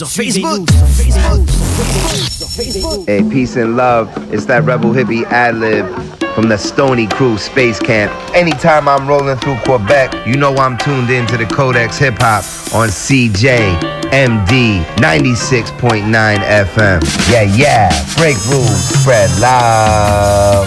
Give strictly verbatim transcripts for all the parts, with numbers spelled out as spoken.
sur Facebook. Hey, peace and love. It's that Rebel Hippie ad-lib from the Stony Crew Space Camp. Anytime I'm rolling through Quebec, you know I'm tuned into the Codex Hip Hop on C J M D ninety-six point nine F M. Yeah, yeah. Break rules, spread love.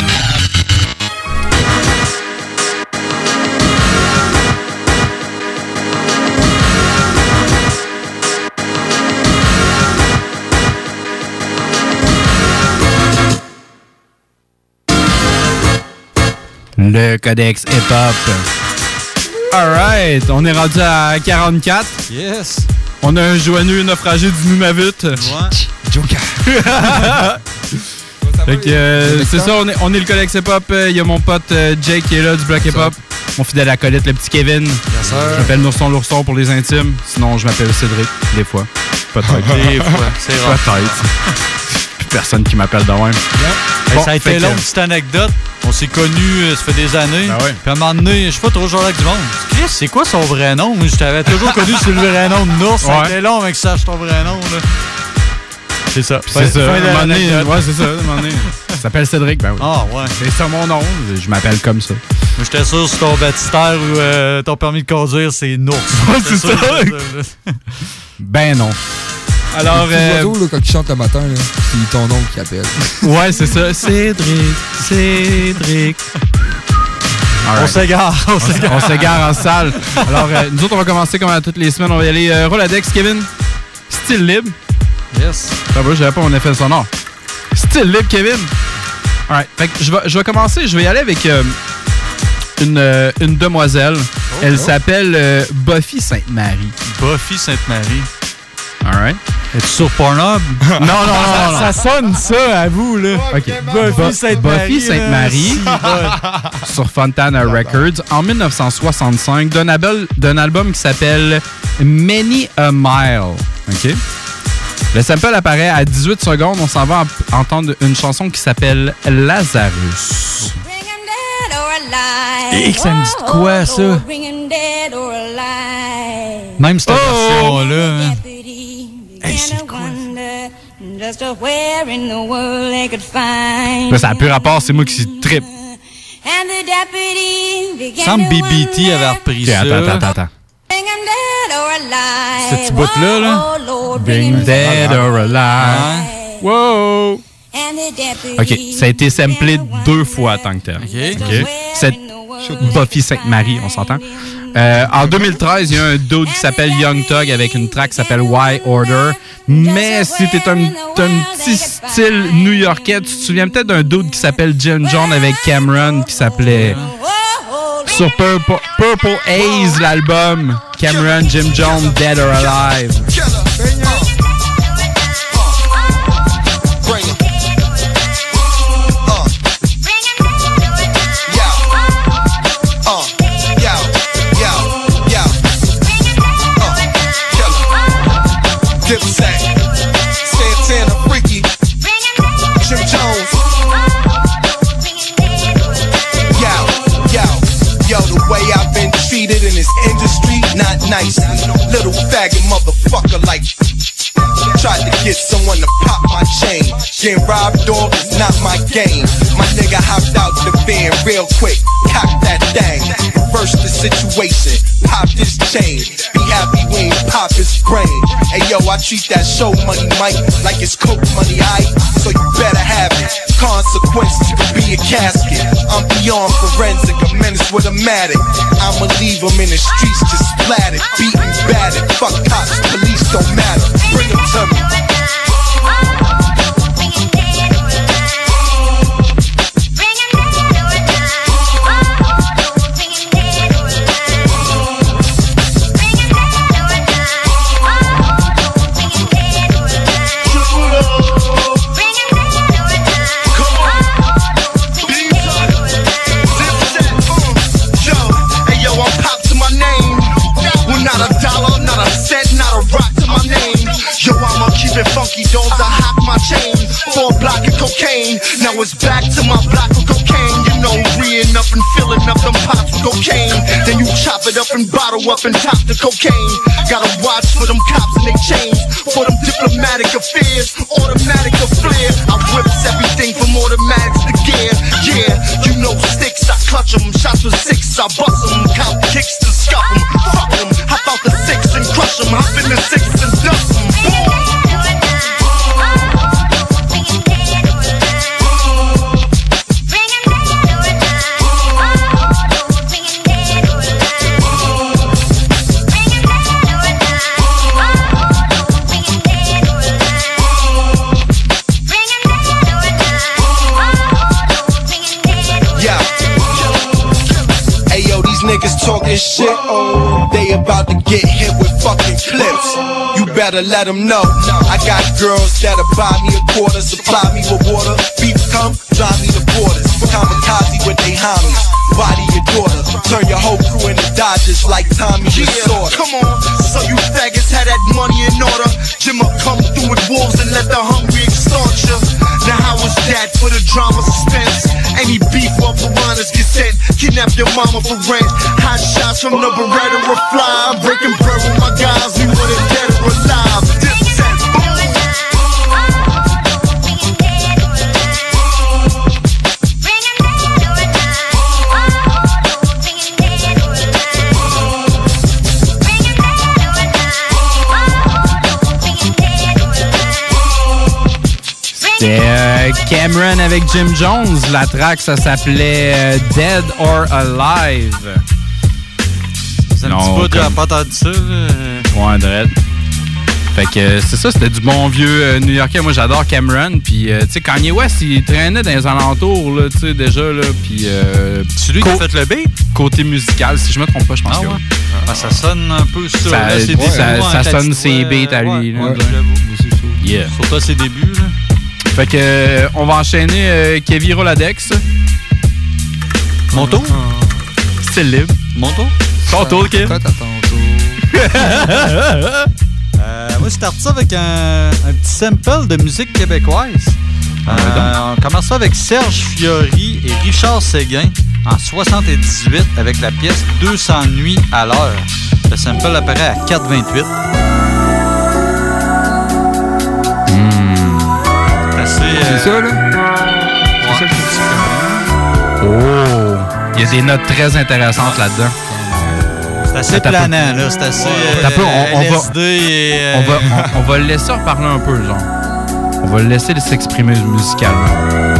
Le Codex Hip Hop. Alright, on est rendu à quarante-quatre. Yes. On a un joyeux naufragé du Nunavut. Ouais. Joker. Fait que, euh, c'est ça, on est, on est le Codex Hip Hop. Il y a mon pote euh, Jake qui est là du Bloc Hip Hop. Mon fidèle acolyte, le petit Kevin. Yes, sir. Je m'appelle Nourson l'ourson pour les intimes. Sinon, je m'appelle Cédric, des fois. Peut-être. Des fois, c'est rare. Peut-être. Plus personne qui m'appelle de même. Yep. Bon, hey, ça a été que... long, petite anecdote. On s'est connus, ça fait des années. Ben ouais. Puis à un moment donné, je sais pas trop genre avec du monde. Chris, c'est quoi son vrai nom? Moi, je t'avais toujours connu sur le vrai nom de Nours. Ça a Ouais. été long avec ça, ton vrai nom. Là. C'est ça. C'est ça. À un moment donné, ouais, c'est ça. À un moment donné. Ça s'appelle Cédric, ben oui. Ah, ouais. C'est ça mon nom. Je m'appelle comme ça. Moi, j'étais sûr sur ton baptistère ou euh, ton permis de conduire, c'est Nours. Ouais, c'est ça. Ben non. Alors, euh... oiseau, là, quand il chante le matin, là, c'est ton nom qui appelle. Ouais, c'est ça. Cédric, Cédric. Right. On s'égare, on s'égare. On s'égare en salle. Alors, euh, nous autres, on va commencer comme à toutes les semaines. On va y aller euh, Roladex, Kevin. Style libre. Yes. Ça va, j'avais pas mon effet sonore. Style libre, Kevin. Alright. Fait que je vais, je vais commencer. Je vais y aller avec euh, une, euh, une demoiselle. Oh, Elle oh. s'appelle euh, Buffy Sainte-Marie. Buffy Sainte-Marie. Alright. Es-tu sur Pornhub? Non, non, non, non, non. Ça sonne ça, à vous, là. OK. Buffy Sainte-Marie. Buffy Sainte-Marie sur Fontana Records en dix-neuf cent soixante-cinq d'un album, d'un album qui s'appelle Many a Mile. OK? Le sample apparaît à dix-huit secondes. On s'en va en- entendre une chanson qui s'appelle Lazarus. Et ça me dit de quoi, ça? Même cette Oh! version-là. Hey, c'est quoi? Ben, ça n'a plus rapport, c'est moi qui trippe. Semble B B T avait repris Okay, ça. attends, attends, attends. Ce petit bout-là, là. Bring dead or alive. Wow! OK, ça a été samplé deux fois tant que tel. OK. OK. C'est Buffy Sainte-Marie, on s'entend. Euh, en deux mille treize, il y a un dude qui s'appelle Young Thug avec une track qui s'appelle Why Order. Mais si t'es un, t'as un petit style new-yorkais, tu te souviens peut-être d'un dude qui s'appelle Jim Jones avec Cameron qui s'appelait... Sur Purple, Purple Haze, l'album, Cameron, Jim Jones, Dead or Alive. Dipset, Santana, Freaky, Jim Jones. Yo, yo, yo, the way I've been treated in this industry, not nice. Little faggot motherfucker like tried to get someone to pop my chain. Getting robbed off is not my game. My nigga hopped out the van real quick, cocked that thing, reversed the situation, popped his chain. Be happy we ain't pop his brain. Hey yo, I treat that show money, Mike, like it's coke money, aight? So you better have it. Consequences could be a casket. I'm beyond forensic, a menace with a matic. I'ma leave him in the streets just splattered, beaten, battered. Fuck cops, police don't matter. Bring him to me. Funky dogs, I hop my chain for a block of cocaine. Now it's back to my block of cocaine. You know, reeing up and filling up them pots with cocaine. Then you chop it up and bottle up and top the cocaine. Gotta watch for them cops and they chains. traumatic affairs, automatic or flare. I whips everything from automatics to gear. Yeah, you know sticks, I clutch them. Shots with six, I bust them. Count kicks to scuff them. Fuck them, hop out the six and crush them. Hop in the six and dust them. Niggas talking shit, they about to get hit with fucking clips. You better let them know. I got girls that'll buy me a quarter, supply me with water. Beef come, drive me the borders. Kamikaze with they homies, body your daughter. Turn your whole crew into Dodgers like Tommy yeah, Lasorda. Come on, so you faggots had that money in order. Jimma come through with wolves and let the hungry extort you. Now how was that for the drama suspense? Any beef or piranhas get sent. Kidnap your mama for rent. Hot shots from the Beretta or fly. I'm breaking bread with my guys. We want it dead or alive. This set, C'était euh, Cameron avec Jim Jones. La track, ça s'appelait euh, Dead or Alive. C'est un non, petit bout comme... de pas entendu ça. Là. Ouais, dread. Fait que euh, c'est ça, c'était du bon vieux euh, New-Yorkais. Moi, j'adore Cameron. Puis, euh, tu sais, Kanye West, il traînait dans les alentours, là, tu sais, déjà, là. Puis, euh, c'est lui co- qui a fait le beat? Côté musical, si je me trompe pas, je pense ah, que ouais. oui. Ah, ça sonne un peu ça. Ça, là, c'est ouais, ça, ça sonne ses beats à lui. Ouais, là, ouais, j'avoue. Yeah. Surtout à ses débuts, là. Fait que euh, on va enchaîner euh, Kevin Roladex. Mon tour? Style libre. Mon tour? Ton tour, Kev. Toi, t'as ton tour. euh, moi, je starte ça avec un, un petit sample de musique québécoise. Euh, on commence ça avec Serge Fiori et Richard Séguin en soixante-dix-huit avec la pièce deux cents nuits à l'heure. Le sample apparaît à quatre vingt-huit. C'est ça, là? Ouais. C'est ça le petit Oh! Il y a des notes très intéressantes là-dedans. C'est assez Attends planant, là. C'est assez euh, peu, on, on L S D va, et... Euh... On, va, on, on va le laisser reparler un peu, genre. On va le laisser s'exprimer musicalement.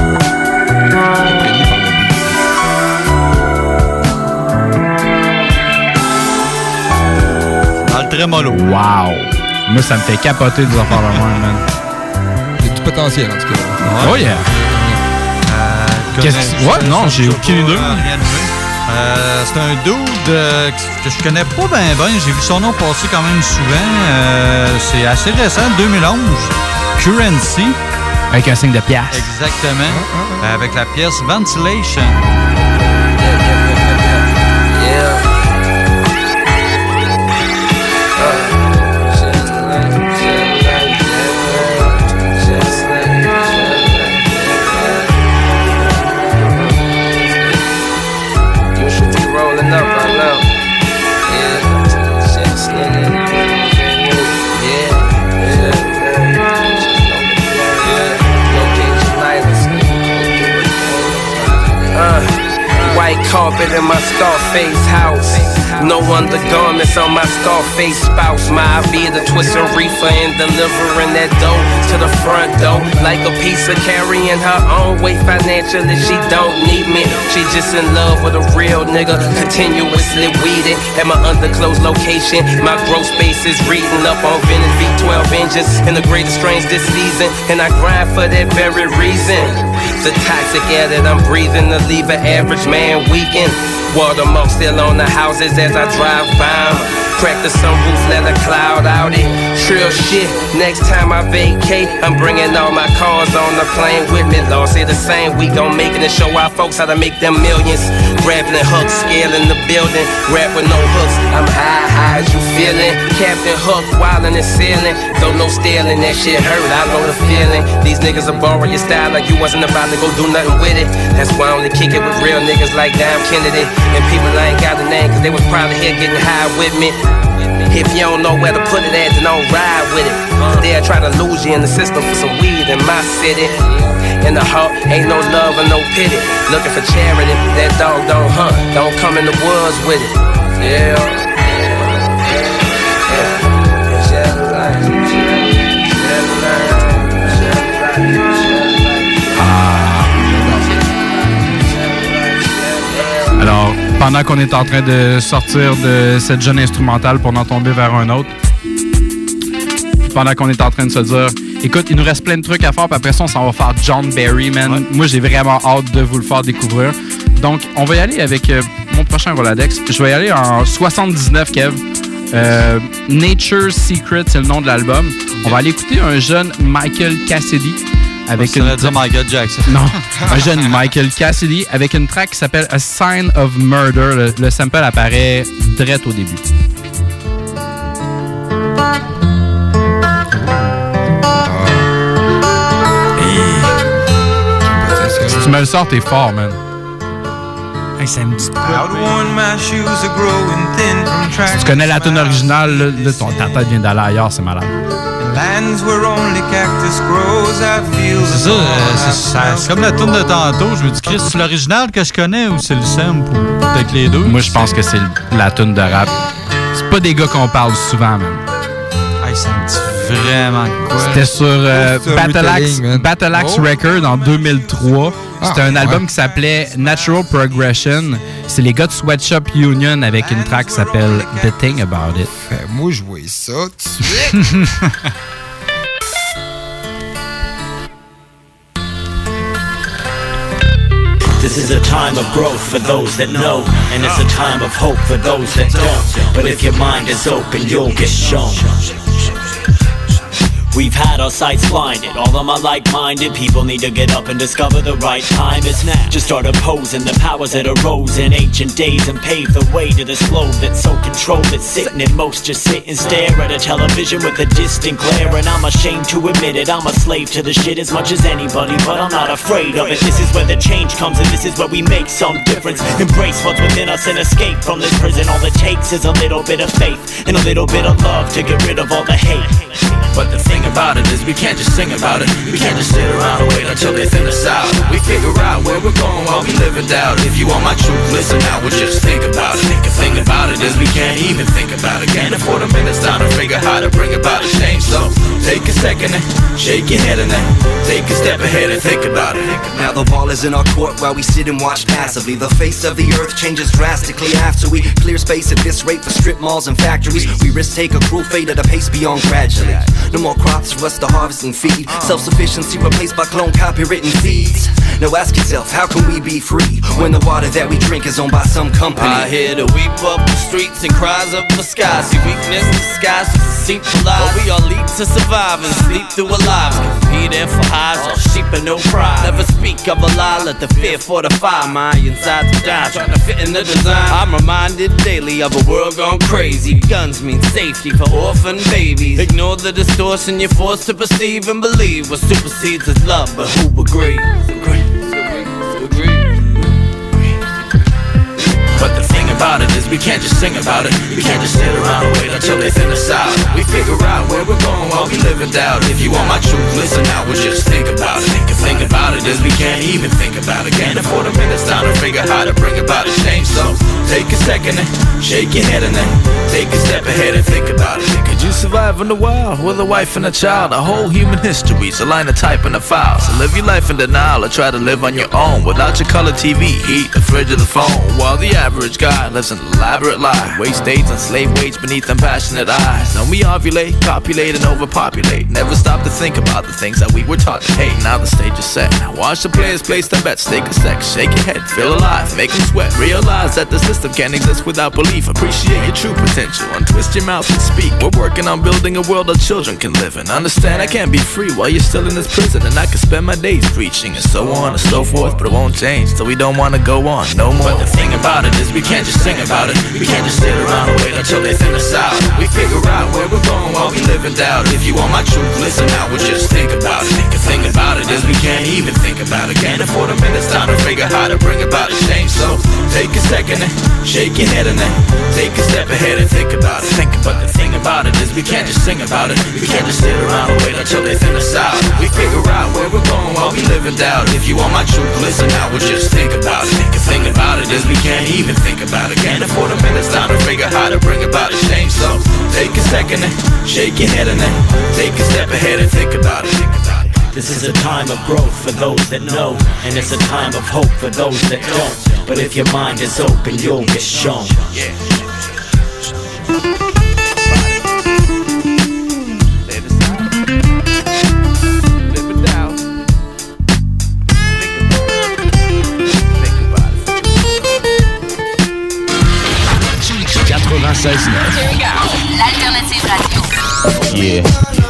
Dans le trémolo. Wow! Moi, ça me fait capoter de faire le même, man. Potentiel, en tout cas. Oh yeah! Euh, Qu'est-ce que... Ouais, non, j'ai aucune idée. Euh, c'est un dude euh, que je connais pas bien ben. J'ai vu son nom passer quand même souvent. Euh, c'est assez récent, deux mille onze. Currency. Avec un signe de pièce. Exactement. Ah, ah, ah. Avec la pièce Ventilation. Carpet in my Scarface house. No undergarments on my Scarface spouse. My I be the twisting reefer and delivering that dough to the front door. Like a piece of carrying her own weight financially. She don't need me. She just in love with a real nigga. Continuously weeding at my underclothes location. My growth space is reading up on vintage V twelve engines and the greatest strains this season. And I grind for that very reason. The toxic air that I'm breathing to leave an average man weakened. Watermark still on the houses as I drive by 'em. Crack the sunroof, let a cloud out it. Trill shit, next time I vacate, I'm bringing all my cars on the plane with me. Lord, say the same, we gon' make it and show our folks how to make them millions. Grabbing the hooks, scaling the building, rap with no hooks. I'm high, high as you feeling. Captain Hook, wildin' and ceiling. Though no stealing, that shit hurt, I know the feeling. These niggas will borrow your style like you wasn't about to go do nothing with it. That's why I only kick it with real niggas like Dom Kennedy. And people I ain't got a name, cause they was probably here getting high with me. If you don't know where to put it at, then don't ride with it. they'll try to lose you in the system for some weed in my city. In the heart, ain't no love or no pity. Looking for charity, that dog don't hunt. Don't come in the woods with it. Yeah. Alors, pendant qu'on est en train de sortir de cette jeune instrumentale pour en tomber vers un autre, pendant qu'on est en train de se dire, écoute, il nous reste plein de trucs à faire, puis après ça, on s'en va faire John Barry, man. Ouais. Moi, j'ai vraiment hâte de vous le faire découvrir. Donc, on va y aller avec euh, mon prochain Roladex. Je vais y aller en soixante-dix-neuf, Kev. Euh, Nature's Secret, c'est le nom de l'album. On va aller écouter un jeune Michael Cassidy. Avec une... dire Michael Jackson. Non, un jeune Michael Cassidy avec une track qui s'appelle A Sign of Murder. Le, le sample apparaît direct au début. Si tu me le sors, t'es fort, man. Hey, ça me dit Si tu connais la tune originale, là, là, ton, ta tête vient d'aller ailleurs, c'est malade. C'est ça, euh, c'est, c'est comme la tune de tantôt. Je me dis, Chris, c'est l'original que je connais ou c'est le sample ou peut-être les deux? Moi, je pense que c'est la tune de rap. C'est pas des gars qu'on parle souvent, même. Hey, ça me dit vraiment quoi? C'était sur euh, Battle Axe, Battle Axe oh. Record en deux mille trois. C'était ah, un album ouais. qui s'appelait Natural Progression. C'est les gars de Sweatshop Union avec une track qui s'appelle The Thing About It. Fais-moi jouer ça tout de suite. This is a time of growth for those that know, and it's a time of hope for those that don't. But if your mind is open, you'll get shown. We've had our sights blinded. All of my like-minded people need to get up and discover the right time is now. Just start opposing the powers that arose in ancient days and pave the way to this globe that's so controlled that sitting at most just sit and stare at a television with a distant glare. And I'm ashamed to admit it, I'm a slave to the shit as much as anybody, but I'm not afraid of it. This is where the change comes and this is where we make some difference. Embrace what's within us and escape from this prison. All it takes is a little bit of faith and a little bit of love to get rid of all the hate. But the thing about it is we can't just sing about it. We can't just sit around and wait until they thin us out. We figure out where we're going while we live in doubt. If you want my truth, listen out, we'll just think about it. The thing about it is we can't even think about it. Can't afford a minute's time to figure how to bring about a change. So take a second and shake your head and then take a step ahead and think about it. Now the ball is in our court while we sit and watch passively. The face of the earth changes drastically after we clear space at this rate for strip malls and factories. We risk take a cruel fate at a pace beyond gradually. No more crops for us to harvest and feed. Self-sufficiency replaced by clone copywritten feeds. Now ask yourself, how can we be free when the water that we drink is owned by some company? I hear the weep up the streets and cries up the sky. See weakness disguised as deceitful lies. But we all lead to survive and sleep through our lives. Competing for highs, all sheep and no pride. Never speak of a lie, let the fear fortify my inside to die. Trying to fit in the design. I'm reminded daily of a world gone crazy. Guns mean safety for orphan babies. Ignore the distortion you're forced to perceive and believe. What supersedes is love, but who agrees? Agree. But the thing about it is we can't just sing about it. We can't just sit around and wait until they thin us out. We figure out where we're going while we live in doubt. If you want my truth, listen out, we'll just think about it. The thing about it is we can't even think about it. Can't afford a minute's time to figure how to bring about a change. So take a second and shake your head and then take a step ahead and think about it. Could you survive in the wild with a wife and a child? A whole human history's a line of type in a file. So live your life in denial or try to live on your own without your color T V, heat, the fridge or the phone. While the average guy lives an elaborate lie, waste days on slave wage beneath them passionate eyes. Then we ovulate, copulate and overpopulate. Never stop to think about the things that we were taught to hate. Now the stage is set. Now watch the players place their bets. Take a sec, shake your head, feel alive, make them sweat. Realize that the system can't exist without belief. Appreciate your true potential, untwist your mouth and speak. We're working on building a world that children can live in. Understand I can't be free while you're still in this prison, and I can spend my days preaching and so on and so forth. But it won't change till we don't want to go on no more. But the thing about it is we can't just sing about it. We can't just sit around and wait until they thin us out. We figure out where we're going while we live in doubt. If you want my truth, listen out, we'll just think about it. The thing about it is we can't even think about it. Can't afford a minute's time to figure how to bring about a change. So take a second and shake your head and then take a step ahead and think about it. Think about the thing about it is we can't just sing about it. We can't just sit around and until they thin us out. We figure out where we're going while we live in doubt. If you want my truth, listen now, we'll just think about it. The thing about it is we can't even think about it. Can't afford a minute's time to figure how to bring about a change. So take a second and shake your head and then take a step ahead and think about it. Think about it. This is a time of growth for those that know, and it's a time of hope for those that don't. But if your mind is open, you'll get shown. Yeah. quatre-vingt-seize neuf. L'alternative radio. Yeah.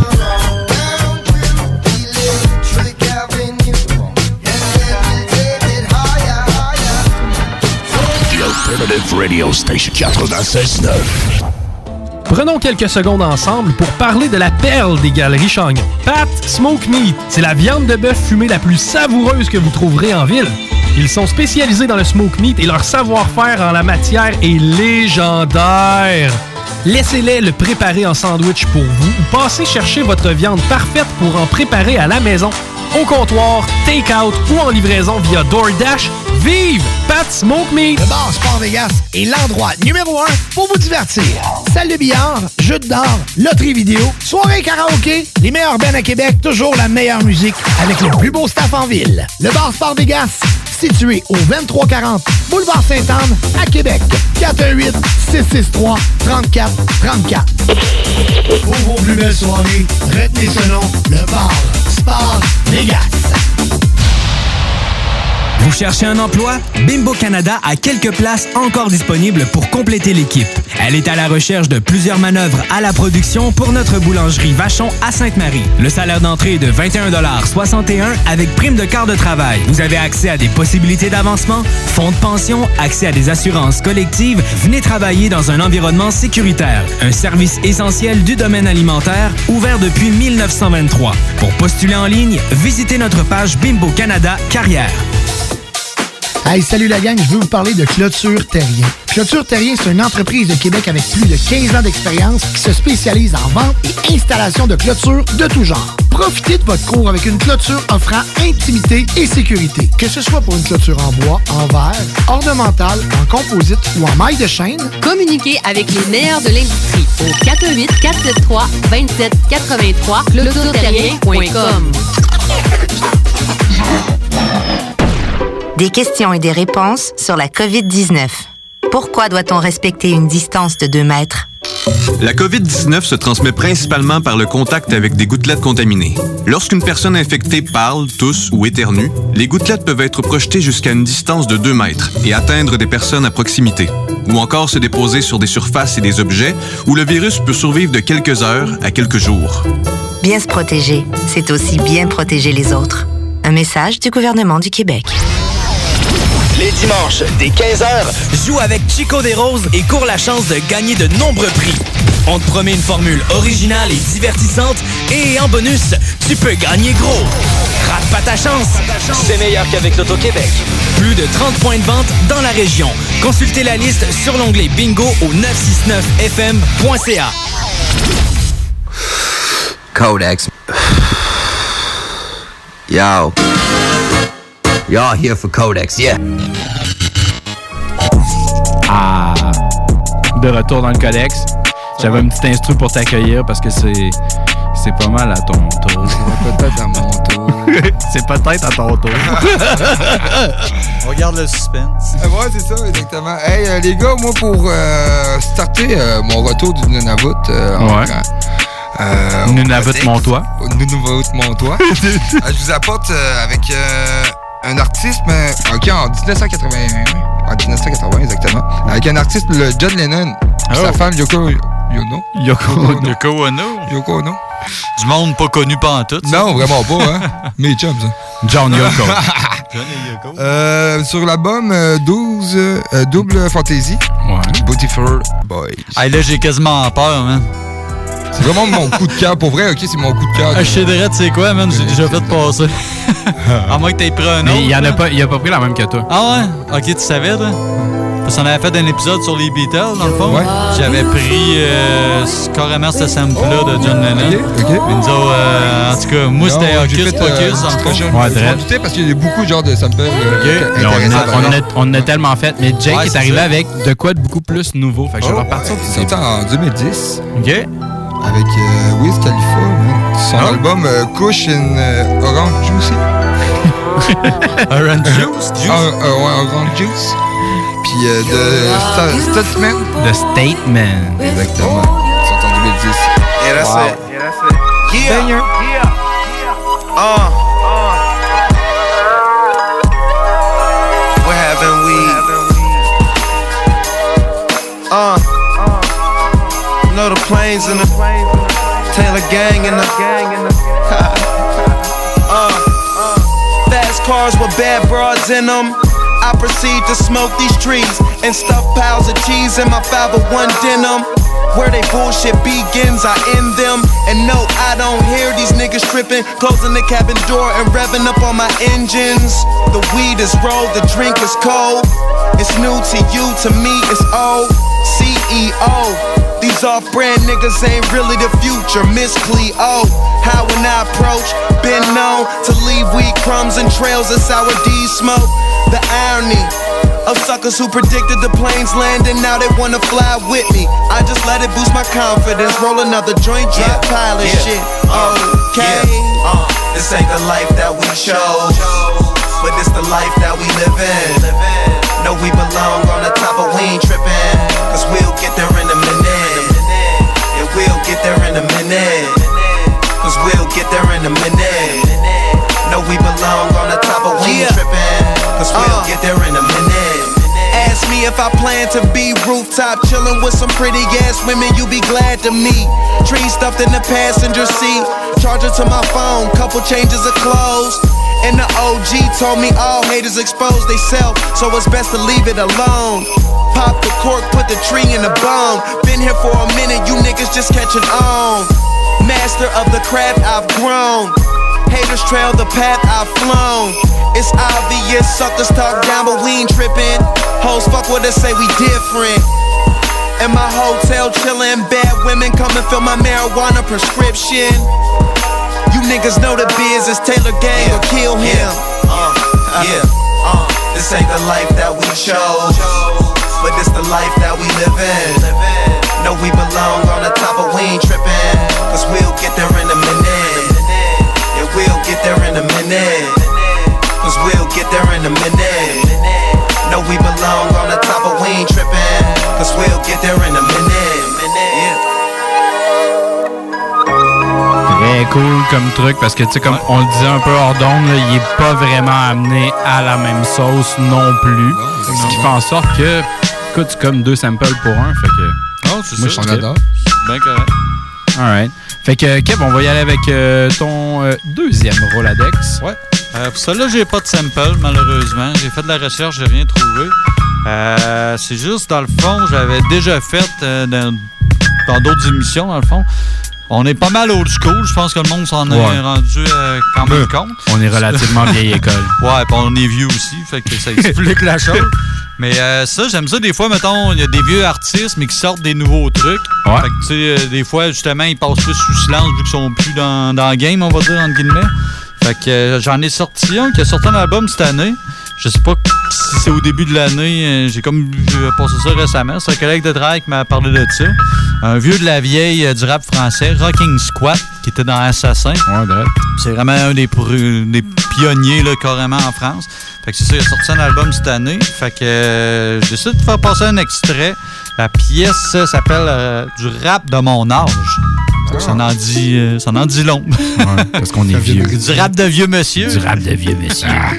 Alternative Radio Station quatre-vingt-seize neuf. Prenons quelques secondes ensemble pour parler de la perle des galeries Chagnon. Pat Smoke Meat, c'est la viande de bœuf fumée la plus savoureuse que vous trouverez en ville. Ils sont spécialisés dans le smoke meat et leur savoir-faire en la matière est légendaire. Laissez-les le préparer en sandwich pour vous ou passez chercher votre viande parfaite pour en préparer à la maison, au comptoir, take-out ou en livraison via DoorDash. Vive Pat Smoke Meat! Le bar Sport Vegas est l'endroit numéro un pour vous divertir. Salle de billard, jeux d'or, loterie vidéo, soirée karaoké, les meilleurs bands à Québec, toujours la meilleure musique avec le plus beau staff en ville. Le bar Sport Vegas, situé au vingt-trois quarante Boulevard Sainte-Anne à Québec. quatre un huit, six six trois, trois quatre trois quatre. Pour vos plus belles soirées, retenez ce nom, le bar Sport Vegas. Vous cherchez un emploi? Bimbo Canada a quelques places encore disponibles pour compléter l'équipe. Elle est à la recherche de plusieurs manœuvres à la production pour notre boulangerie Vachon à Sainte-Marie. Le salaire d'entrée est de vingt et un soixante et un avec prime de quart de travail. Vous avez accès à des possibilités d'avancement, fonds de pension, accès à des assurances collectives. Venez travailler dans un environnement sécuritaire. Un service essentiel du domaine alimentaire, ouvert depuis mille neuf cent vingt-trois. Pour postuler en ligne, visitez notre page Bimbo Canada Carrière. Hey, salut la gang, je veux vous parler de Clôture Terrien. Clôture Terrien, c'est une entreprise de Québec avec plus de quinze ans d'expérience qui se spécialise en vente et installation de clôtures de tout genre. Profitez de votre cour avec une clôture offrant intimité et sécurité. Que ce soit pour une clôture en bois, en verre, ornementale, en composite ou en maille de chaîne, communiquez avec les meilleurs de l'industrie au quatre un huit, quatre sept trois, deux sept huit trois clôture terrien point com. Des questions et des réponses sur la covid dix-neuf. Pourquoi doit-on respecter une distance de deux mètres? La covid dix-neuf se transmet principalement par le contact avec des gouttelettes contaminées. Lorsqu'une personne infectée parle, tousse ou éternue, les gouttelettes peuvent être projetées jusqu'à une distance de deux mètres et atteindre des personnes à proximité, ou encore se déposer sur des surfaces et des objets où le virus peut survivre de quelques heures à quelques jours. Bien se protéger, c'est aussi bien protéger les autres. Un message du gouvernement du Québec. Les dimanches, dès quinze heures, joue avec Chico des Roses et cours la chance de gagner de nombreux prix. On te promet une formule originale et divertissante et en bonus, tu peux gagner gros. Rate pas ta chance, c'est meilleur qu'avec l'Auto-Québec. Plus de trente points de vente dans la région. Consultez la liste sur l'onglet Bingo au neuf cent soixante-neuf F M point C A. Codex. Yo. Y'all here for Codex, yeah. Ah, de retour dans le Codex. J'avais un petit instru pour t'accueillir parce que c'est c'est pas mal à ton tour. C'est peut-être à mon tour. C'est peut-être à ton tour. On regarde le suspense. Euh, ouais, c'est ça, exactement. Hey, euh, les gars, moi, pour euh, starter euh, mon retour du Nunavut... Euh, ouais. Euh, Nunavut mon toit. Nunavut mon toit. euh, je vous apporte euh, avec euh, un artiste, mais, ok, en dix-neuf cent quatre-vingt-un. En dix-neuf cent quatre-vingts, exactement. Avec un artiste, le John Lennon. Oh. Sa femme, Yoko Ono. Yoko Ono. Yoko Ono. Yoko Ono. Du monde pas connu pas en tout. Ça. Non, vraiment pas, hein. Mes chums, ça. John Yoko. John et Yoko. Euh, sur l'album euh, douze, euh, Double Fantasy. Ouais. Beautiful Boys. Ah, là, j'ai quasiment peur, man. C'est vraiment mon coup de cœur. Pour vrai, ok, c'est mon coup de cœur. Ah, je sais direct, c'est quoi, man? J'ai déjà fait passer. À moins que t'aies pris un autre. Mais il y en a pas, il a pas pris la même que toi. Ah ouais? Ok, tu savais, toi? Parce qu'on avait fait un épisode sur les Beatles, dans le fond. Ouais. J'avais pris euh, carrément ce sample-là de John Lennon. OK, OK. Et nous autres, euh, en tout cas, moi, c'était Non, Hocus j'ai fait, Pocus, euh, dans le fond. je Ouais, je m'en dread. doutais parce qu'il y a beaucoup de genres de samples euh, Là, on, intéressants. a, on, a, on a tellement fait. Mais Jake Ouais, est c'est arrivé ça. avec de quoi de beaucoup plus nouveau. Fait que je vais Oh, repartir. ouais, c'est sorti en deux mille dix OK. avec euh, Wiz Khalifa, man. Son Oh. album euh, Kush in euh, Orange Juicy. Orange Juice? Ah, euh, ouais, Orange Juice. Puis euh, de Sta- Statement. The Statement. Exactement. Sorti en deux mille dix. Yeah, that's Wow. it. Yeah, that's it. Yeah. Banger. Yeah. Uh. Where haven't we? Uh. Know the planes and the Taylor gang and the uh. Fast cars with bad broads in them. I proceed to smoke these trees and stuff piles of cheese in my five oh one denim. Where they bullshit begins, I end them. And no, I don't hear these niggas tripping, closing the cabin door and revving up on my engines. The weed is rolled, the drink is cold. It's new to you, to me it's old. C E O. These off-brand niggas ain't really the future, Miss Cleo. How when I approach, been known to leave weed crumbs and trails of sour D smoke. The irony of suckers who predicted the planes landing, now they wanna fly with me. I just let it boost my confidence, roll another joint, drop Yeah, pile of yeah, shit. uh, Okay. yeah, uh, this ain't the life that we chose, but it's the life that we live in. Know we belong on the top, but we ain't trippin', cause we'll get there in a minute. Yeah, we'll get there in a minute, cause we'll get there in a minute. Know we belong on the top, but we ain't Yeah. trippin', cause we'll Uh. get there in a minute. Ask me if I plan to be rooftop chillin' with some pretty ass women you be glad to meet. Tree stuffed in the passenger seat, charger to my phone, couple changes of clothes. And the O G told me all haters expose they self, so it's best to leave it alone. Pop the cork, put the tree in the bone. Been here for a minute, you niggas just catching on. Master of the craft, I've grown. Haters trail the path I've flown. It's obvious, suckers talk down, but we ain't trippin'. Hoes fuck with us, say we different. In my hotel chillin', bad women come and fill my marijuana prescription. You niggas know the biz, it's Taylor gang or kill him. Uh, yeah, uh, this ain't the life that we chose, but it's the life that we live in. Know we belong on the top, but we ain't trippin', cause we'll get there in a minute. Yeah, we'll get there in a minute, cause we'll get there in a minute. Know we belong on the top, but we ain't trippin', cause we'll get there in a minute. Yeah. Très cool comme truc parce que, tu sais, comme on le disait un peu hors d'onde, là, il est pas vraiment amené à la même sauce non plus. Ce qui fait en sorte que, écoute, c'est comme deux samples pour un. Fait que. Oh, c'est moi, ça. je On adore. Bien correct. Alright. Fait que, Kev, on va y aller avec euh, ton euh, deuxième Roladex. Ouais. Euh, pour celle-là, j'ai pas de sample, malheureusement. J'ai fait de la recherche, j'ai rien trouvé. Euh, c'est juste, dans le fond, j'avais déjà fait euh, dans, dans d'autres émissions, dans le fond. On est pas mal old school. Je pense que le monde s'en Ouais. est rendu euh, quand même Euh, compte. on est relativement vieille école. Ouais, puis on est vieux aussi, fait que ça explique la chose. Mais euh, ça, j'aime ça. Des fois, mettons, il y a des vieux artistes, mais qui sortent des nouveaux trucs. Ouais. Fait que, tu sais, euh, des fois, justement, ils passent plus sous silence vu qu'ils sont plus dans, dans le game, on va dire, entre guillemets. Fait que euh, j'en ai sorti un qui a sorti un album cette année. Je sais pas si c'est au début de l'année. euh, J'ai comme euh, passé ça récemment. C'est un collègue de travail qui m'a parlé de ça. Un vieux de la vieille euh, du rap français, Rocking Squat, qui était dans Assassin. Ouais, c'est vraiment un des, pr- des pionniers là, carrément en France. Fait que c'est ça, il a sorti un album cette année. Fait que euh, j'ai décidé de faire passer un extrait. La pièce euh, s'appelle euh, Du rap de mon âge. Fait que ça en dit, euh, ça en dit long. Ouais, parce qu'on est vieux. Du rap de vieux monsieur. Du rap de vieux monsieur. Ah.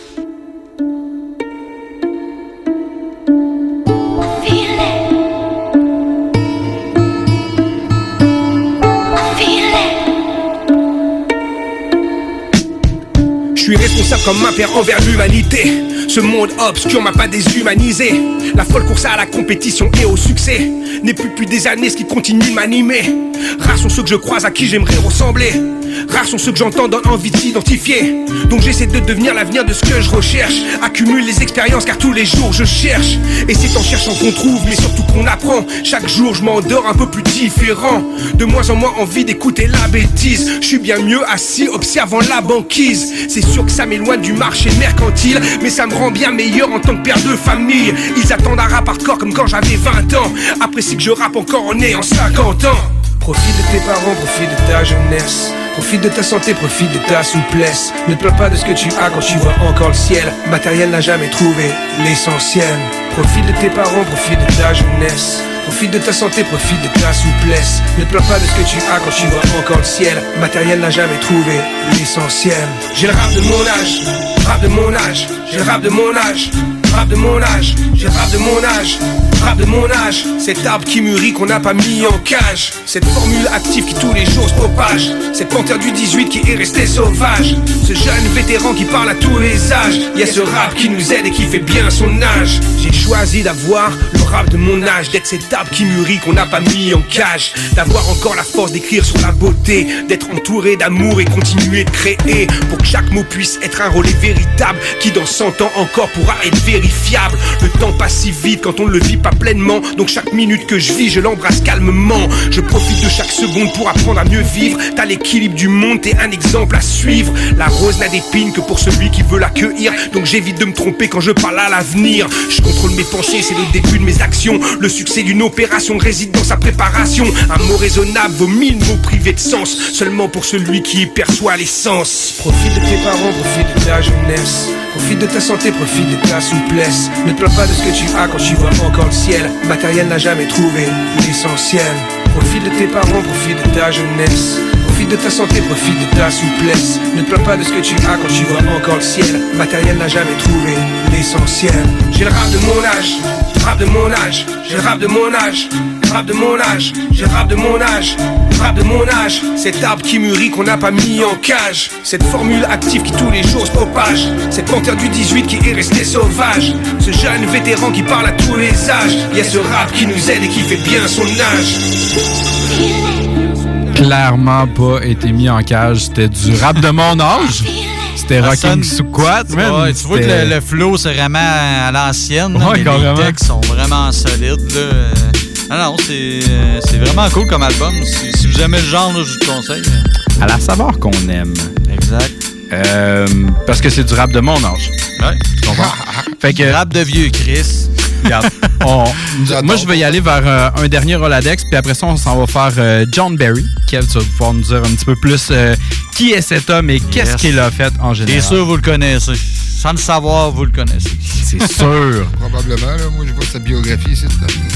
Je suis responsable comme ma père envers l'humanité. Ce monde obscur m'a pas déshumanisé. La folle course à la compétition et au succès n'est plus depuis des années ce qui continue de m'animer. Rares sont ceux que je croise à qui j'aimerais ressembler. Rares sont ceux que j'entends donnent envie de s'identifier. Donc j'essaie de devenir l'avenir de ce que je recherche. Accumule les expériences car tous les jours je cherche. Et c'est en cherchant qu'on trouve, mais surtout qu'on apprend. Chaque jour je m'endors un peu plus différent. De moins en moins envie d'écouter la bêtise. Je suis bien mieux assis observant la banquise. C'est sûr que ça m'éloigne du marché mercantile, mais ça me rend bien meilleur en tant que père de famille. Ils attendent un rap hardcore comme quand j'avais vingt ans. Apprécie que je rappe encore en ayant cinquante ans. Profite de tes parents, profite de ta jeunesse. Profite de ta santé, profite de ta souplesse. Ne te plains pas de ce que tu as quand tu vois encore le ciel. Matériel n'a jamais trouvé l'essentiel. Profite de tes parents, profite de ta jeunesse. Profite de ta santé, profite de ta souplesse. Ne te plains pas de ce que tu as quand tu vois encore le ciel. Matériel n'a jamais trouvé l'essentiel. J'ai le rap de mon âge, rap de mon âge. J'ai le rap de mon âge, rap de mon âge. J'ai le rap de mon âge, rap de mon âge. Cet arbre qui mûrit qu'on n'a pas mis en cage. Cette formule active qui tous les jours se propage. Cette panthère du dix-huit qui est restée sauvage. Ce jeune vétéran qui parle à tous les âges. Y'a ce rap qui nous aide et qui fait bien son âge. J'ai choisi d'avoir le rap de mon âge. D'être cet arbre qui mûrit qu'on n'a pas mis en cage. D'avoir encore la force d'écrire sur la beauté. D'être entouré d'amour et continuer de créer. Pour que chaque mot puisse être un relais véritable. Qui dans cent ans encore pourra être vérifiable. Le temps passe si vite quand on ne le vit pas pleinement. Donc chaque minute que je vis je l'embrasse calmement. Je profite de chaque seconde pour apprendre à mieux vivre. T'as l'équilibre du monde, t'es un exemple à suivre. La rose n'a d'épines que pour celui qui veut l'accueillir. Donc j'évite de me tromper quand je parle à l'avenir. Je contrôle mes pensées, c'est le début de mes actions. Le succès d'une opération réside dans sa préparation. Un mot raisonnable vaut mille mots privés de sens. Seulement pour celui qui y perçoit l'essence. Profite de tes parents, profite de ta jeunesse. Profite de ta santé, profite de ta souplesse. Ne te plains pas de ce que tu as quand tu vois encore le ciel. Matériel n'a jamais trouvé l'essentiel. Profite de tes parents, profite de ta jeunesse. Profite de ta santé, profite de ta souplesse. Ne te plains pas de ce que tu as quand tu vois encore le ciel. Matériel n'a jamais trouvé l'essentiel. J'ai le rap de mon âge, rap de mon âge. J'ai le rap de mon âge, rap de mon âge. J'ai le rap de mon âge, rap de mon âge. Cet arbre qui mûrit qu'on n'a pas mis en cage. Cette formule active qui tous les jours se propage. Cette panthère du dix-huit qui est restée sauvage. Ce jeune vétéran qui parle à tous les âges. Y'a ce rap qui nous aide et qui fait bien son âge. Clairement pas été mis en cage. C'était du rap de mon âge. C'était Rocking Squat, man. Ouais, tu vois que le, le flow, c'est vraiment à l'ancienne. Ouais, mais les textes sont vraiment solides. Là. Ah non, c'est, c'est vraiment cool comme album. Si, si vous aimez le genre, là, je vous le conseille. À la saveur qu'on aime. Exact. Euh, parce que c'est du rap de mon âge. Ouais. Tu comprends? Fait que, rap de vieux Chris. Regarde, on, moi je vais y aller vers euh, un dernier Roladex, puis après ça on s'en va faire euh, John Barry. Kev, tu vas pouvoir nous dire un petit peu plus euh, qui est cet homme et yes. qu'est-ce qu'il a fait en général. C'est sûr, vous le connaissez. Sans le savoir, vous le connaissez. C'est sûr. Probablement, là. Moi je vois sa biographie ici.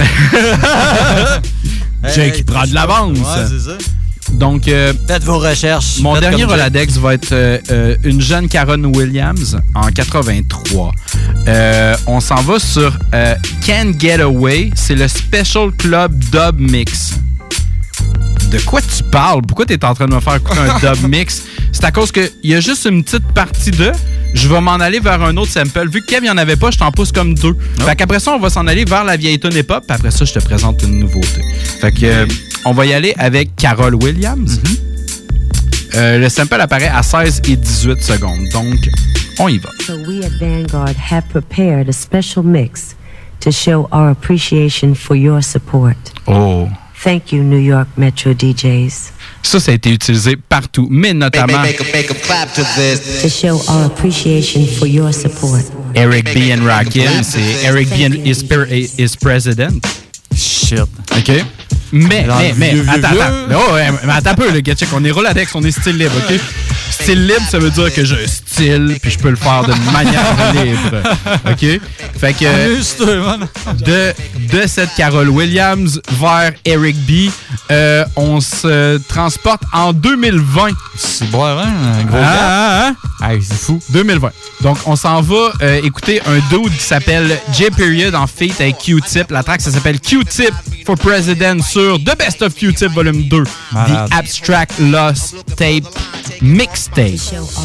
Jake qui prend de l'avance. Ouais, c'est ça. Donc, euh, faites vos recherches. Mon Faites dernier Roladex va être euh, euh, une jeune Karen Williams en quatre-vingt-trois. Euh, on s'en va sur euh, Can't Get Away. C'est le Special Club Dub Mix. De quoi tu parles? Pourquoi tu es en train de me faire écouter un dub mix? C'est à cause qu'il y a juste une petite partie de. Je vais m'en aller vers un autre sample. Vu que Kev, il n'y en avait pas, je t'en pousse comme deux. Oh. Fait qu'après ça, on va s'en aller vers la vieille tune hip-hop. Puis après ça, je te présente une nouveauté. Fait que, euh, on va y aller avec Carol Williams. Mm-hmm. euh, le sample apparaît à seize et dix-huit secondes. Donc, on y va. So we at Vanguard have prepared a special mix to show our appreciation for your support. Oh. Thank you, New York Metro D Js. Ça, ça a été utilisé partout, mais notamment make, make, make a clap to this. To show our appreciation for your support. Eric B. and Rakim, c'est Eric B. and is, is President. Shit. OK? Mais, Alors, mais, mais, vieux, attends, vieux. attends. Oh, ouais, mais attends un peu, le gars, check. On est Roladex, on est style libre, OK? Style libre, ça veut dire que j'ai un style, puis je peux le faire d'une manière libre. OK? Fait que de, de cette Carol Williams vers Eric B, euh, on se transporte en deux mille vingt. C'est bon, hein? Un gros ah, ah, ah. Hey, c'est fou. deux mille vingt. Donc, on s'en va euh, écouter un dude qui s'appelle J-Period en feat avec Q-Tip. La track, ça s'appelle Q-Tip for President sur The Best of Q-Tip Volume deux. Malade. The Abstract Lost Tape Mixtape.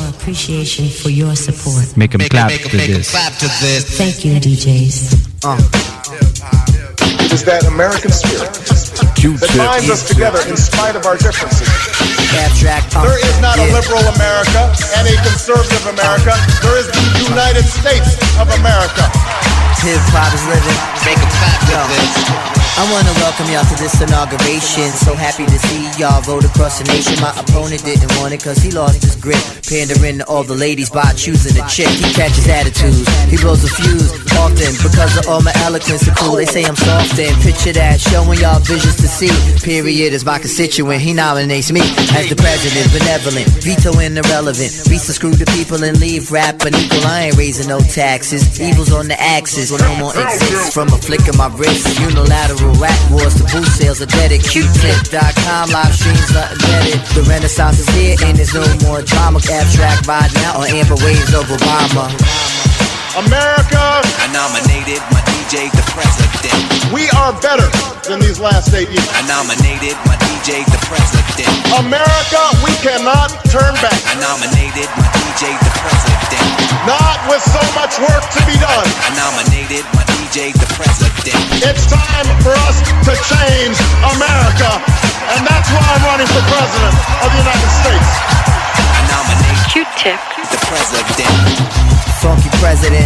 Make them clap to this. Thank you, D Js. Uh. It is that American spirit Q-tip. that binds us together in spite of our differences. Abstract, uh, there is not yeah. a liberal America and a conservative America. There is the United States of America. Hip-hop is living. Make a clap with this. I wanna welcome y'all to this inauguration. So happy to see y'all vote across the nation. My opponent didn't want it cause he lost his grip, pandering to all the ladies by choosing a chick. He catches attitudes, he blows a fuse often because of all my eloquence and cool. They say I'm soft and picture that, showing y'all visions to see. Period is my constituent, he nominates me as the president, benevolent, vetoing irrelevant. Beats to screw the people and leave rap unequal. I ain't raising no taxes, evil's on the axis, no more exists from a flick of my wrist. Unilateral rap wars to boost sales are dead at Q tip dot com. Live streams are embedded. The renaissance is here and there's no more drama. Abstract ride now on amber waves of Obama. America! I nominated my D J the president. We are better than these last eight years. I nominated my D J the president. America, we cannot turn back. I nominated my D J the president. Not with so much work to be done. I nominated my D J the president. It's time for us to change America, and that's why I'm running for president of the United States. I nominate Q-Tip the president. Funky president.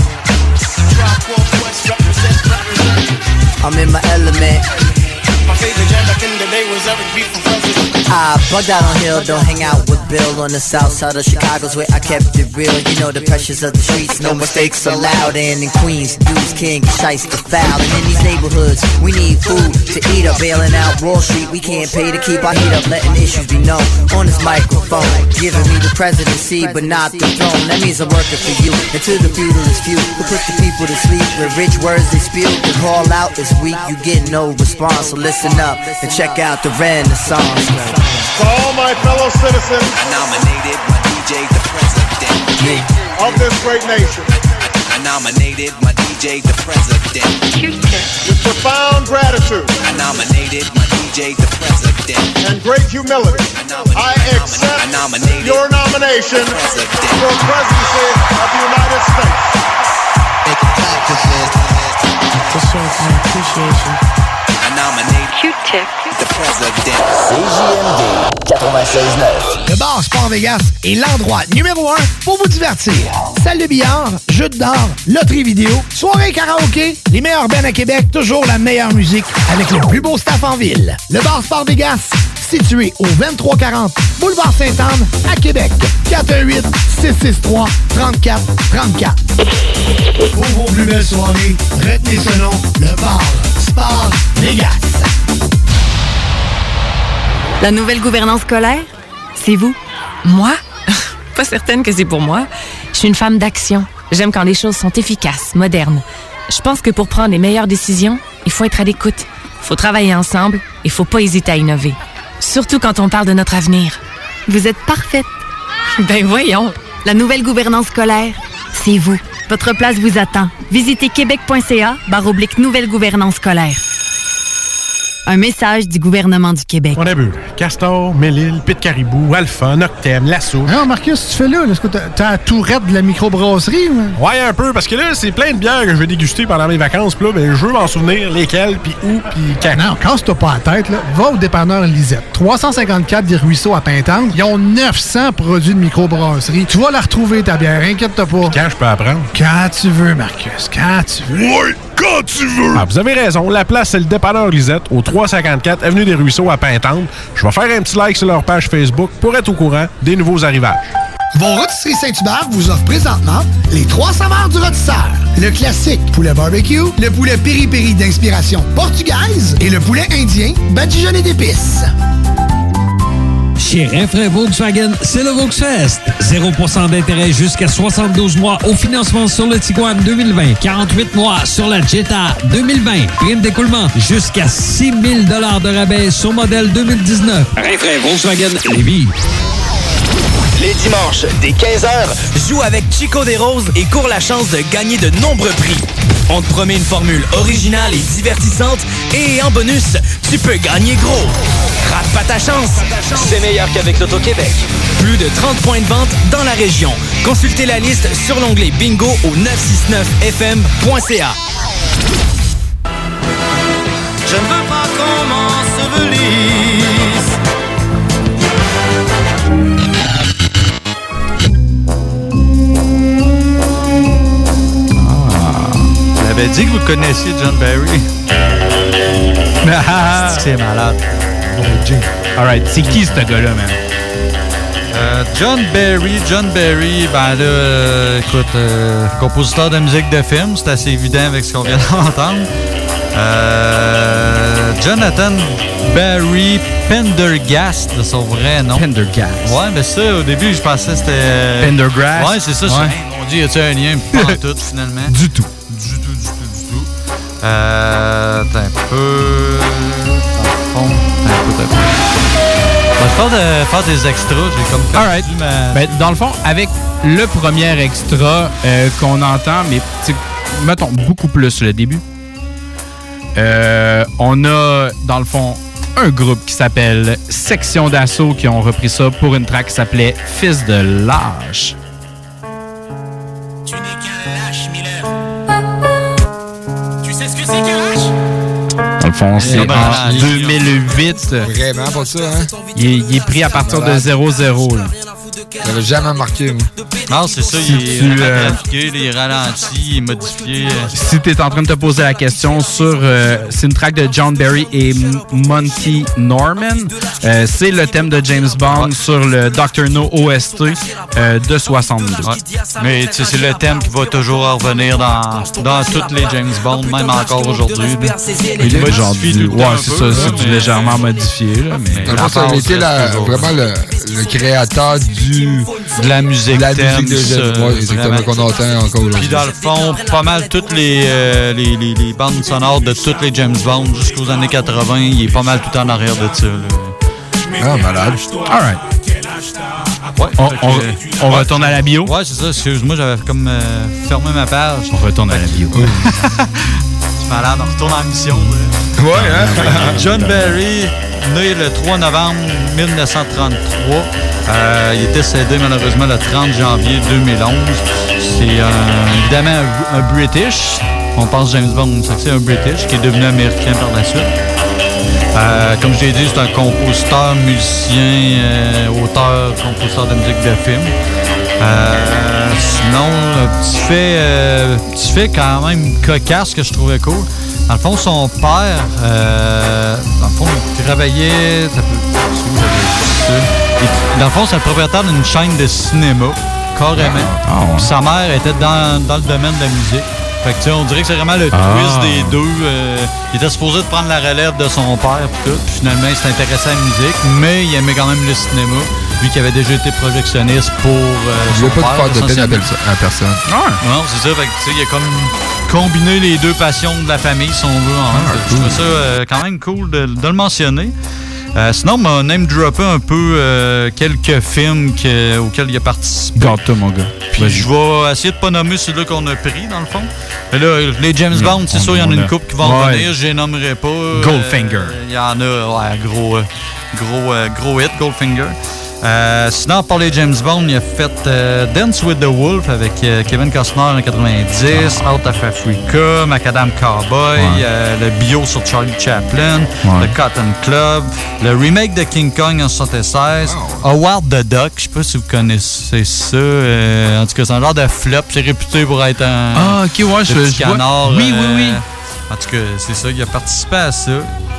I'm in my element. My favorite jam back in the day was Eric B from President. I bugged out on Hill, don't hang out with Bill on the south side of Chicago's where I kept it real. You know the pressures of the streets, no mistakes allowed. And in Queens, dudes king, shice the foul. And in these neighborhoods, we need food to eat up. Bailing out Wall Street, we can't pay to keep our heat up. Letting issues be known on this microphone. Giving me the presidency, but not the throne. That means I'm working for you. And to the feudalist few who put the people to sleep with rich words they spew. The call out is weak, you get no response. So listen up and check out the Renaissance. To all my fellow citizens, I nominated my D J the president of this great nation. I nominated my D J the president. With profound gratitude, I nominated my D J the president. And great humility, I accept I nominated your nomination for presidency of the United States. Make a clap with this. To show my appreciation. I nominate Q-Tip the president. C J M D quatre-vingt-seize neuf. Le bar Sport Vegas est l'endroit numéro un pour vous divertir. Salle de billard, jeux de dard, loterie vidéo, soirée karaoké, les meilleurs bands à Québec, toujours la meilleure musique avec le plus beau staff en ville. Le bar Sport Vegas, situé au vingt-trois quarante Boulevard Sainte-Anne à Québec. quatre un huit, six six trois, trois quatre trois quatre. Pour vos plus belles soirées, retenez ce nom, le bar Sport Vegas. La nouvelle gouvernance scolaire, c'est vous. Moi? Pas certaine que c'est pour moi. Je suis une femme d'action. J'aime quand les choses sont efficaces, modernes. Je pense que pour prendre les meilleures décisions, il faut être à l'écoute. Il faut travailler ensemble. Il faut pas hésiter à innover. Surtout quand on parle de notre avenir. Vous êtes parfaite. Ben voyons. La nouvelle gouvernance scolaire, c'est vous. Votre place vous attend. Visitez québec.ca barre oblique nouvelle gouvernance scolaire. Un message du gouvernement du Québec. On a bu Castor, Mélile, Pit Caribou, Alpha, Noctem, Lasso. Non, Marcus, tu fais là? Est-ce que t'as, t'as la tourette de la microbrasserie? Ou... Ouais, un peu, parce que là, c'est plein de bières que je vais déguster pendant mes vacances. Puis là, ben, je veux m'en souvenir lesquelles, puis où, puis quand. Non, casse-toi pas la tête, là. Va au dépanneur Lisette. trois cent cinquante-quatre des Ruisseaux à Pintante. Ils ont neuf cents produits de microbrasserie. Tu vas la retrouver, ta bière, inquiète-toi pas. Puis quand je peux apprendre? Quand tu veux, Marcus, quand tu veux. Ouais, quand tu veux! Ah, vous avez raison, la place, c'est le dépanneur Lisette, au trois cent cinquante-quatre Avenue des Ruisseaux à Pintante. Je vais faire un petit like sur leur page Facebook pour être au courant des nouveaux arrivages. Vos Rôtisseries Saint-Hubert vous offrent présentement les trois saveurs du rôtisseur. Le classique poulet barbecue, le poulet piri-piri d'inspiration portugaise et le poulet indien badigeonné d'épices. Chez Rinfraie Volkswagen, c'est le Volksfest. zéro pour cent d'intérêt jusqu'à soixante-douze mois au financement sur le Tiguan deux mille vingt. quarante-huit mois sur la Jetta deux mille vingt. Prime d'écoulement jusqu'à six mille dollars de rabais sur modèle deux mille dix-neuf. Rinfraie Volkswagen Lévis. Les dimanches, dès quinze heures, joue avec Chico des Roses et cours la chance de gagner de nombreux prix. On te promet une formule originale et divertissante et en bonus, tu peux gagner gros. Rate pas ta chance, c'est meilleur qu'avec l'Auto-Québec. Plus de trente points de vente dans la région. Consultez la liste sur l'onglet Bingo au neuf cent soixante-neuf F M point C A. Je ne veux pas qu'on m'ensevelisse. dit que vous connaissiez John Barry. C'est malade. Alright, c'est qui ce gars-là, man? Euh, John Barry, John Barry, ben là, euh, écoute, euh, compositeur de musique de film, c'est assez évident avec ce qu'on vient d'entendre. Euh, Jonathan Barry Pendergast, de son vrai nom. Pendergast. Ouais, mais ça, au début, je pensais que c'était... Pendergrass? Ouais, c'est ça. Ouais. Je suis, hey, mon Dieu, y a-tu un lien? Pas en tout, finalement. Du tout. Du tout, du tout, du tout. Euh, t'as un peu... Dans le fond, t'as un peu, t'as un peu. On va faire, de, faire des extras, j'ai comme perdu Alright. ma... Ben, dans le fond, avec le premier extra euh, qu'on entend, mais mettons beaucoup plus le début, euh, on a, dans le fond, un groupe qui s'appelle Section d'Assaut qui ont repris ça pour une track qui s'appelait Fils de lâche. Tu n'es qu'un lâche, Miller. Tu sais ce que c'est qu'un lâche? Dans le fond, c'est Eh ben, en lâche. deux mille huit. Vraiment pas ça, hein? Il est, il est pris à partir de zéro zéro. Là. J'avais jamais marqué, moi. Non, c'est ça, Si il est tu, vraiment euh, trafiqué, il est ralenti, il est modifié. Si tu es en train de te poser la question sur... Euh, c'est une track de John Barry et M- Monty Norman. Euh, c'est le thème de James Bond sur le docteur No O S T euh, de soixante-deux. Ouais. Mais tu sais, c'est le thème qui va toujours revenir dans, dans toutes les James Bond, même encore aujourd'hui. là. Il est genre modifie du, tout le ouais, temps un c'est peu, ça, c'est là, du mais- légèrement modifié. Là, mais Dans le fond, ça a été la- vraiment le, le créateur du... de la musique de la thème, musique de ça, James Bond, exactement, vraiment. qu'on entend encore Puis aujourd'hui. dans le fond, pas mal toutes les, euh, les, les, les bandes sonores de toutes les James Bond jusqu'aux années quatre-vingts, il est pas mal tout en arrière de ça. Là. Ah, malade. All right. Ouais, On, fait que, on- euh, on ouais. retourne à la bio? Ouais, c'est ça. Excuse-moi, j'avais comme euh, fermé ma page. On retourne à la bio. Je suis malade, on retourne en mission. Là. Ouais, hein? John Barry, né le trois novembre mille neuf cent trente-trois. Euh, il est décédé malheureusement le trente janvier deux mille onze. C'est euh, évidemment un, un British. On pense James Bond, ça que c'est un British qui est devenu américain par la suite. Euh, comme je l'ai dit, c'est un compositeur, musicien, euh, auteur, compositeur de musique de film. Euh, sinon, un petit fait, euh, petit fait quand même cocasse que je trouvais cool. Dans le fond, son père, euh, dans le fond, il travaillait... Ça peut, ça. Il- dans le fond, c'est le propriétaire d'une chaîne de cinéma, carrément. Ah, ouais. Puis sa mère était dans, dans le domaine de la musique. Fait que, tu sais, on dirait que c'est vraiment le Ah. twist des deux. Euh, il était supposé de prendre la relève de son père, puis tout. Puis finalement, il s'est intéressé à la musique, mais il aimait quand même le cinéma, lui qui avait déjà été projectionniste pour euh, Je son veux pas père. te faire de peine à, essentiellement. belle- à personne. Non, c'est ça. Fait que, tu sais, il a comme combiné les deux passions de la famille, si on veut. En un. Fait que Je trouve ça euh, quand même cool de, de le mentionner. Euh, sinon, on m'a name droppé un peu euh, quelques films que- auxquels il a participé. Garde-toi, mon gars. Puis je vais essayer de pas nommer celui-là qu'on a pris, dans le fond. Mais là, les James Bond, c'est sûr, il y en a une couple qui vont Ouais. revenir, je les nommerai pas. Goldfinger. Euh, Il y en a, ouais, gros, euh, gros, euh, gros hit, Goldfinger. Euh, sinon, pour les James Bond, il a fait euh, Dance with the Wolf avec euh, Kevin Costner en quatre-vingt-dix, Out of Africa, Macadam Cowboy, Ouais. euh, le bio sur Charlie Chaplin, Ouais. le Cotton Club, le remake de King Kong en soixante-seize, Howard the Duck, je sais pas si vous connaissez ça, euh, en tout cas c'est un genre de flop, c'est réputé pour être un Ah, ok, ouais, le je, petit je vois. canard, Oui, euh, oui, oui. En tout cas, c'est ça, il a participé à ça.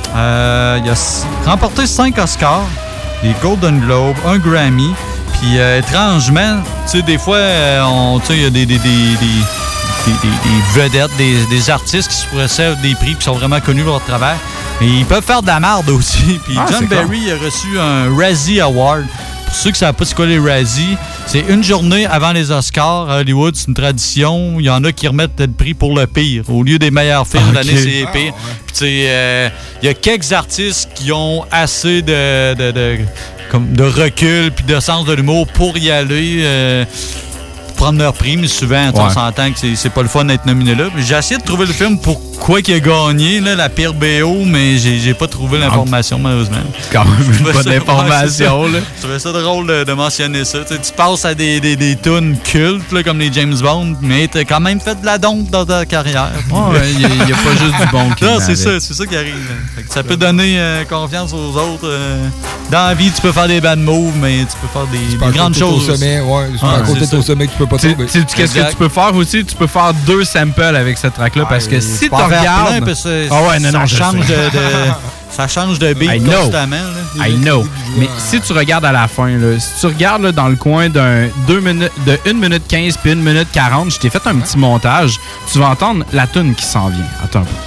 Euh, il a s- remporté cinq Oscars, des Golden Globes, un Grammy. Puis euh, étrangement, tu sais, des fois, euh, on- tu sais, il y a des, des, des, des, des- des- des vedettes, des, des artistes qui se reçoivent des prix qui sont vraiment connus pour leur travail. Mais ils peuvent faire de la merde aussi. Puis Ah, John c'est Barry il a reçu un Razzie Award. Pour ceux qui ne savent pas c'est quoi les Razzie, c'est une journée avant les Oscars à Hollywood, c'est une tradition. Il y en a qui remettent le prix pour le pire. Au lieu des meilleurs films de Ok. l'année, c'est les pires. Puis tu sais, euh, il y a quelques artistes qui ont assez de, de, de, comme de recul puis de sens de l'humour pour y aller. euh, prendre leur prix, mais souvent, tu sais, on Ouais. s'entend que c'est- c'est pas le fun d'être nominé là. J'ai essayé de trouver le film pour quoi qu'il a gagné, là, la pire B O, mais j'ai, j'ai pas trouvé l'information, malheureusement. Quand même une bonne information, ouais, là. Je trouvais ça drôle de, de mentionner ça. Tu sais, tu passes à des, des, des tunes cultes, là, comme les James Bond, mais t'as quand même fait de la dompe dans ta carrière. Ouais, il n'y a, a pas juste du bon qui Non, c'est ça, c'est ça qui arrive. Fait que ça peut donner euh, confiance aux autres. Euh, dans la vie, tu peux faire des bad moves, mais tu peux faire des, des grandes choses. Au sommet, ouais, c'est ah, à côté de ton sommet que tu peux pas tomber. Tu sais, qu'est-ce que tu peux faire aussi? Tu peux faire deux samples avec cette track-là, ah, parce que si tu regardes... Plein, c'est, ah ouais, non, ça non, change de, de, ça change de beat constamment. Là. I know. Mais si tu regardes à la fin, là, si tu regardes là, dans le coin d'un deux minutes, de une minute quinze puis une minute quarante, je t'ai fait un petit montage, tu vas entendre la tune qui s'en vient. Attends un peu.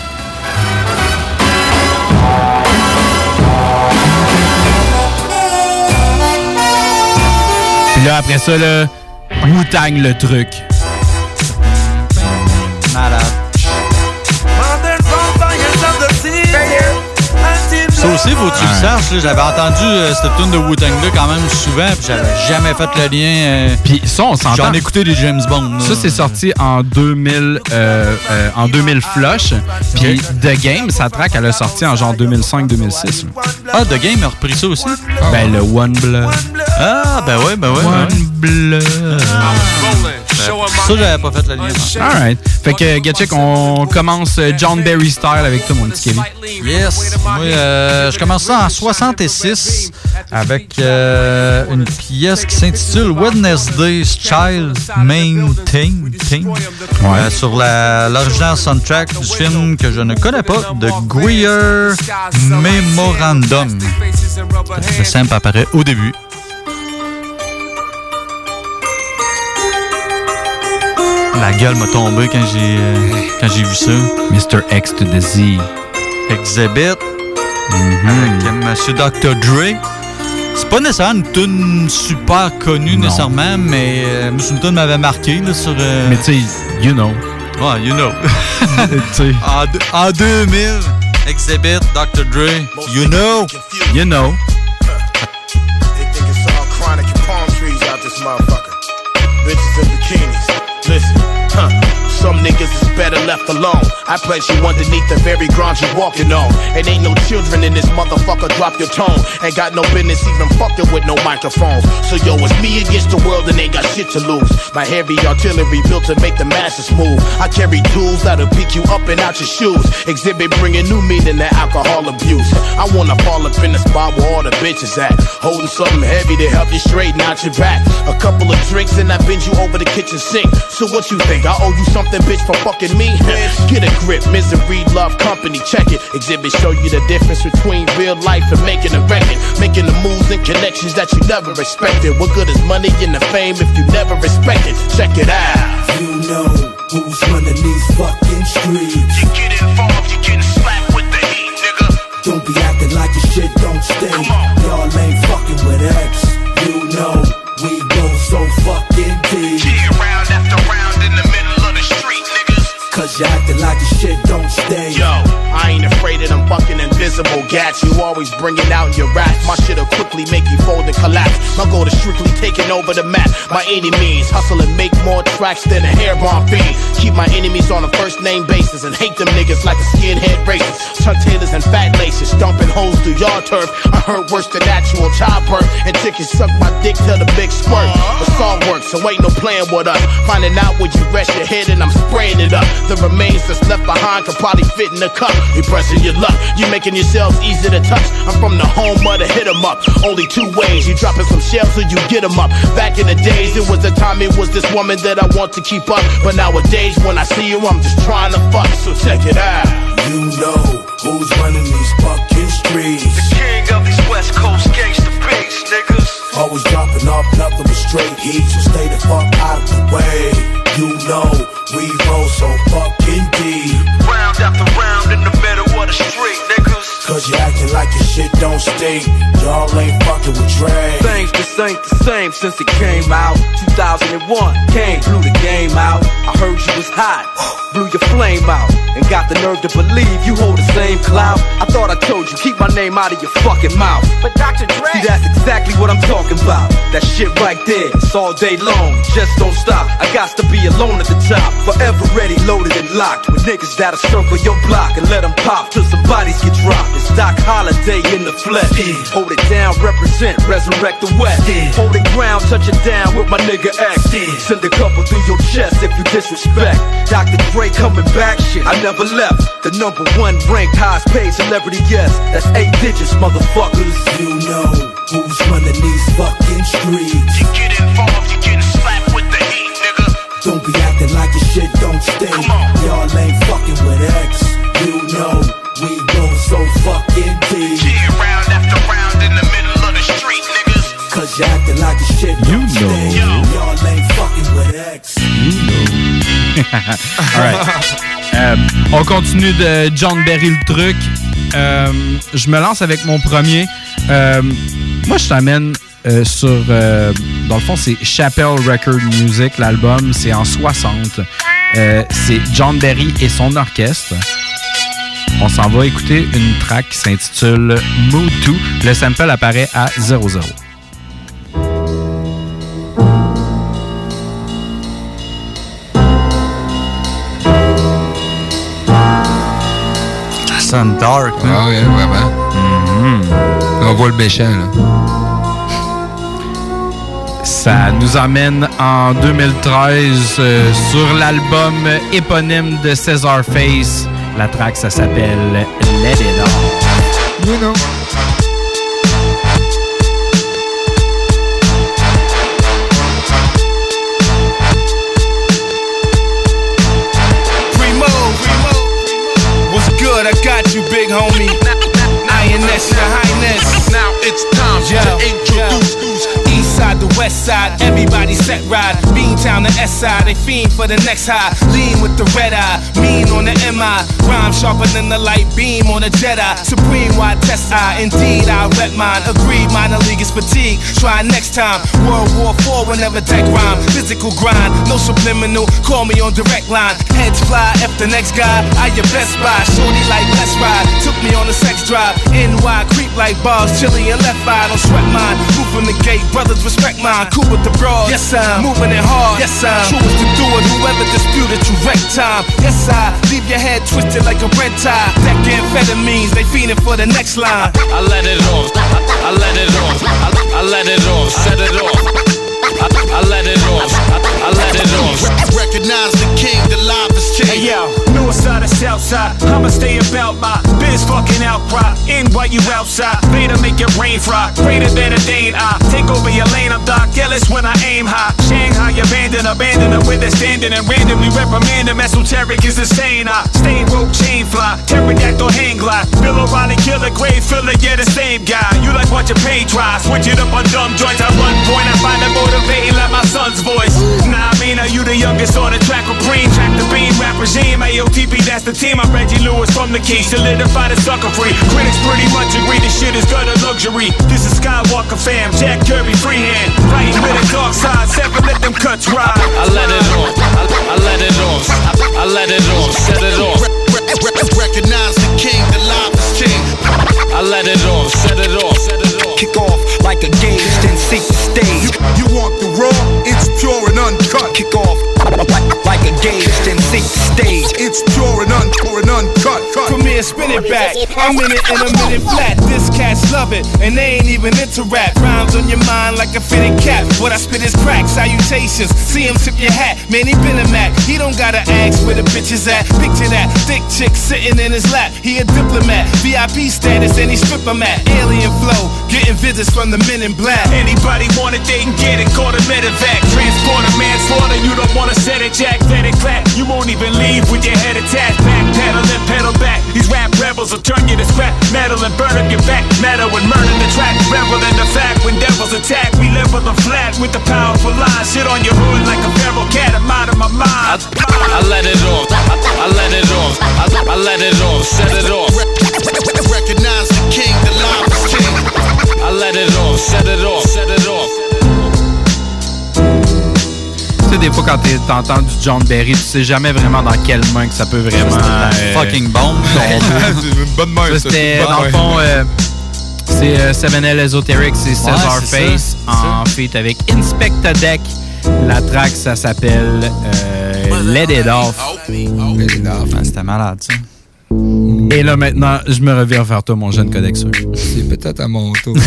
Puis là, après ça, là, Wu-Tang le truc. Malade. Ça aussi, faut que tu le saches. Là, j'avais entendu euh, cette tune de Wu-Tang-là quand même souvent, puis j'avais jamais fait le lien. Euh, puis ça, on s'entend. J'en ai écouté des James Bond. Là. Ça, c'est sorti en deux mille, euh, euh, en deux mille flush. Puis The Game, sa track, elle a sorti en genre deux mille cinq deux mille six. Ah, The Game a repris ça aussi? Ah, ben, le One Blood. Ah, ben ouais, ben ouais. One ben. Blood. Ça, j'avais pas fait le lien. Alright. Fait que, Gatchik, on commence John Barry style avec toi, mon petit Kevin. Yes. Moi, euh, je commence ça en soixante-six avec euh, une pièce qui s'intitule Wednesday's Child Main Thing, thing ouais. euh, sur la, l'original soundtrack du film que je ne connais pas, de Greer Memorandum. Le simple apparaît au début. La gueule m'a tombé quand j'ai euh, quand j'ai vu ça. mister X to the Z. Exhibit. Mm-hmm. Avec euh, Monsieur docteur Dre. C'est pas nécessairement une tune super connue, non. nécessairement, mais euh, c'est une tune m'avait marqué là, sur... Euh... Mais tu sais, you know. Ouais, you know. en, en deux mille, Exhibit, docteur Dre, you know. You know. They think it's all chronic and palm trees out this motherfucker. Bitches in bikinis. Listen, huh. Some niggas is better left alone. I place you underneath the very ground you walking on. And ain't no children in this motherfucker, drop your tone. Ain't got no business even fucking with no microphones. So yo, it's me against the world and ain't got shit to lose. My heavy artillery built to make the masses move. I carry tools that'll pick you up and out your shoes. Exhibit bringing new meaning to alcohol abuse. I wanna fall up in the spot where all the bitches at. Holding something heavy to help you straighten out your back. A couple of drinks and I bend you over the kitchen sink. So what you think, I owe you something, bitch, for fucking me? Get a grip, misery, love, company, check it. Exhibit show you the difference between real life and making a record. Making the moves and connections that you never expected. What good is money and the fame if you never respect it? Check it out. You know who's running these fucking streets. You get involved, you getting slapped with the heat, nigga. Don't be acting like your shit don't stink. Y'all ain't fucking with X. You know we go so fucking deep. Cheer round after round in the middle of the street, niggas. Cause you acting like your shit don't stay. Yo, I ain't afraid of them fucking invisible gats. You always bring it out in your rap. My shit'll quickly make you fold and collapse. My goal is strictly taking over the map. By any means, hustle and make more tracks than a hair bomb fiend. Keep my enemies on a first name basis and hate them niggas like a skinhead racist. Chuck Taylors and fat laces, stomping holes through your turf. I heard worse than actual childbirth. And chickens suck my dick till the big squirt. The song works, so ain't no playing with us. Finding out where you rest your head and I'm spraying it up. The remains that's left behind could probably fit in a cup. You pressing your luck, you making yourselves easy to touch. I'm from the home of the hit 'em up. Only two ways, you dropping some shells or you get 'em up. Back in the days, it was the time it was this woman that I want to keep up. But nowadays, when I see you, I'm just trying to fuck. So check it out. You know who's running these fucking streets. The king of these West Coast gangsta beats, niggas. Always dropping off nothing but straight heat, so stay the fuck out of the way. You know we roll so fucking deep. Round after round in the middle of the street, niggas. Cause you acting like your shit don't stink. Y'all ain't fucking with Dre. Things just ain't the same since it came out. two thousand one, came, blew the game out. I heard you was hot, blew your flame out. And got the nerve to believe you hold the same clout. I thought I told you, keep my name out of your fucking mouth. But Doctor Dre, see, that's exactly what I'm talking about. That shit right there, it's all day long, just don't stop. I got to be alone at the top, forever ready, loaded and locked. With niggas that'll circle your block and let them pop till some bodies get dropped. It's Doc Holiday in the flesh. Yeah. Hold it down, represent, resurrect the West. Yeah. Hold it ground, touch it down with my nigga X. Yeah. Send a couple through your chest if you disrespect. Doctor Dre coming back, shit, I never left. The number one ranked, highest paid celebrity, yes. That's eight digits, motherfuckers. You know who's running these fucking streets. You get involved, you getting slapped with the heat, nigga. Don't be acting like your shit don't stink. Y'all ain't fucking with X. You know we go so fucking deep. Yeah, round after round in the middle of the street, niggas. Cause you acting like your shit don't you know. stink. Y'all ain't fucking with X. You know. Alright. Euh, on continue de John Berry le truc. Euh, je me lance avec mon premier. Euh, moi, je t'amène euh, sur... Euh, dans le fond, c'est Chappell Record Music, l'album. C'est en soixante. Euh, c'est John Berry et son orchestre. On s'en va écouter une track qui s'intitule Mood deux. Le sample apparaît à zéro zéro. Ça sonne dark, hein? Ah oui, vraiment. Mm-hmm. On voit le méchant, là. Ça nous emmène en deux mille treize euh, sur l'album éponyme de César Face. La track, ça s'appelle Let It On. You know. Primo, Primo, what's good? I got you, big homie. I N S, your highness. Now it's time yo, to introduce yo. East side to west side, everybody set ride. Beantown to S side, they fiend for the next high. Lean with the red eye, mean on the M I. Rhyme sharper than the light beam on a Jedi. Supreme wide test I, indeed I rep mine. Agreed, minor league is fatigue. Try next time. World War Four whenever tech rhyme. Physical grind, no subliminal. Call me on direct line. Heads fly, F the next guy. I your best buy. Shorty like let's ride. Took me on a sex drive. N Y creep like bars, chili and left eye. Don't sweat mine. Move from the gate, brothers respect mine. Cool with the broads. Yes I'm moving it hard. Yes I'm true as to do it. Whoever disputed you wreck time. Yes I leave your head twisted like a red tie. That amphetamines, they fiending for the next line. I let it off. I let it off. I, I let it off. Set it off. I, I let it off. I, I let it off. Recognize the king, the live is king. Hey yo, north side or south side, I'ma stay about my biz fucking outcry. In while you outside, Vader make it rain fry. Greater than a Dane, I take over your lane. I'm Doc Ellis when I aim high. Shanghai abandon, abandon them where they're standing and randomly reprimand them. Esoteric is insane. I stay rope chain fly, pterodactyl hang glide. Bill O'Reilly killer, grave filler, yeah the same guy. You like watching paint dry, switch it up on dumb joints. I run point, I find it motivating like my son's voice. Nah, I mean, are you the youngest on the track with Preem? Track the beam, rap regime, A O T P, that's the team. I'm Reggie Lewis from the Keys, solidify the sucker free. Critics pretty much agree this shit is gutter luxury. This is Skywalker fam, Jack Kirby freehand. Right with the dark side, seven, let them cuts ride. I let it off. I, I let it off. I, I let it off. Set it off. Recognize the king, the live is king. I let it off. Set it off. Set it off. Kick off like a gauge, then seek the stage. You, you want the raw? It's pure and uncut. Kick off like, like a gauge, then seek the stage. It's pure and un, pure and uncut. Cut. Premier, spin it back. I'm in it in a minute flat. This cats love it, and they ain't even into rap. Rhymes on your mind like a fitted cap. What I spit is crack, salutations. See him tip your hat, man, he been a Mac. He don't gotta ask where the bitch is at. Picture that, thick chick sitting in his lap. He a diplomat, V I P status, and he strip him at. Alien flow, getting visits from the men in black. Anybody want it, they can get it. Call the medevac. Transporter, manslaughter, you don't wanna set it, Jack. Let it clap. You won't even leave with your head attached. Back pedal and pedal back. These rap rebels will turn you to scrap metal and burn up your back. Metal and murder the track. Rebel in the fact when devils attack. We level them flat with the powerful line. Shit on your hood like a feral cat. I'm out of my mind. I, I let it off. I, I let it off. I, I let it off. Set it off. Recognize off, set it off, set it off. Tu sais, des fois, quand t'entends du John Berry, tu sais jamais vraiment dans quelle main que ça peut vraiment... Euh, fucking bombe. C'est une bonne main, ça. C'était, dans le fond, euh, c'est euh, seven L Esoteric, c'est Cesar ouais, Face en feat avec Inspecta Deck. La track, ça s'appelle euh, Let It Off. Let It Off. Ah, c'était malade, ça. Et là, maintenant, je me reviens vers toi, mon jeune codexeur. C'est peut-être à mon tour.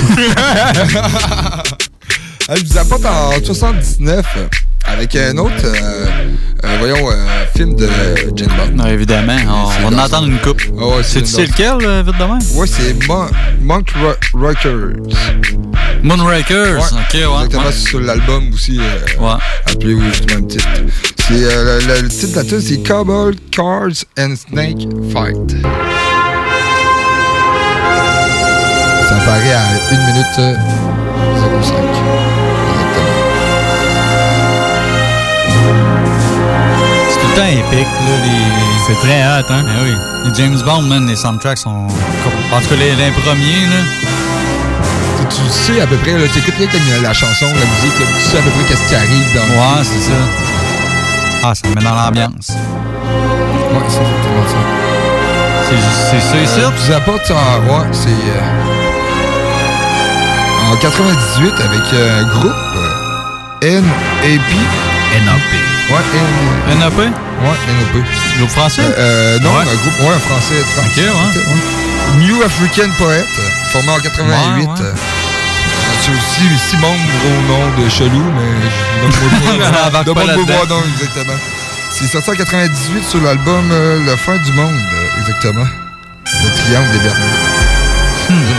Je vous apporte en soixante-dix-neuf avec un autre, euh, euh, voyons, euh, film de James Bond. Non, évidemment, on, on va en entendre une coupe. Oh, ouais, c'est c'est lequel, euh, vite de même? Ouais, c'est Mon- Monk Rockers. Moonrakers, ouais, ok, ouais. Exactement, ouais. c'est sur l'album aussi. Euh, ouais. Appelez-vous justement le titre. C'est, euh, le, le titre de la tune, c'est Cobalt, Cars and Snake Fight. Ça apparaît à une minute zéro cinq. C'est tout le temps épique, là, les... C'est très hot, hein? Ben oui. Les James Bond, man, les soundtracks sont... En tout cas, les, les premiers, là... Tu, tu sais à peu près, tu écoutes rien comme la chanson, la musique, là, tu sais à peu près qu'est-ce qui arrive dans le Ouais, c'est ça. Ah, ça me met dans l'ambiance. Ouais, c'est exactement ça. C'est, c'est ça ici? Euh, je vous apporte en... Ouais, c'est... Euh, en quatre-vingt-dix-huit, avec un groupe, euh, N A P. N A P. Ouais, N... N A P? Ouais, N A P. Groupe français? Euh, euh, non, ouais. un groupe, ouais, un français. Ok, ouais. ouais. New African Poet, formé en quatre-vingt-huit. Ouais, ouais. C'est aussi six membres au nom de Chelou, mais je ne demande pas voir non, exactement. C'est sorti en quatre-vingt-dix-huit sur l'album euh, Le Fin du Monde, euh, exactement. Le Triangle des Bermudes. Hmm.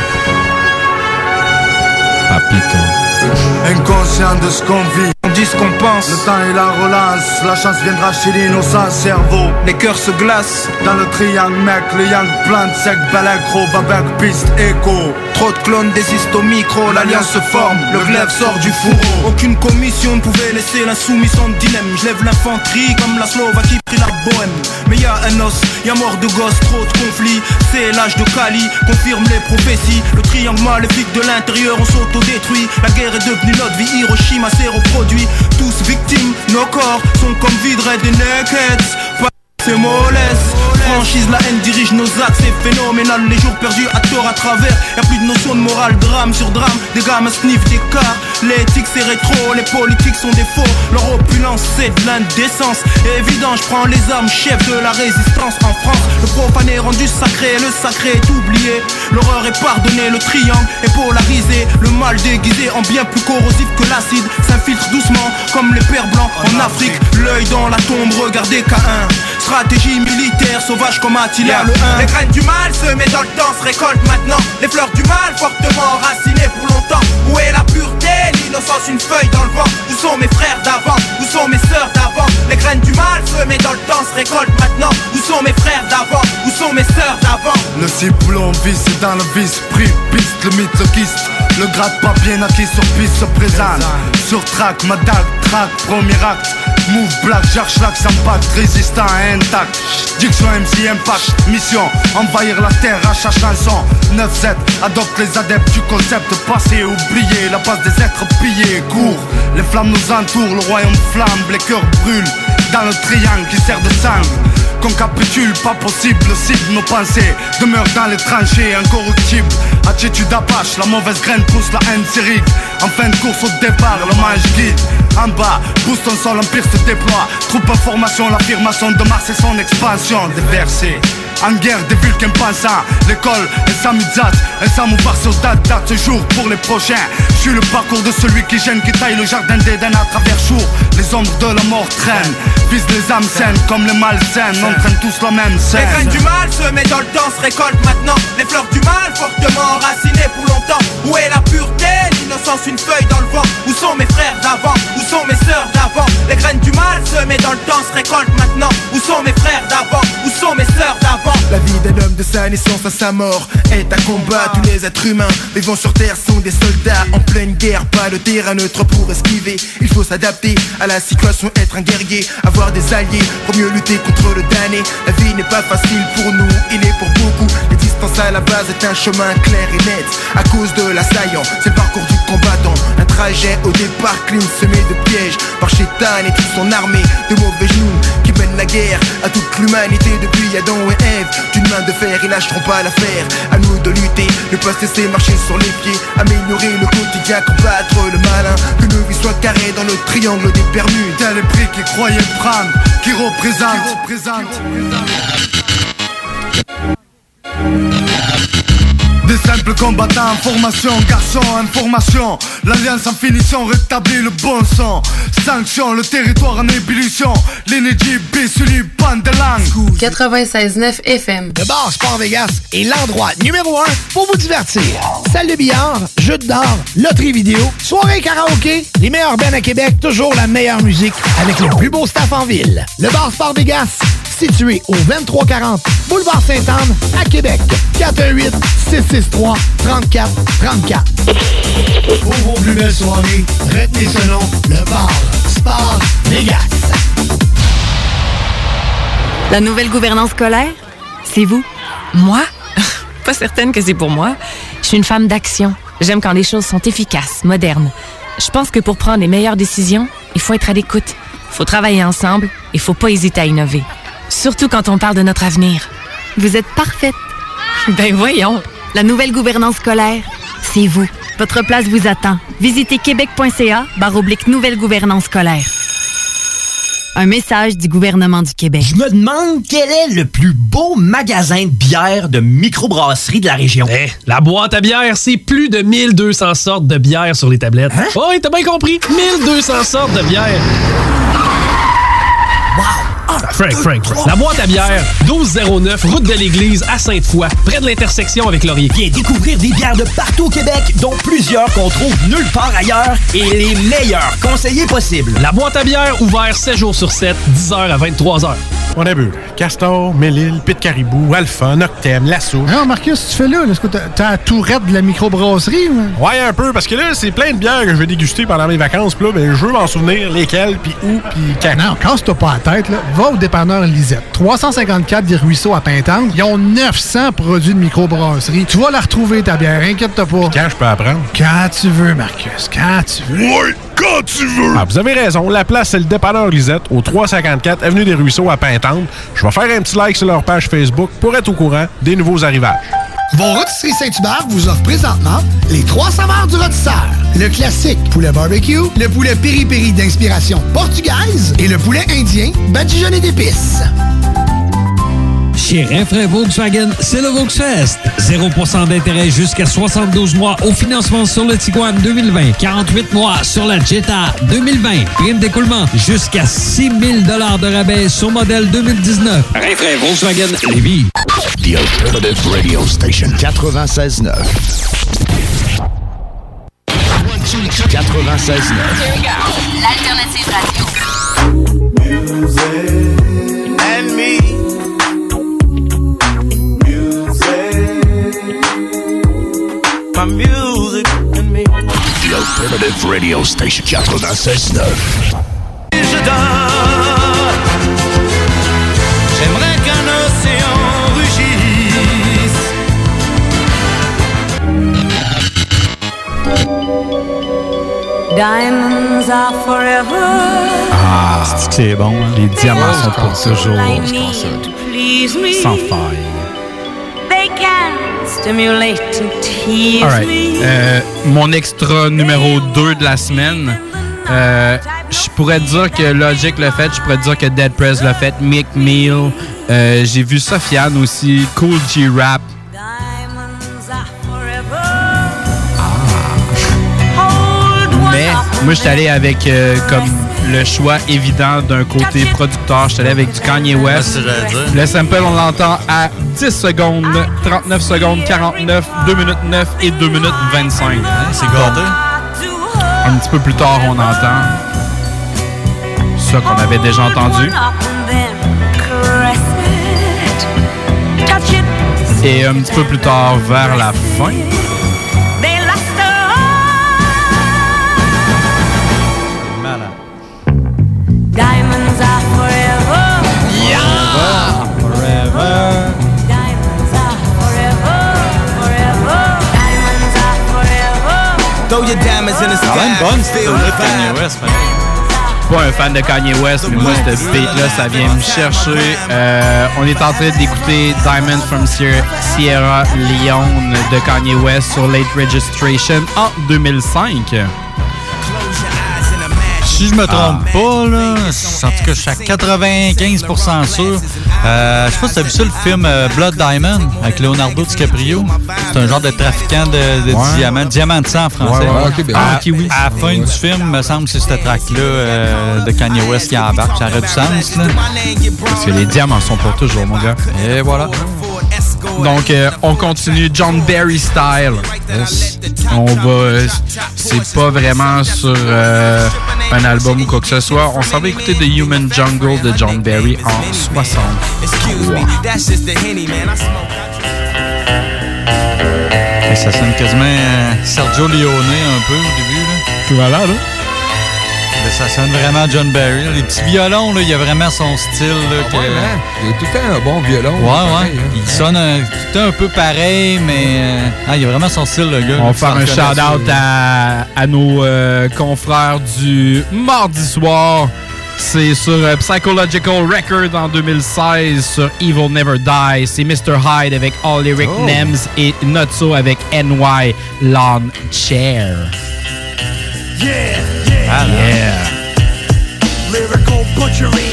Papito. Inconscient de ce qu'on vit, on dit ce qu'on pense. Le temps et la relance, la chance viendra chez l'innocent cerveau. Les cœurs se glacent dans le triangle, mec. Le yang plante sec, balagro, babac, piste, écho. Trop de clones désistent au micro, l'alliance se forme, le glaive sort du fourreau. Aucune commission ne pouvait laisser l'insoumission de dilemme. Je lève l'infanterie comme la Slovaquie prit la bohème. Mais y'a un os, y'a mort de gosse, trop de conflits. C'est l'âge de Kali, confirme les prophéties. Le triangle maléfique de l'intérieur, on s'auto-détruit. La guerre est devenue notre vie, Hiroshima zéro produit. Tous victimes, nos corps sont comme vidres des nakeds. C'est mollesse, franchise, la haine dirige nos actes, c'est phénoménal. Les jours perdus à tort à travers, y'a plus de notion de morale, drame sur drame. Des gamins sniffent des cas, l'éthique c'est rétro, les politiques sont des faux. Leur opulence c'est de l'indécence, évident je prends les armes, chef de la résistance en France. Le profane est rendu sacré, le sacré est oublié. L'horreur est pardonnée, le triangle est polarisé. Le mal déguisé en bien plus corrosif que l'acide s'infiltre doucement comme les pères blancs en Afrique. L'œil dans la tombe, regardez K un. Stratégie militaire, sauvage comme Attila le un. Les graines du mal se mettent dans le temps, se récoltent maintenant. Les fleurs du mal, fortement enracinées pour longtemps. Où est la pureté, l'innocence, une feuille dans le vent? Où sont mes frères d'avant? Où sont mes sœurs d'avant? Les graines du mal se mettent dans le temps, se récoltent maintenant. Où sont mes frères d'avant? Où sont mes sœurs d'avant? Le ciblon visse dans le vice, prix, piste, le mythe, le kyste. Le gratte pas bien acquis sur piste se présente. Sur track, ma dague, track, premier acte. Move black, j'archlac, impact, résistant et intact. Diction M C Impact, mission, envahir la terre à chaque chanson. neuf sept, adopte les adeptes du concept passé, oublié, la base des êtres pillés, court. Les flammes nous entourent, le royaume flambe, les cœurs brûlent. Dans le triangle qui sert de sang. Qu'on capitule, pas possible, cible nos pensées. Demeure dans les tranchées, incorruptible. Attitude Apache, la mauvaise graine pousse la haine syrique. En fin de course au départ, le mage guide. En bas, boost ton sol, l'empire se déploie. Troupe en formation, l'affirmation de Mars et son expansion. Déversé, en guerre des Vulcains pensants. L'école, un samizat, un samouvar sur date, date ce jour pour les prochains. Je suis le parcours de celui qui gêne, qui taille le jardin d'Éden à travers jour. Les ombres de la mort traînent, visent les âmes saines comme les malsaines. On traîne tous la même scène. Les graines du mal se mettent dans le temps, se récoltent maintenant. Les fleurs du mal, fortement enracinées pour longtemps. Où est la pureté, l'innocence, une feuille dans le vent? Où sont mes frères d'avant? Où sont mes sœurs d'avant? Les graines du mal se mettent dans le temps, se récoltent maintenant. Où sont mes frères d'avant? Où sont mes sœurs d'avant? La vie d'un homme de sa naissance à sa mort est un combat. Tous les êtres humains vivant sur terre sont des soldats en pleine guerre. Pas de terrain neutre pour esquiver. Il faut s'adapter à la situation, être un guerrier, avoir des alliés pour mieux lutter contre le damné. La vie n'est pas facile pour nous, il est pour beaucoup. Les résistance à la base est un chemin clair et net. À cause de l'assaillant, c'est le parcours du combattant. Un trajet au départ clean, semé de pièges par Chétan et toute son armée de mauvais genoux qui mènent la guerre à toute l'humanité depuis Adam et Ève. D'une main de fer, ils lâcheront pas l'affaire. À nous de lutter, ne pas se laisser marcher sur les pieds. Améliorer le quotidien, combattre le malin. Que nos vies soient carrées dans le triangle des Bermudes. Tel les prix qui croyaient prendre, qui représente, qui représente. Des simples combattants en formation, garçons en formation. L'alliance en finition rétablit le bon son. Sanction, le territoire en ébullition. L'énergie bissulie, bande de langue. quatre-vingt-seize neuf F M. Le bar Sport Vegas est l'endroit numéro un pour vous divertir. Salle de billard, jeux d'or, loterie vidéo, soirée karaoké, les meilleurs bands à Québec, toujours la meilleure musique avec le plus beau staff en ville. Le bar Sport Vegas, situé au vingt-trois quarante Boulevard Sainte-Anne à Québec. quatre un huit, six six trois, trente-quatre trente-quatre. Pour vos plus belles soirées, retenez ce nom, le bar Sport Vegas. La nouvelle gouvernance scolaire, c'est vous. Moi? Pas certaine que c'est pour moi. Je suis une femme d'action. J'aime quand les choses sont efficaces, modernes. Je pense que pour prendre les meilleures décisions, il faut être à l'écoute. Il faut travailler ensemble. Il faut pas hésiter à innover. Surtout quand on parle de notre avenir. Vous êtes parfaite. Ben voyons. La nouvelle gouvernance scolaire, c'est vous. Votre place vous attend. Visitez québec.ca barre oblique nouvelle gouvernance scolaire. Un message du gouvernement du Québec. Je me demande quel est le plus beau magasin de bière de microbrasserie de la région. Eh, la boîte à bière, c'est plus de mille deux cents sortes de bière sur les tablettes. Hein? Oh, oui, t'as bien compris. mille deux cents sortes de bière. Wow! Frank, Frank, Frank. La boîte à bière, douze zéro neuf, route de l'église à Sainte-Foy, près de l'intersection avec Laurier. Viens découvrir des bières de partout au Québec, dont plusieurs qu'on trouve nulle part ailleurs et les meilleurs conseillers possibles. La boîte à bière, ouvert sept jours sur sept, dix heures à vingt-trois heures. On a bu Castor, Mélile, Pit Caribou, Alpha, Noctem, La Souche. Non, Marcus, tu fais là, là est-ce que t'as, t'as la tourette de la microbrasserie? Ou? Ouais, un peu, parce que là, c'est plein de bières que je vais déguster pendant mes vacances, puis là, ben, je veux m'en souvenir lesquelles, puis où, puis quand. Non, casse-toi pas la tête, là. Va au dépanneur Lisette. trois cent cinquante-quatre des Ruisseaux à Pintante. Ils ont neuf cents produits de microbrasserie. Tu vas la retrouver, ta bière, inquiète-toi pas. Puis quand je peux apprendre? Quand tu veux, Marcus, quand tu veux. Oui, quand tu veux! Ah, vous avez raison, la place, c'est le dépanneur Lisette, au trois cent cinquante-quatre Avenue des Ruisseaux à Pintante. Je vais faire un petit like sur leur page Facebook pour être au courant des nouveaux arrivages. Vos rôtisseries Saint-Hubert vous offrent présentement les trois saveurs du rôtisseur. Le classique poulet barbecue, le poulet piri-piri d'inspiration portugaise et le poulet indien badigeonné d'épices. Chez Rinfraie Volkswagen, c'est le Volksfest. zéro pour cent d'intérêt jusqu'à soixante-douze mois au financement sur le Tiguan deux mille vingt. quarante-huit mois sur la Jetta deux mille vingt. Prime d'écoulement jusqu'à six mille dollars de rabais sur modèle deux mille dix-neuf. Rinfraie Volkswagen Lévis. The Alternative Radio Station. quatre-vingt-seize neuf. quatre-vingt-seize neuf. L'Alternative Radio. Music and me. My music and me. The Alternative Radio Station. quatre-vingt-seize neuf. Je dors. J'aimerais qu'un océan rugisse. Diamonds are forever. Ah, c'est que c'est bon. Hein? Les diamants sont pour toujours. Sans faille. They can stimulate and tease All right. me. Euh, mon extra numéro deux de la semaine, euh, je pourrais dire que Logic l'a fait, je pourrais dire que Dead Prez l'a fait, Mick Mill, euh, j'ai vu Sofiane aussi, Cool G Rap. Mais moi, je suis allé avec euh, comme le choix évident d'un côté producteur. Je suis allé avec du Kanye West. Le sample, on l'entend à dix secondes, trente-neuf secondes, quarante-neuf, deux minutes neuf et deux minutes vingt-cinq. C'est gâté. Un petit peu plus tard, on entend ça qu'on avait déjà entendu. Et un petit peu plus tard, vers la fin, Diamonds are forever. Yeah! Forever. Diamonds are forever. Quand même bonne, c'est de Kanye West, man. Pas un fan de Kanye West, mais moi, ce beat-là, ça vient me chercher. Euh, on est en train d'écouter Diamond from Sierra Leone de Kanye West sur Late Registration en deux mille cinq. Si je me trompe ah. pas, là, en tout cas, je suis à quatre-vingt-quinze pour cent sûr. Euh, je sais pas si t'as vu ça, le film euh, Blood Diamond avec Leonardo DiCaprio. C'est un genre de trafiquant de, de ouais. diamants, diamant de sang en français. Ouais, ouais, okay, ben, à, okay, oui. à la fin ouais. du film, me semble que c'est cette track-là euh, de Kanye West qui embarque. Ça aurait du sens, là. Parce que les diamants sont pour toujours, mon gars. Et voilà. Donc, euh, on continue John Barry style. Yes. On va... Euh, c'est pas vraiment sur euh, un album ou quoi que ce soit. On s'en va écouter The Human Jungle de John Barry en soixante-trois. Et ça sonne quasiment euh, Sergio Leone un peu au début, là. Voilà, là. Mais ça sonne vraiment John Barry. Les petits violons, là, il y a vraiment son style. Là, ah que... ouais, man. Il y a tout le temps un bon violon. Ouais, ouais. Hein. Il sonne un, tout un peu pareil, mais euh, ah, il y a vraiment son style, le gars. On va faire un shout-out à, à nos euh, confrères du mardi soir. C'est sur euh, Psychological Record en deux mille seize, sur Evil Never Die. C'est mister Hyde avec All Lyric oh. Nems et Notso avec N Y Lawn Chair. Yeah, yeah, ah, yeah. Lyrical butchery.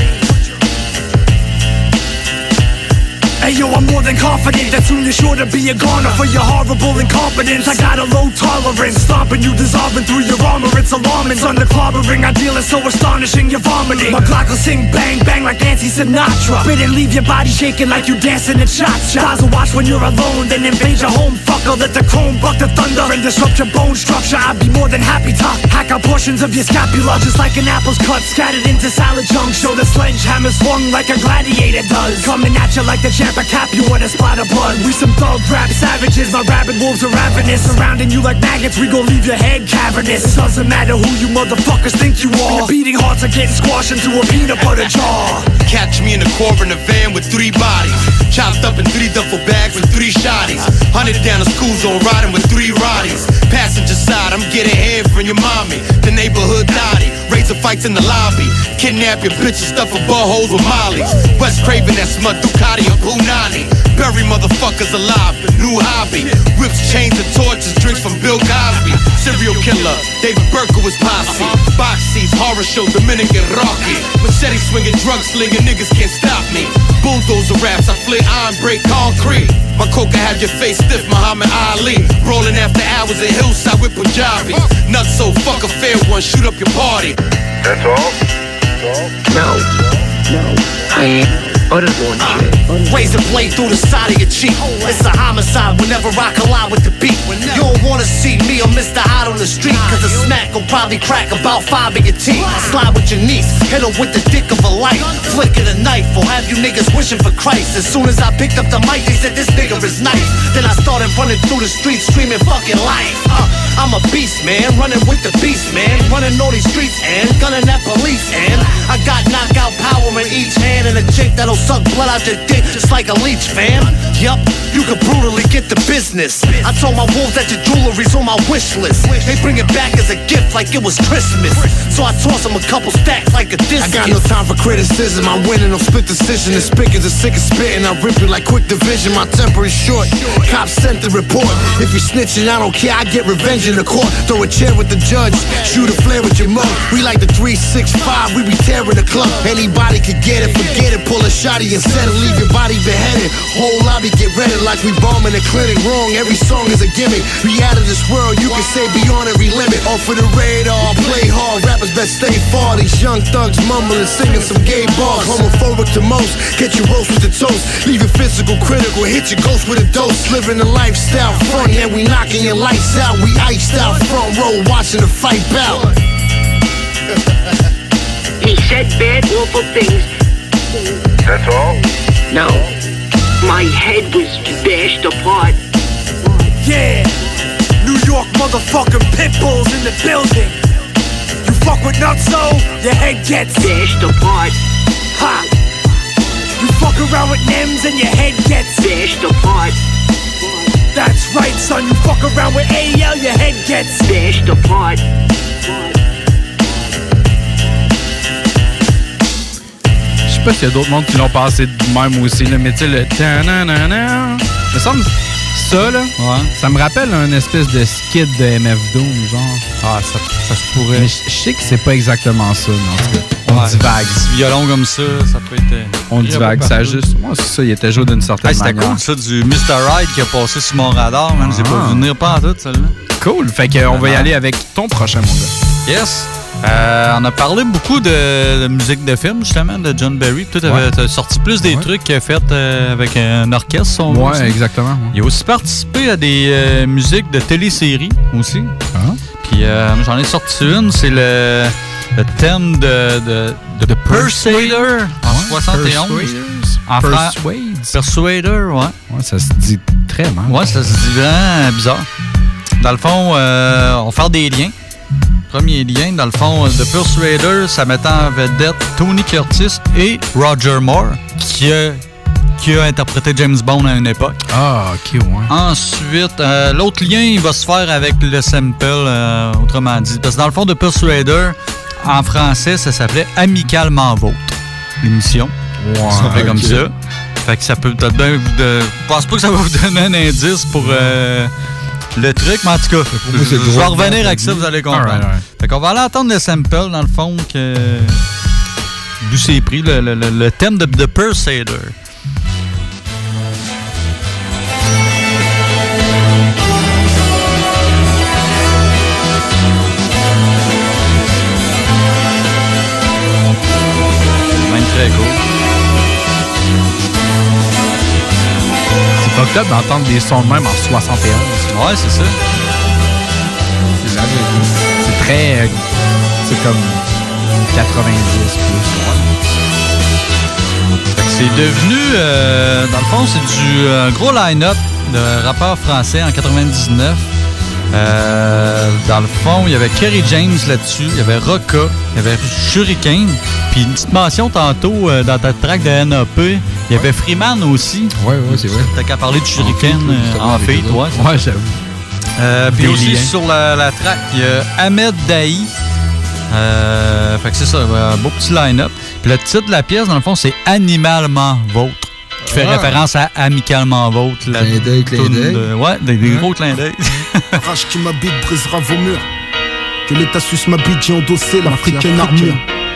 Hey yo, I'm more than confident that soon you're sure to be a goner for your horrible incompetence. I got a low tolerance, stomping you, dissolving through your armor. It's alarming, it's under clobbering. I deal is so astonishing, you're vomiting. My Glock will sing bang bang like Nancy Sinatra. Spit and leave your body shaking like you dancing at shots. Stars will watch when you're alone, then invade your home. Fucker, let the chrome buck the thunder and disrupt your bone structure. I'd be more than happy to hack out portions of your scapula, just like an apple's cut, scattered into salad chunks. Show the sledgehammer swung like a gladiator does, coming at you like the champ. I cap you with a spot of blood. We some thug rap savages. My rabid wolves are ravenous, surrounding you like maggots. We gon' leave your head cavernous. Doesn't matter who you motherfuckers think you are. Your beating hearts are getting squashed into a peanut butter jar. Catch me in the core in a van with three bodies, chopped up in three duffel bags with three shotties. Hunted down a school zone riding with three Roddies. Passenger side, I'm getting head from your mommy. The neighborhood naughty, razor fights in the lobby. Kidnap your bitches, stuff her buttholes with mollies. West Craven, that smut Ducati or Punani. Bury motherfuckers alive, the new hobby. Whips, chains, and torches, drinks from Bill Cosby. Serial killer, David Berkowitz posse. Box seats, horror show, Dominican Rocky. Machete swinging, drug slinging, niggas can't stop me. Bulldozer raps, I flit iron, break concrete. My coca have your face stiff, Muhammad Ali. Rolling after hours in Hillside with Punjabi. Nuts so fuck a fair one, shoot up your party. That's all? No. No. I uttered one shit. Razor blade through the side of your cheek. It's a homicide whenever I collide with the beat. You don't wanna see me or Mister Hot on the street, cause a smack will probably crack about five of your teeth. Slide with your niece, hit her with the dick of a light. Flick of the knife, or have you niggas wishing for Christ. As soon as I picked up the mic, they said this nigga is nice. Then I started running through the streets screaming fucking life. uh, I'm a beast, man, running with the beast, man. Running all these streets and gunning at police, and I got knockout power in each hand, and a chick that'll suck blood out your dick just like a leech, fam. Yup, you can brutally get the business. I told my wolves that your jewelry's on my wish list. They bring it back as a gift like it was Christmas, so I toss them a couple stacks like a discus. I got no time for criticism, I'm winning on split decision. The spigot is sick of spitting, I rip you like quick division. My temper is short, cops sent the report. If you snitching, I don't care, I get revenge in the court. Throw a chair with the judge, shoot a flare with your mug. We like the three six five, we be tearing the club. Anybody could get it, forget it, pull a shotty and set it, leave your body beheaded. Whole lobby get ready like we bombing a clinic. Wrong, every song is a gimmick. We out of this world, you can say beyond every limit. Off of the radar, play hard, rappers best stay far. These young thugs mumbling, singing some gay bars. Homophobic to most, get you roast with the toast. Leave your physical critical, hit your ghost with a dose. Living a lifestyle front, yeah, we knocking your lights out. We iced out, front row, watching the fight bout. He said bad, awful things. That's all? No. My head was bashed apart. Yeah, New York motherfucking pit bulls in the building. You fuck with Nutso, your head gets bashed apart. Ha! You fuck around with Nims and your head gets bashed apart. That's right, son, you fuck around with A L, your head gets bashed apart. Je sais pas s'il y a d'autres mondes qui l'ont passé de même aussi, là, mais tu sais, le ta-na-na-na. Me semble ça, là, ouais. Ça me rappelle un espèce de skit de M F Doom, genre. Ah, ça, ça se pourrait. Mais je sais que c'est pas exactement ça, mais en tout cas. On ouais, divague. Un violon comme ça, ça peut être. On divague, ça juste. Moi, c'est ça, il était joué d'une certaine hey, c'était manière. C'était cool, ça, du mister Ride qui a passé sur mon radar, man. Ah. J'ai pas vu venir pas en tout, celle-là. Cool. Fait qu'on va y aller avec ton prochain, mon gars. Yes. Euh, on a parlé beaucoup de, de musique de film, justement, de John Barry. Toi, t'avais ouais. sorti plus des ouais. trucs qu'il a fait euh, avec un orchestre, son Ouais, aussi. Exactement. Ouais. Il a aussi participé à des euh, musiques de téléséries aussi. Ah. Puis euh, j'en ai sorti une, c'est le, le thème de, de, de, de Persuader en ouais. soixante et onze. En Persuades. Persuader, ouais. Ouais, ça se dit très mal. Ouais, ça se dit vraiment bizarre. Dans le fond, euh, on va faire des liens. Premier lien, dans le fond, de Persuader, ça mettait en vedette Tony Curtis et Roger Moore, qui a, qui a interprété James Bond à une époque. Ah, ok, ouais. Ensuite, euh, l'autre lien, il va se faire avec le sample, euh, autrement dit. Parce que dans le fond, de Persuader, en français, ça s'appelait Amicalement Vôtre, l'émission. Ouais, ça s'appelait okay. comme ça. Fait que ça peut peut-être bien vous... De... Je pense pas que ça va vous donner un indice pour... Euh, le truc, mais en tout cas, je, je vais revenir avec ça, vous allez comprendre. All right, all right. Fait qu'on va aller entendre le sample, dans le fond, que d'où c'est pris, le, le, le, le thème de The Persuader. Même très cool. C'est pas top d'entendre des sons de même en soixante et onze. Ouais, c'est ça. C'est là, c'est très... Euh, c'est comme quatre-vingt-dix plus. Fait que c'est devenu... Euh, dans le fond, c'est du euh, gros line-up de rappeurs français en quatre-vingt-dix-neuf. Euh, dans le fond, il y avait Kerry James là-dessus, il y avait Rocka, il y avait Shuriken, puis une petite mention tantôt euh, dans ta track de N A P, il y avait Freeman aussi. Ouais, ouais, c'est vrai. T'as qu'à parler de Shuriken en fait, toi. Ouais, j'avoue. Euh, puis aussi liens. Sur la, la track, il y a Ahmed Dahi. Euh, fait que c'est ça, un beau petit line-up. Puis le titre de la pièce, dans le fond, c'est Animalement Vôtre. Qui fait ah. référence à Amicalement Vôtre. Clin d'œil, clin d'œil. De... Ouais, des, des gros clins d'œil. Rage qui m'habite brisera vos murs. Que l'État suisse m'habite, j'ai endossé l'africaine armure.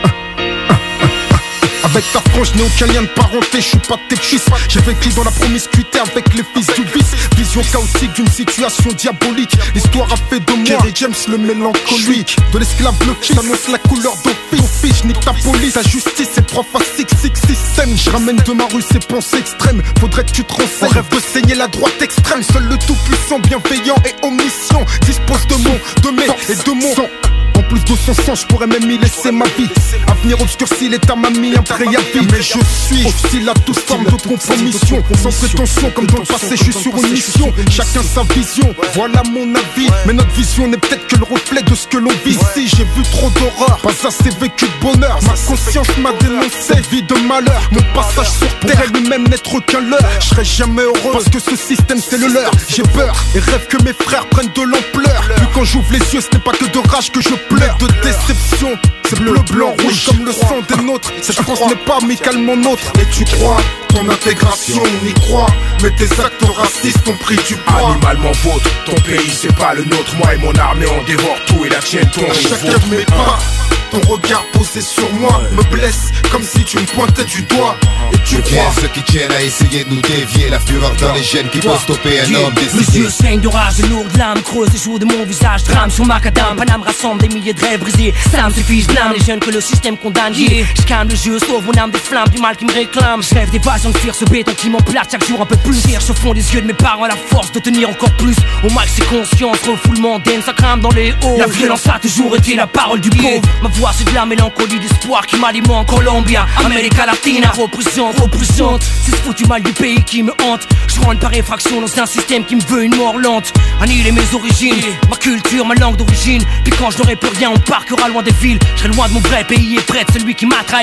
Avec ta frange, je n'ai aucun lien de parenté, je suis pas tes fils. J'ai vécu dans la promiscuité avec les fils du vice. Vision chaotique d'une situation diabolique. L'histoire a fait de moi Kerry James le mélancolique. De l'esclave le fils, annonce la couleur d'office. Je nique ta police, ta justice est prof à six six système. Je ramène de ma rue ces pensées extrêmes. Faudrait que tu te renseignes. On rêve de saigner la droite extrême. Seul le tout-puissant, bienveillant et omniscient dispose de mon, de mes et de mon sang. En plus de son sang, je pourrais même y laisser ma vie. Avenir obscurci, l'État m'a mis un préavis. Mais je suis hostile à toute forme de compromission. Sans prétention, comme dans le passé, je suis sur une mission. Chacun sa vision, voilà mon avis. Mais notre vision n'est peut-être que le reflet de ce que l'on vit ici. J'ai vu trop d'horreur, pas assez vécu de bonheur. Ma conscience m'a dénoncé, vie de malheur. Mon passage sur terre est lui-même n'être qu'un leurre. Je serai jamais heureux, parce que ce système c'est le leur. J'ai peur et rêve que mes frères prennent de l'ampleur. Puis quand j'ouvre les yeux, ce n'est pas que de rage que je pleure, de déception. C'est bleu, blanc, rouge comme le sang des nôtres. Cette France n'est pas amicalement nôtre. Et tu crois ton intégration, on y croit. Mais tes actes racistes ont pris du poids. Animalement vôtre, ton pays c'est pas le nôtre. Moi et mon armée on dévore tout et la tienne ton chacun de mes pas. Ton regard posé sur moi me blesse comme si tu me pointais du doigt. Et tu crois ceux qui tiennent à essayer de nous dévier. La fureur dans les gènes qui peut stopper un homme décidé. Mes yeux saignent de rage, de lourdes larmes creusent les jours de mon visage. Drame sur macadam, Paname rassemble des milliers de rêves brisés. Ça me suffit, je blâme les jeunes que le système condamne. Yeah. Je calme le jeu, sauve mon âme des flammes du mal qui me réclame. Je rêve d'évasion, de fuir ce béton qui m'emplate chaque jour un peu plus. Cherche au fond des yeux de mes parents la force de tenir encore plus. Au max c'est conscience, refoulement d'aine, ça crame dans les hauts. La violence a toujours été la parole du pauvre. Ma voix c'est de la mélancolie d'espoir qui m'alimente. Colombia, América Latina, représente, représente. C'est ce foutu mal du pays qui me hante. Je rentre par effraction dans un système qui me veut une mort lente. Annihiler mes origines, ma culture, ma langue d'origine. Puis quand je n'aurai plus rien, on parquera loin des villes. Je serai loin de mon vrai pays et près de celui qui m'a trahi.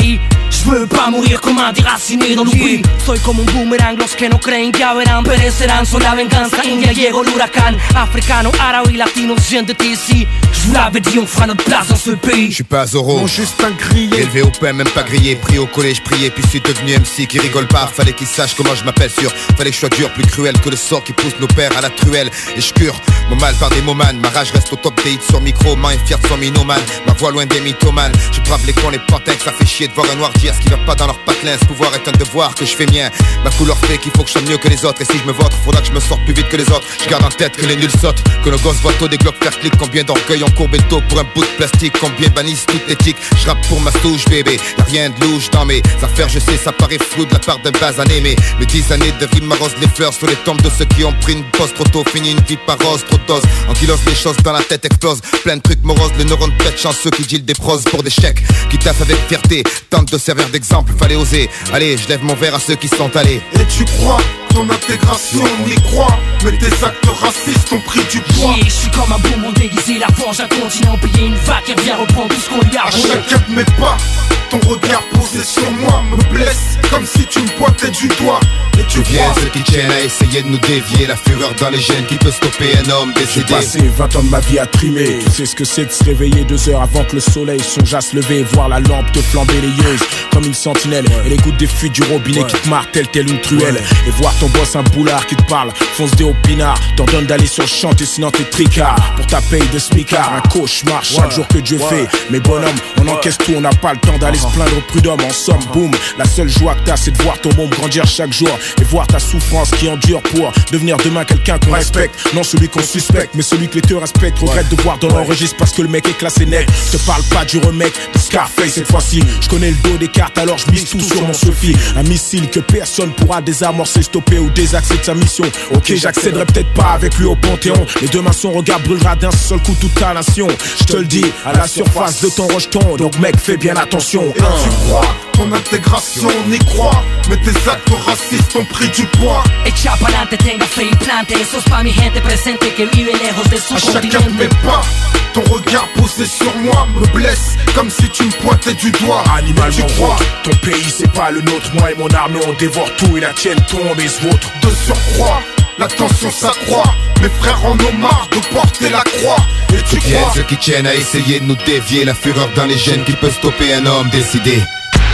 Je veux pas mourir comme un déraciné dans l'oubli. Soy como un boomerang, los que no creen que haberán perecerán. Soy la venganza india, llegó l'huracan. Africano, arabe, latino, viens de ici. Je vous l'avais dit, on fera notre place dans ce pays. Je suis pas Zoro, Mon juste un grillé. élevé au pain, même pas grillé. Pris au collège, prié, puis suis devenu M C qui rigole pas. Fallait qu'il sache comment je m'appelle sûr. Fallait que je sois dur, plus cruel que le sort qui pousse nos pères à la truelle. Et je cure mon mal par des momanes. Ma rage reste au top des hits sur micro. Man est fier de son minomane. Ma voix loin des mythomanes. Je brave les cons, les pantins. Ça fait chier de voir un noir dire ce qui va pas dans leur patelin. Ce pouvoir est un devoir que je fais mien. Ma couleur fait qu'il faut que je sois mieux que les autres. Et si je me vote, faudra que je me sorte plus vite que les autres. Je garde en tête que les nuls sautent. Que nos gosses voient tôt des glocks faire clic. Combien d'orgueil ont courbé le dos pour un bout de plastique. Combien bannissent toute éthique. Je rappe pour ma souche bébé. Y'a rien de louche dans mes affaires. Je sais ça paraît flou de la part d'un basané. Mais mes dix années de vie m'arrosent les fleurs sur les tombes de ceux qui ont pris une pause trop tôt. Fini une vie par rose, trop de doses. En kilos les choses dans la tête explosent. Plein de trucs moroses, le neurones pète chanceux qui deal des pros pour des chèques. Qui taffent avec fierté, tente de servir d'exemple. Fallait oser, allez je lève mon verre à ceux qui sont allés. Et tu crois ton intégration, on y croit. Mais tes actes racistes ont pris du poids. Yeah, je suis comme un bonbon déguisé, la fange, un continent payé, une vague qui revient reprendre tout ce qu'on lui a À volé. chacun de mes pas, ton regard posé sur moi me blesse comme si tu me pointais du doigt. Et tu Viens crois ceux qui tiennent à essayer de nous dévier. La fureur dans les gènes qui peut stopper un homme J'ai décédé. passé vingt ans de ma vie à trimer. Tu sais ce que c'est de se réveiller deux heures avant que le soleil songe à se lever et voir la lampe te flamber les yeux comme une sentinelle. Et les gouttes des fuites du robinet qui te martèlent telle une truelle. Et voir ton boss un boulard qui te parle, fonce des au pinard. T'ordonne d'aller sur le chantier sinon t'es tricard. Pour ta paye de smicard, un cauchemar chaque jour que Dieu fait. Mais bonhomme, on encaisse tout, on n'a pas le temps d'aller se plaindre au prud'homme. En somme, boum, la seule joie que t'as c'est de voir ton môme grandir chaque jour. Et voir ta souffrance qui endure pour devenir demain quelqu'un qu'on respecte. Non celui qu'on suspecte, mais celui que les te respectent. Regrette de voir dans l'enregistre parce que le mec est classé net. Je te parle pas du remake de Scarface cette fois-ci. Je connais le dos des cartes alors je mise tout sur mon Sophie. Un missile que personne pourra désamorcer, stopper ou désaxer de sa mission. Ok, j'accéderai peut-être pas avec lui au Panthéon. Mais demain son regard brûlera d'un seul coup toute ta nation. Je te le dis, à la surface de ton rejeton. Donc mec, fais bien attention. Et tu crois ton intégration, on y croit. Mais tes actes racistes ont pris du poids. Echa pa'lante, tenga fe y plante. Sos pa mi gente presente que vive lejos de su À chacun de mes continente. pas, ton regard posé sur moi me blesse comme si tu me pointais du doigt. Animal, tu mon crois vote. Ton pays c'est pas le nôtre. Moi et mon armée on dévore tout et la tienne tombe et se vôtre. de surcroît, la tension s'accroît. Mes frères en ont marre de porter la croix. Et tu Viens crois ceux qui tiennent à essayer de nous dévier. La fureur dans les gènes qui peut stopper un homme décidé.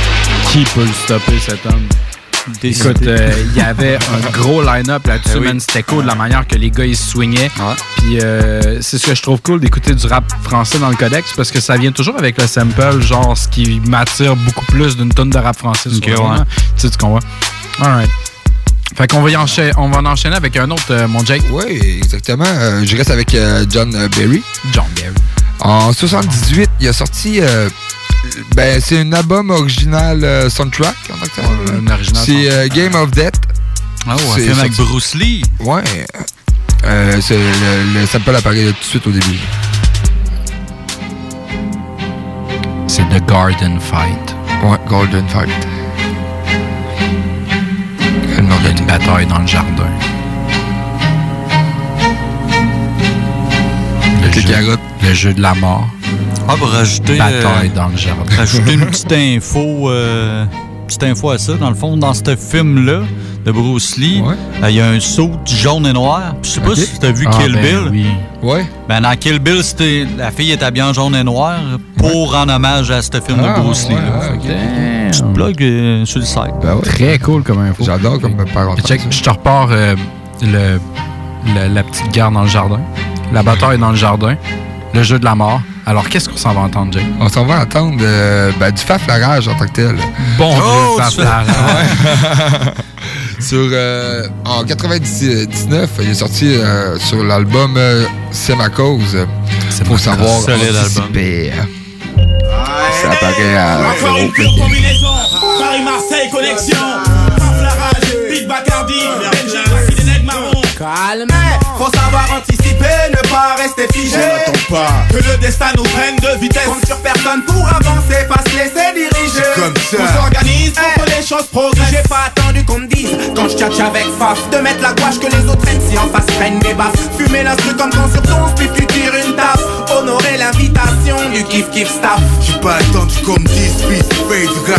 Qui peut le stopper cet homme? Décidé. Écoute, il euh, y avait un gros line-up là-dessus, Eh oui. man. C'était cool de la manière que les gars ils se swingaient. Puis euh, c'est ce que je trouve cool d'écouter du rap français dans le codex parce que ça vient toujours avec le sample, genre ce qui m'attire beaucoup plus d'une tonne de rap français. Ok, souvent, ouais. là. Tu sais, tu comprends? Alright. Fait qu'on va y enchaîner, on va en enchaîner avec un autre, euh, mon Jake. Oui, exactement. Euh, je reste avec euh, John euh, Berry. John Berry. En soixante-dix-huit, il a sorti... Euh, ben, c'est un album original euh, soundtrack en tant que tel. Ouais, un original C'est euh, Game of Death. Ah, ouais, un C'est film avec sorti- Bruce Lee. Ouais. Euh, c'est le, le sample apparaît tout de suite au début. C'est The Garden Fight. Ouais, Golden Fight. Il y a une bataille dans le jardin. Le Les jeu, carottes. le jeu de la mort. Ah, pour rajouter, Bataille euh, dans le jardin. rajouter une petite info, euh, petite info à ça. Dans le fond, dans ce film-là de Bruce Lee, il y a un saut jaune et noir. Je sais pas Ok. si tu as vu Ah, Kill ben Bill. oui. Ouais. Ben, dans Kill Bill, c'était la fille est habillée en jaune et noir pour rendre hommage à ce film Ah, de Bruce Lee. ouais, là. ah, ok. Damn. Petite blog euh, sur le site. Ben ouais. Très cool comme info. J'adore comme parenthèse. Check, je te repars euh, le, le- la petite guerre dans le jardin. La bataille dans le jardin. Le jeu de la mort. Alors, qu'est-ce qu'on s'en va entendre, Jake? On s'en va entendre euh, ben, du faflarage en tant que tel. Bon Oh, vieux tu faflarage. Sur, euh, en quatre-vingt-dix-neuf, il est sorti euh, sur l'album euh, C'est ma cause. Faut savoir Solide anticiper. Ça apparaît à encore une pure combinaison. Paris-Marseille connexion. Faflarage, Big Bacardi, Benja, c'est des nègres marrons. Calme, faut savoir anticiper, ne pas rester figé. Pas que le destin nous prenne de vitesse. Compte sur personne pour avancer, pas se laisser diriger. Comme ça. On s'organise pour que les choses progressent. J'ai pas attendu qu'on me dise, quand je tchatche avec Faf, de mettre la gouache que les autres prennent si en face prennent des baffes. Fumer l'instru comme quand sur ton split tu tires une taf. Honorer l'invitation du kiff kiff staff. J'ai pas attendu qu'on me dise, fils, fais du gaz.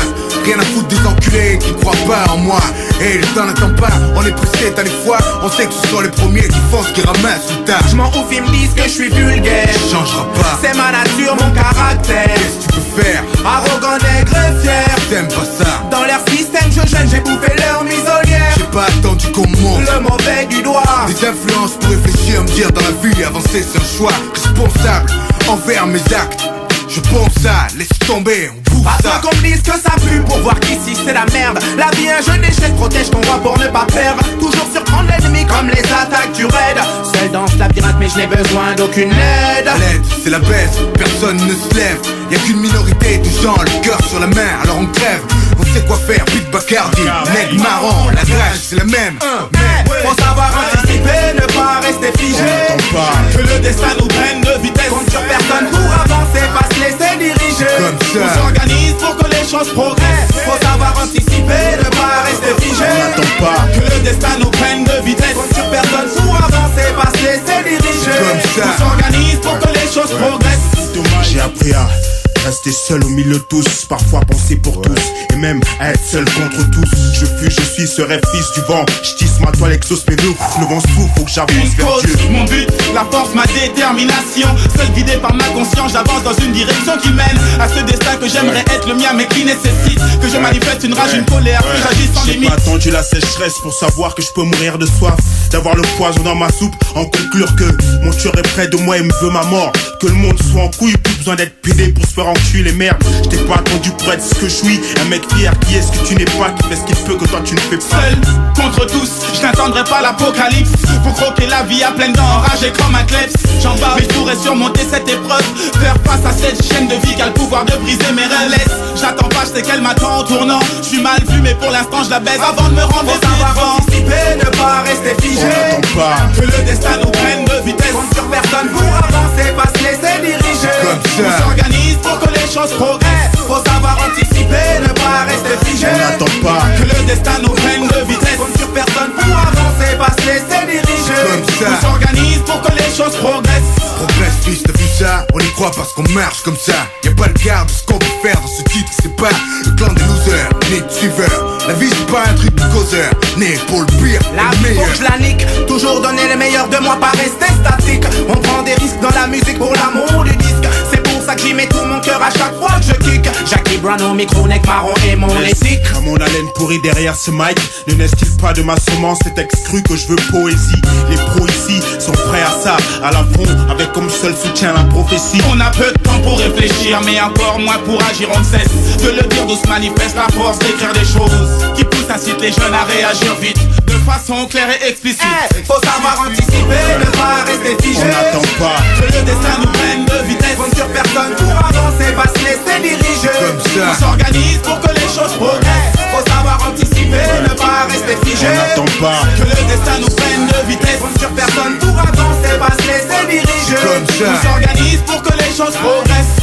rien à foutre des enculés qui croient pas en moi. Et le temps n'attend pas, on est pressé, t'as des fois. On sait que ce sont les premiers qui font ce qu'ils ramassent tout tard. Je m'en ouf, ils me disent que je suis vulgaire. Ça changera pas, c'est ma nature, mon caractère. Qu'est-ce que tu peux faire? Arrogant, nègre et fier. T'aimes pas ça? Dans leur système, je gêne, j'ai bouffé leur muselière. J'ai pas attendu qu'on monte le mauvais du doigt. Des influences pour réfléchir, me dire dans la vie, avancer c'est un choix responsable envers mes actes. Je pense ça, laisse tomber, on bouffe ça. Pas qu'on me dise que ça pue pour voir qu'ici c'est la merde. La vie un jeu d'échecs, protège ton roi pour ne pas perdre. Toujours surprendre l'ennemi comme les attaques du raid. Seul dans ce labyrinthe mais je n'ai besoin d'aucune aide. L'aide, c'est la baisse, personne ne se lève. Y'a qu'une minorité de gens, le cœur sur la main, alors on crève. On sait quoi faire, Pete Bacardi, nègre marron, la grâce c'est la même. Mais faut savoir anticiper, ne pas rester figé. Que le destin nous prenne de vitesse. Compte sur personne pour avancer, pas se laisser diriger. Comme ça. On s'organise pour que les choses progressent. Faut savoir anticiper, ne pas rester figé. N'attends pas que le destin nous prenne de vitesse. Compte sur personne pour avancer, pas se laisser diriger. Comme ça. On s'organise pour que les choses progressent. Dommage, j'ai appris à rester seul au milieu de tous, parfois penser pour tous, et même à être seul contre tous. Je fus, je suis, serai fils du vent. Je tisse ma toile, exauce mes vœux. Le vent souffle, faut que j'avance vers Dieu. Mon but, la force, ma détermination. Seul guidé par ma conscience, j'avance dans une direction qui mène à ce destin que j'aimerais être le mien, mais qui nécessite que je manifeste une rage, une colère, que j'agisse sans limite. J'ai pas attendu la sécheresse pour savoir que je peux mourir de soif, d'avoir le poison dans ma soupe, en conclure que mon tueur est près de moi et me veut ma mort. Que le monde soit en couille, plus besoin d'être pédé pour se faire enculer, merde. Je t'ai pas attendu pour être ce que je suis, un mec fier qui est ce que tu n'es pas, qui fait ce qu'il peut que toi tu ne fais pas. Seul contre tous, je n'attendrai pas l'apocalypse pour croquer la vie à pleines dents, enragé comme un kleps. J'en bats, mais je pourrais surmonter cette épreuve, faire face à cette chaîne de vie qui a le pouvoir de briser mes relais. J'attends pas, je sais qu'elle m'attend en tournant. Je suis mal vu, mais pour l'instant je la baise avant de me rendre. Faut savoir anticiper, ne pas rester figé. On n'attend pas que le destin nous prenne de vitesse. Compte sur personne pour avancer, pas se laisser diriger. Comme ça. On s'organise pour que les choses progressent. Faut savoir anticiper, ne pas rester figé. On n'attend pas que le destin nous prenne de vitesse. Compte sur personne pour avancer, pas se laisser diriger. Comme ça. On s'organise pour que les choses progressent. Progresse, fils, t'as vu ça? On y croit parce qu'on marche comme ça. Y'a pas le quart de ce qu'on peut faire dans ce titre. C'est pas le clan des losers, ni de suiveurs. La vie c'est pas un truc de causeur, né pour le pire, la le meilleur. Faut que je la nique, toujours donner le meilleur de moi, pas rester statique. On prend des risques dans la musique pour l'amour du disque. C'est pour ça que j'y mets tout mon cœur à chaque fois que je kick. Jackie Brown au micro, neck marron et mon éthique. À mon haleine pourrie derrière ce mic, ne naisse-t-il pas de ma semence cet excru que je veux poésie. Les pros ici sont prêts à ça, à la fond, avec comme seul soutien la prophétie. On a peu de temps pour réfléchir, mais encore moins pour agir, on ne cesse de le dire, d'où se manifeste la force d'écrire des choses qui poussent, incite les jeunes à réagir vite, de façon claire et explicite. Hey, faut savoir anticiper, ne pas rester figé. On n'attend pas que le destin nous prenne de vitesse. Compte sur personne pour avancer, pas se laisser diriger. Comme ça. On s'organise pour que les choses progressent. Faut savoir anticiper, ne pas rester figé. On n'attend pas que le destin nous prenne de vitesse. Compte sur personne pour avancer, pas se laisser diriger. Comme ça. On s'organise pour que les choses progressent.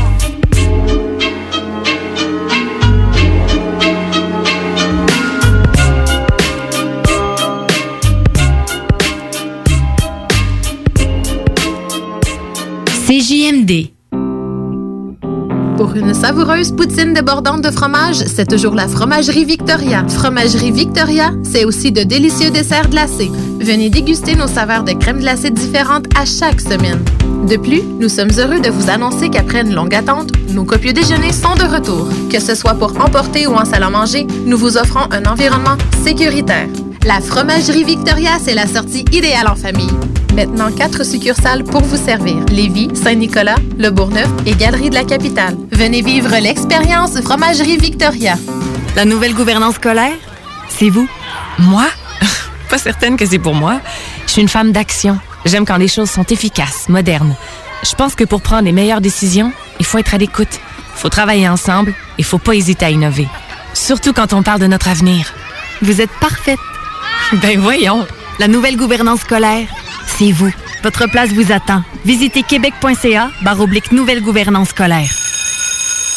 C J M D. Pour une savoureuse poutine débordante de fromage, c'est toujours la Fromagerie Victoria. Fromagerie Victoria, c'est aussi de délicieux desserts glacés. Venez déguster nos saveurs de crème glacée différentes à chaque semaine. De plus, nous sommes heureux de vous annoncer qu'après une longue attente, nos copieux déjeuners sont de retour. Que ce soit pour emporter ou en salle à manger, nous vous offrons un environnement sécuritaire. La Fromagerie Victoria, c'est la sortie idéale en famille. Maintenant, quatre succursales pour vous servir. Lévis, Saint-Nicolas, Le Bourgneuf et Galerie de la Capitale. Venez vivre l'expérience Fromagerie Victoria. La nouvelle gouvernance scolaire, c'est vous. Moi? Pas certaine que c'est pour moi. Je suis une femme d'action. J'aime quand les choses sont efficaces, modernes. Je pense que pour prendre les meilleures décisions, il faut être à l'écoute. Il faut travailler ensemble et il faut pas hésiter à innover. Surtout quand on parle de notre avenir. Vous êtes parfaite. Ben voyons. La nouvelle gouvernance scolaire, c'est vous. Votre place vous attend. Visitez québec point c a barre oblique nouvelle gouvernance scolaire.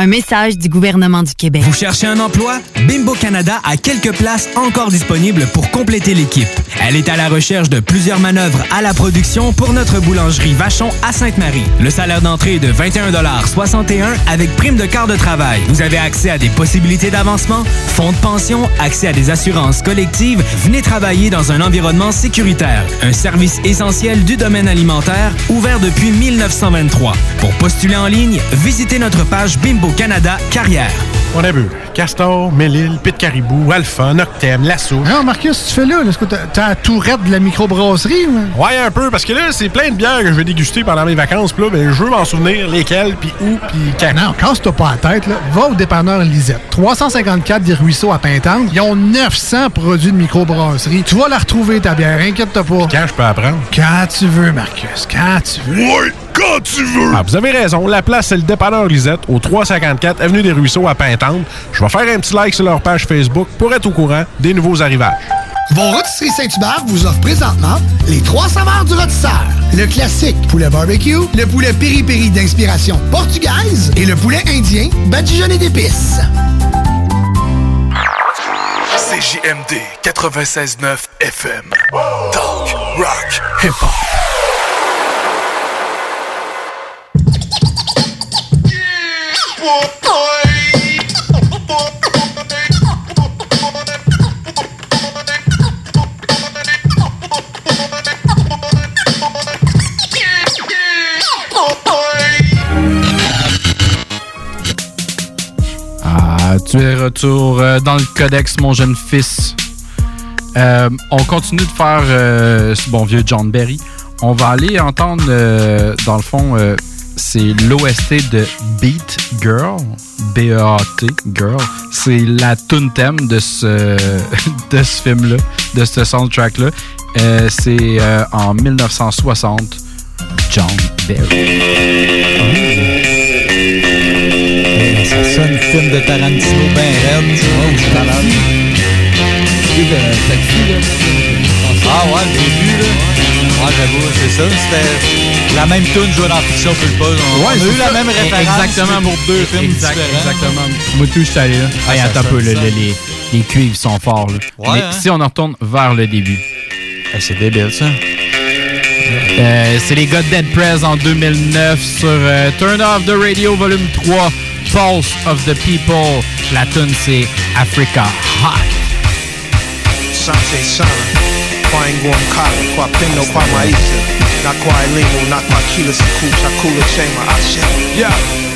Un message du gouvernement du Québec. Vous cherchez un emploi? Bimbo Canada a quelques places encore disponibles pour compléter l'équipe. Elle est à la recherche de plusieurs manœuvres à la production pour notre boulangerie Vachon à Sainte-Marie. Le salaire d'entrée est de vingt et un soixante et un avec prime de quart de travail. Vous avez accès à des possibilités d'avancement, fonds de pension, accès à des assurances collectives. Venez travailler dans un environnement sécuritaire. Un service essentiel du domaine alimentaire, ouvert depuis mille neuf cent vingt-trois. Pour postuler en ligne, visitez notre page Bimbo Canada Carrière. On a vu Castor, Mélile, Pit Caribou, Alpha, Noctem, La Souche. Non, Marcus, tu fais là? Est-ce que t'as, t'as la tourette de la microbrasserie? Ou... Ouais, un peu, parce que là, c'est plein de bières que je vais déguster pendant mes vacances. Puis là, ben, je veux m'en souvenir lesquelles, puis où, puis quand. Non, casse-toi pas la tête, là. Va au dépanneur Lisette. trois cent cinquante-quatre des Ruisseaux à Pintante. Ils ont neuf cents produits de microbrasserie. Tu vas la retrouver, ta bière, inquiète-toi pas. Puis quand je peux apprendre? Quand tu veux, Marcus, quand tu veux. Ouais, quand tu veux. Ah, vous avez raison, la place, c'est le dépanneur Lisette, au trois cent cinquante-quatre avenue des Ruisseaux à Pintante. Je vais faire un petit like sur leur page Facebook pour être au courant des nouveaux arrivages. Vos rôtisseries Saint-Hubert vous offrent présentement les trois saveurs du rôtisseur. Le classique poulet barbecue, le poulet piri-piri d'inspiration portugaise et le poulet indien badigeonné d'épices. C J M D quatre-vingt-seize neuf F M. Talk, rock, hip-hop. Ah, tu es retour euh, dans le codex, mon jeune fils. Euh, on continue de faire euh, ce bon vieux John Berry. On va aller entendre, euh, dans le fond, euh, c'est l'O S T de Beat Girl, B E A T, Girl. C'est la tune thème de ce, de ce film-là, de ce soundtrack-là. Euh, c'est euh, en dix-neuf cent soixante, John Berry. Ça sonne film de Tarantino ben raide, tu vois, où je suis malade. Ah ouais, le début, là. Ouais, j'avoue, c'est ça. C'était la même tune jouée dans Fiction Pulpose. On, ouais, on a eu la même référence. Exactement. Pour deux films exact, différents. Exactement. Moi, tout, je suis allé là. Ah, hey, attends un peu, le, le, les, les cuivres sont forts, là. Ouais, mais hein? Si on en retourne vers le début. Hey, c'est débile, ça. Euh, c'est les gars de Dead Prez en deux mille neuf sur euh, Turn Off the Radio Volume trois, Pulse of the People. La tune, c'est Africa Hot. Sante sana kwa nguo mkali kwa pendo kwa maisha na kwa elimu na kwa kila siku chakula chema asha. Yeah.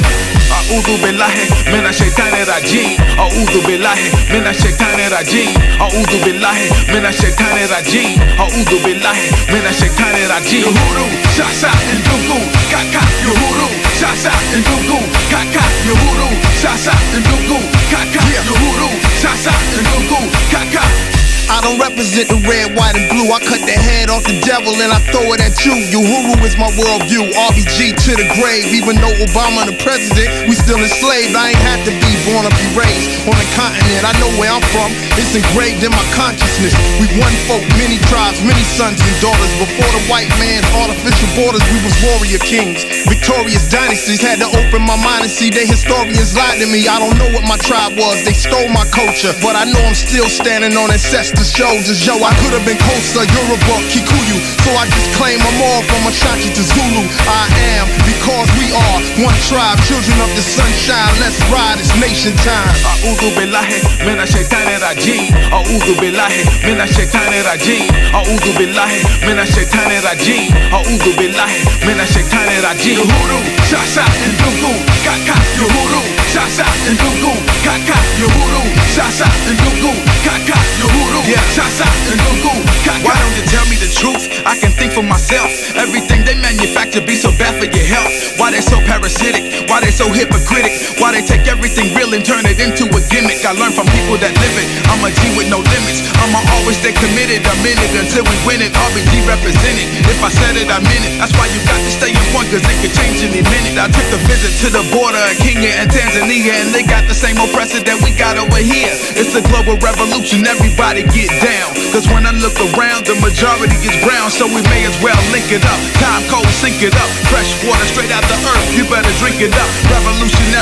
A'udhu billahi minash shaitani rajim. A'udhu billahi minash shaitani rajim. A'udhu billahi minash shaitani rajim. A'udhu billahi minash shaitani rajim. Yuhuru sasa ndugu kaka yuhuru sasa ndugu kaka yuhuru sasa ndugu kaka yuhuru sasa ndugu kaka. I don't represent the red, white, and blue. I cut the head off the devil and I throw it at you. Uhuru is my worldview. R B G to the grave. Even though Obama the president, we still enslaved. I ain't had to be born or be raised on the continent. I know where I'm from. It's engraved in my consciousness. We one folk, many tribes, many sons and daughters. Before the white man's artificial borders, we was warrior kings. Victorious dynasties had to open my mind and see they historians lied to me. I don't know what my tribe was. They stole my culture, but I know I'm still standing on ancestors' shoulders. Yo, I could have been Kosa, Yoruba, Kikuyu, so I just claim I'm all from Ashanti to Zulu. I am because we are one tribe, children of the sunshine. Let's ride, it's nation time. A'udhu billahi minash shaitani rajim. A'udhu billahi minash shaitani rajim. A'udhu billahi minash shaitani rajim. A'udhu billahi minash shaitani rajim. Yuhuru sasa ndugu kaka yuhuru sasa ndugu kaka yuhuru sasa ndugu kaka yuhuru sasa ndugu kaka. Why don't you tell me the truth? I can think for myself. Everything they manufacture be so bad for your health. Why they so parasitic? Why they so hypocritic? Why they take everything real and turn it into a gimmick? I learned from people that live it. I'm a G with no limits. I'ma always stay committed. I'm in it until we win it. R B G represented. If I said it, I meant it. That's why you got to stay in point, cause it could change any minute. I took a visit to the border of Kenya and Tanzania, and they got the same oppressor that we got over here. It's a global revolution, everybody get down. Cause when I look around, the majority is brown, so we may as well link it up. Time cold, sink it up. Fresh water straight out the earth, you better drink it up. Revolutionary love,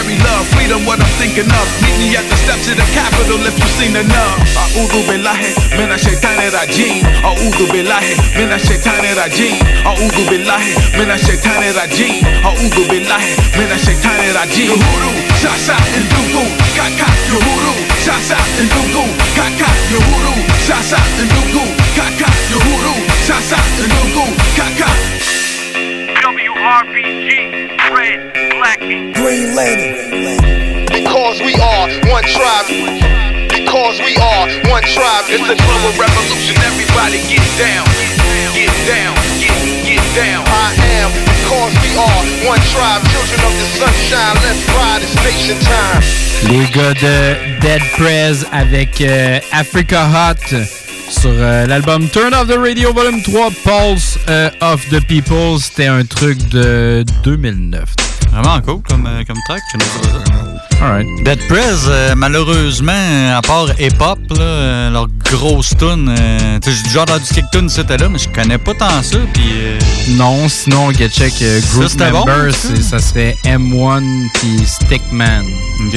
love, freedom what I'm thinking of. Meet me at the steps of the Capitol if you've seen enough. A'udhu billahi minash shaitani rajim. A'udhu billahi minash shaitani rajim. A'udhu billahi minash shaitani rajim. A'udhu billahi minash shaitani rajim. Uhuru, shasha and dugu, kaka, Uhuru, shasha and dugu, kaka, Uhuru, shasha and dugu, kaka, Uhuru, shasha and dugu, kaka. W R B G, red, black, and Green Lantern. Because we are one tribe. Because we are one tribe. It's a global revolution. Everybody get down, get down, get, get down. I am because we are one tribe. Children of the sunshine. Let's ride. It's nation time. Les gars de Dead Prez avec euh, Africa Hot sur euh, l'album Turn Off the Radio Volume trois, Pulse euh, of the People. C'était un truc de deux mille neuf. Vraiment cool comme, euh, comme track. Je ne sais pas ça. Alright. Dead Prez, euh, malheureusement, à part hip-hop, là, euh, leur grosse tune, euh, tu sais, j'ai déjà entendu quelques tunes c'était là, mais je connais pas tant ça. Puis euh... non, sinon, get check euh, Group ça, Members, bon, ça serait M un puis Stickman. Ok.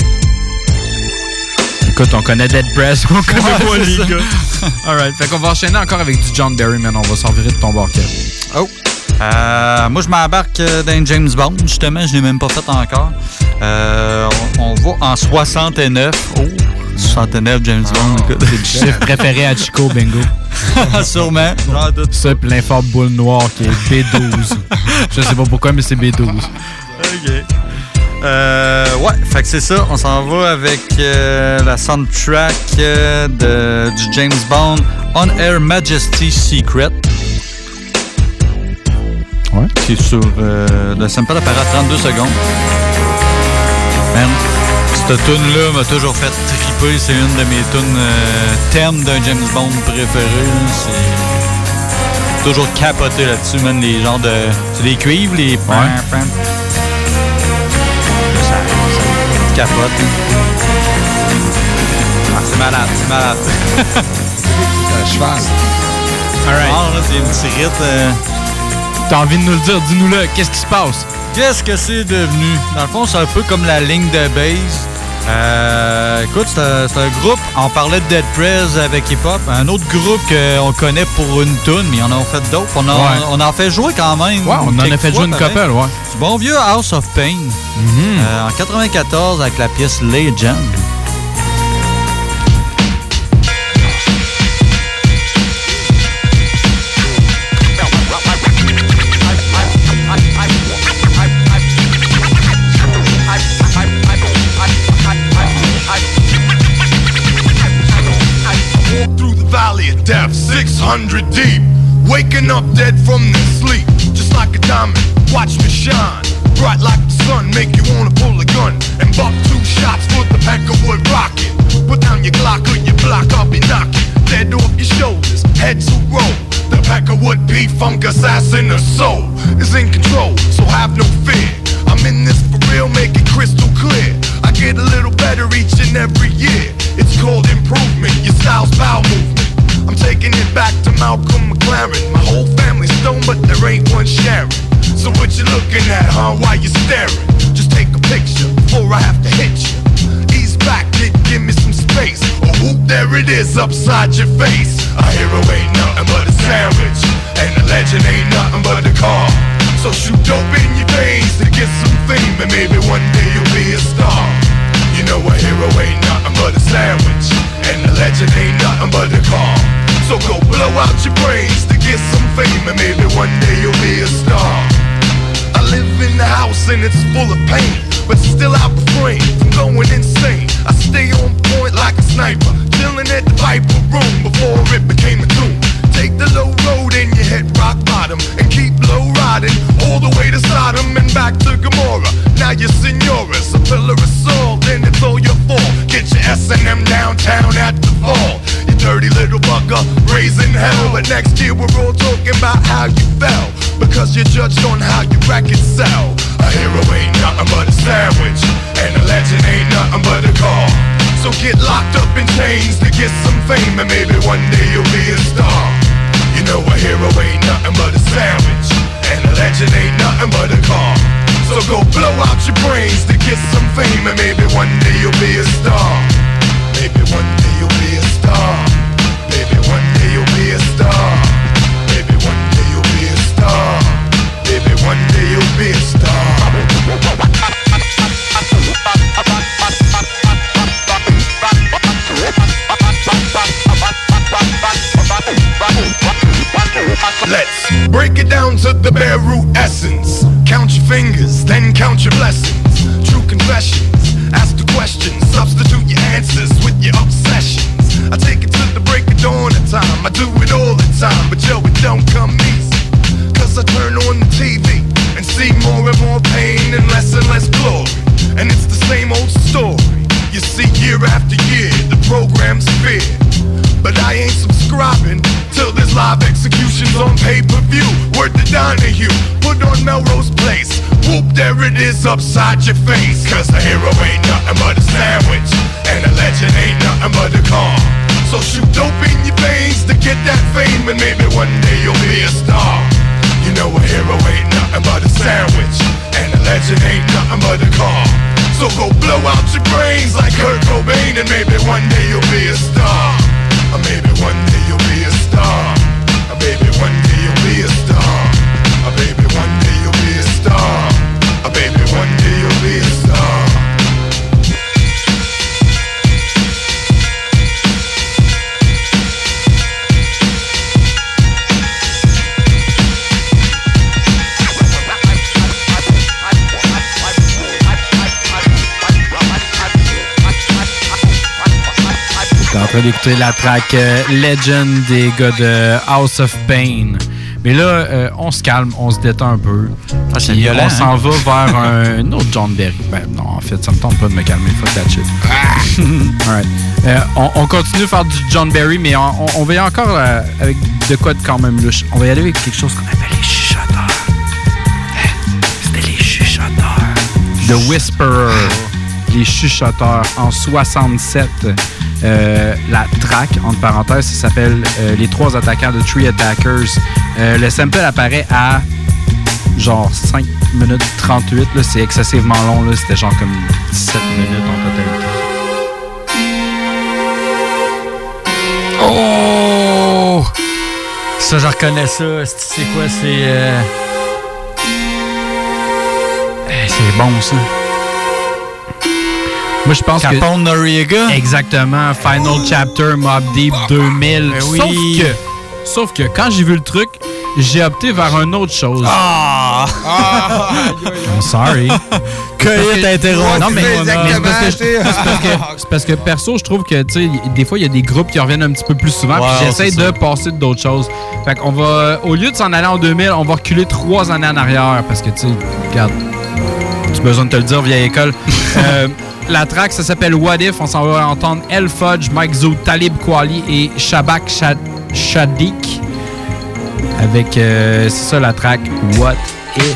Écoute, on connaît Dead Prez, on connaît ouais, pas les ça. gars. Alright, fait qu'on va enchaîner encore avec du John Barry, man. On va s'en virer de ton barquet. Oh! Euh, moi, je m'embarque dans James Bond, justement. Je ne l'ai même pas fait encore. Euh, on, on va en soixante-neuf. Oh! soixante-neuf, James Bond. Oh, c'est le chiffre préféré à Chico, bingo. Sûrement. Ça, puis l'informe boule noire qui est B douze. Je sais pas pourquoi, mais c'est B douze. OK. Euh, ouais, fait que c'est ça. On s'en va avec euh, la soundtrack euh, de, du James Bond On Air Majesty Secret. Ouais. Qui est sur euh, le sample apparaît à trente-deux secondes. Man, cette tune-là m'a toujours fait triper. C'est une de mes tunes euh, thèmes d'un James Bond préféré. C'est toujours capoté là-dessus, man. Les genres de. C'est des cuivres, les. Ouais. Ça, ça capote. Ah, c'est malade, c'est malade. Un cheval. Alright. Ah, là, c'est une petite rite. Euh... T'as envie de nous le dire, dis-nous-le, qu'est-ce qui se passe? Qu'est-ce que c'est devenu? Dans le fond, c'est un peu comme la ligne de base. Euh, écoute, c'est un, c'est un groupe, on parlait de Dead Prez avec Hip Hop, un autre groupe qu'on connaît pour une toune, mais on en a fait d'autres. On, a, ouais. on en fait jouer quand même. Ouais, on en a fait fois, jouer une couple, ouais. Du bon vieux House of Pain. Mm-hmm. euh, en quatre-vingt-quatorze avec la pièce Legend. Death, six hundred deep, waking up dead from their sleep, just like a diamond, watch me shine, bright like the sun, make you wanna pull a gun, and buck two shots for the pack of wood rocket, put down your Glock or your block, I'll be knocking, dead off your shoulders, heads will roll, the pack of wood beat funk assassin, the soul is in control, so have no fear, I'm in this for real, make it crystal clear, I get a little better each and every year, it's called improvement, your style's bowel movement, I'm taking it back to Malcolm McLaren. My whole family's stoned, but there ain't one sharing. So what you looking at, huh? Why you staring? Just take a picture before I have to hit you. Ease back, kid, give me some space. Or whoop, there it is upside your face. A hero ain't nothing but a sandwich, and a legend ain't nothing but a car. So shoot dope in your veins to get some fame, and maybe one day you'll be a star. You know a hero ain't nothing but a sandwich, and a legend ain't nothing but a car. So go blow out your brains to get some fame, and maybe one day you'll be a star. I live in the house and it's full of pain, but still I refrain from going insane. I stay on point like a sniper, chilling at the Viper room before it became a tomb. Take the low road and you hit rock bottom, and keep low riding all the way to Sodom and back to Gomorrah. Now you're senoras, a pillar of salt, and it's all your fault. Get your S and M downtown at the fall. You dirty little bugger, raising hell. But next year we're all talking about how you fell, because you're judged on how you records sell. A hero ain't nothing but a sandwich, and a legend ain't nothing but a car. So get locked up in chains to get some fame, and maybe one day you'll be a star. You know a hero ain't nothing but a sandwich, and a legend ain't nothing but a car. So go blow out your brains to get some fame, and maybe one day you'll be a star. Maybe one day you'll be a star. Maybe one day you'll be a star. Maybe one day you'll be a star. Maybe one day you'll be a star. Let's break it down to the bare root essence. Count your fingers, then count your blessings. True confessions, ask the questions, substitute your answers with your obsessions. I take it to the break of dawn at time, I do it all the time, but yo, it don't come easy. Cause I turn on the T V and see more and more pain and less and less glory. And it's the same old story. You see year after year, the program's fear. But I ain't subscribing till there's live executions on pay-per-view. Word to Donahue, put on Melrose Place. Whoop, there it is upside your face. Cause a hero ain't nothing but a sandwich, and a legend ain't nothing but a con. So shoot dope in your veins to get that fame, and maybe one day you'll be a star. You know a hero ain't nothing but a sandwich, and a legend ain't nothing but a con. So go blow out your brains like Kurt Cobain, and maybe one day you'll be a star. Or maybe one day you'll be a star. Or maybe one day you'll be a star. Or maybe one day you'll be a star. Or maybe one day you'll be a star. T'es en train d'écouter la track euh, Legend des gars de House of Pain. Mais là, euh, on se calme, on se détend un peu. Ah, c'est Puis violent, on s'en hein? va vers un autre John Berry. Ben non, en fait, ça me tente pas de me calmer. Fuck that shit. Alright. Euh, on, on continue de faire du John Berry, mais on, on va y aller encore euh, avec de quoi de quand même louche. On va y aller avec quelque chose qu'on appelle les chuchoteurs. C'était les chuchoteurs. The Whisperer. Les chuchoteurs en soixante-sept. Euh, la track, entre parenthèses, ça s'appelle euh, Les trois attaquants de Three Attackers. Euh, le sample apparaît à genre cinq minutes trente-huit. Là, c'est excessivement long. Là, c'était genre comme dix-sept minutes en totalité. Oh! Ça, je reconnais ça. C'est quoi? C'est... Euh... C'est bon, ça. Moi, je pense Capone que... Capone Noriega? Exactement. Final oh. Chapter, Mobb Deep deux mille. Ben oui. Sauf que... Sauf que quand j'ai vu le truc, j'ai opté vers une autre chose. Ah! ah. I'm sorry. Cueillette interrompue. Non, mais, mais c'est parce que, c'est parce que, c'est parce que perso, je trouve que, tu sais, des fois, il y a des groupes qui reviennent un petit peu plus souvent, wow, puis j'essaie de passer d'autres choses. Fait qu'on va, au lieu de s'en aller en deux mille, on va reculer trois années en arrière, parce que, tu sais, regarde, tu as besoin de te le dire, vieille école. euh, La track, ça s'appelle What If. On s'en va entendre El Fudge, Mike Zoot, Talib Kweli et Shabak Shad- Shadik. Avec, euh, c'est ça la track What If.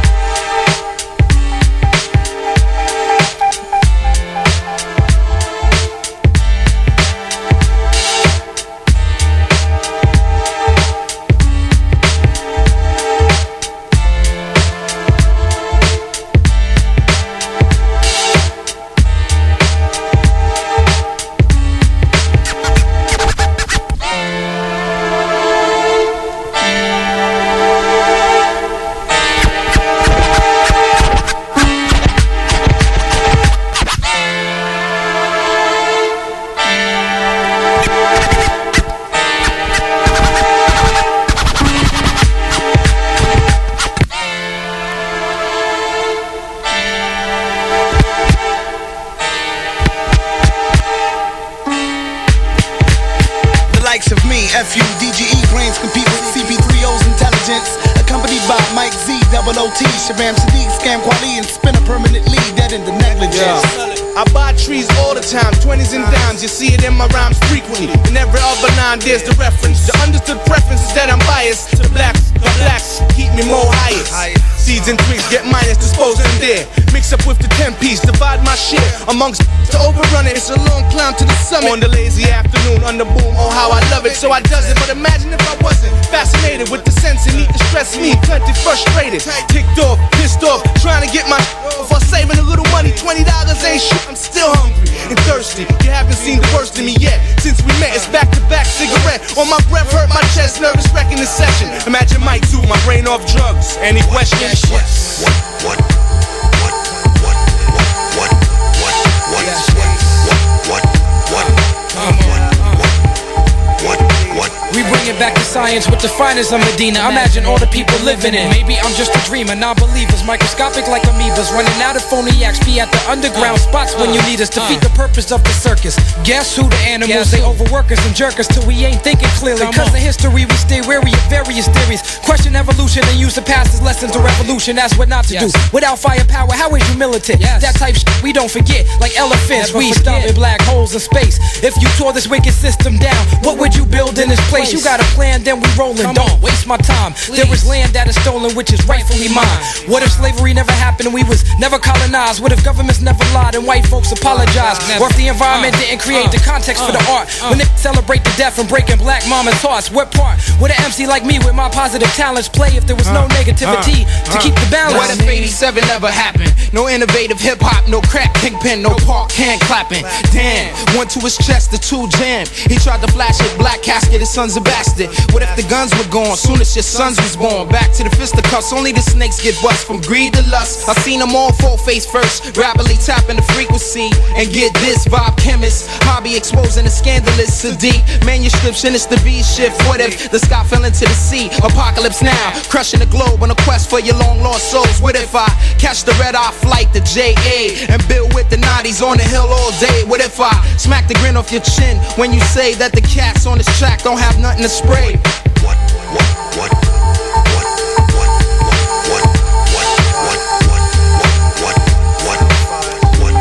F U D G E brains compete with C P three O's intelligence. Accompanied by Mike Z, double O T, Shabam Sadiq, Scam Kweli, and Spinner permanently dead in the negligence. Yeah. I buy trees all the time, twenties and dimes. You see it in my rhymes frequently. In every other line, there's the reference. The understood preference is that I'm biased to blacks. The blacks keep me more highest. Seeds and twigs get minus, dispose them there. Mix up with the ten piece, divide my share amongst to overrun it. It's a long climb to the summit. On the lazy afternoon, under boom, oh how I love it. So I does it, but imagine if I wasn't fascinated with the sense and need to stress me. Plenty frustrated, ticked off, pissed off, trying to get my off while saving a little money. Twenty dollars ain't shit. I'm still hungry and thirsty. You haven't seen the worst of me yet. Since we met, it's back to back cigarette. On my breath, hurt my chest, nervous wrecking the session. Imagine Mike too, my brain off drugs. Any questions? What? What? What? What? What? What? What? What? What? What? What? What? We bring it back to science with the finest of Medina. Imagine all the people living in. Maybe I'm just a dreamer. Non-believers, microscopic like amoebas, running out of phoniacs. Be at the underground spots when you need us. Defeat the purpose of the circus. Guess who the animals? They overwork us and jerk us till we ain't thinking clearly. Cause the history we stay wary of various theories. Question evolution and use the past as lessons of revolution. That's what not to do. Without firepower, how is you militant? That type shit we don't forget. Like elephants, we stop in black holes in space. If you tore this wicked system down, what would you build in this place? You got a plan, then we rollin'. Don't waste my time. There is land that is stolen, which is rightfully mine. What if slavery never happened and we was never colonized? What if governments never lied and white folks apologized? Or if the environment didn't create the context for the art? When they celebrate the death and breaking black mama's hearts, what part would an M C like me with my positive talents play if there was no negativity to keep the balance? What if eighty-seven never happened? No innovative hip hop, no crack kingpin, no park hand clapping. Damn, one to his chest, the two jam. He tried to flash it, black casket, his son's a bastard. What if the guns were gone soon as your sons was born? Back to the fisticuffs, only the snakes get bust from greed to lust. I seen them all full face first, rapidly tapping the frequency. And get this, vibe chemist, hobby exposing the scandalous, Sadiq. Manuscripts and it's the B shift. What if the sky fell into the sea? Apocalypse now, crushing the globe on a quest for your long lost souls. What if I catch the red eye flight, the J A, and build with the nineties on the hill all day? What if I smack the grin off your chin when you say that the cats on this track don't have nothing to spray? What? What? What? What? What? What? What? What? What? What?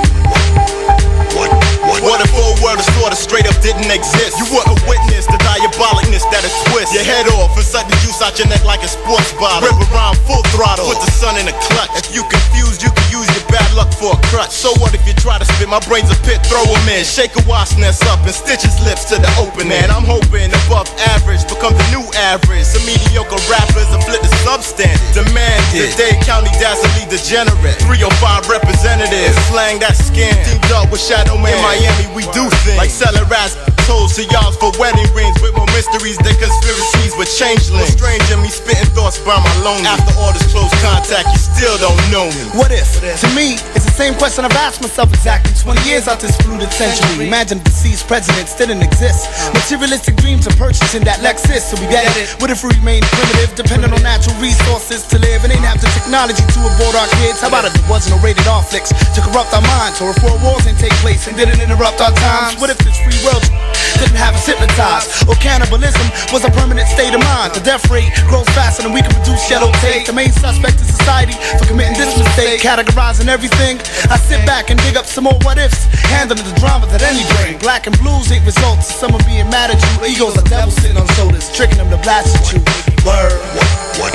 What? What? What if all world is sort of straight up didn't exist? You wouldn't witness the diabolicness that'll twist your head off and suck the juice out your neck like a sports bottle. Rip around full throttle, put the sun in a clutch. If you confused, you can use your bad luck for a crutch. So what if you try to spit? My brain's a pit, throw him in. Shake a wasp nest up and stitch his lips to the opening. And I'm hoping above average become the new average. Some mediocre rappers will flip the substandard. Demanded, Dade County dastardly degenerate. three oh five representatives, slang that scam. Teamed up with Shadow Man. In Miami we do things like selling rats, toes to y'all for wedding rings. With more mysteries than conspiracies with changelings. Strange in me spitting thoughts by my lonely. After all this close contact, you still don't know me. What if? To me, it's the same question I've asked myself exactly twenty years out this polluted century. Imagine if deceased presidents didn't exist. Materialistic dreams of purchasing that Lexus. So we get it. What if we remain primitive, dependent on natural resources to live, and ain't have the technology to abort our kids? How about if there wasn't no rated R flicks to corrupt our minds? Or if world wars didn't take place and didn't interrupt our times? What if this free world didn't have us hypnotized? Or cannibalism was a permanent state of mind? The death rate grows faster than we can produce yellow tape. The main suspect in society for committing this mistake, categorizing everything. I sit back and dig up some more what ifs, handling the drama that any brain. Black and blues ain't results of someone being mad at you. Egos are devils sitting on shoulders, tricking them to blast at you. Word. What? What?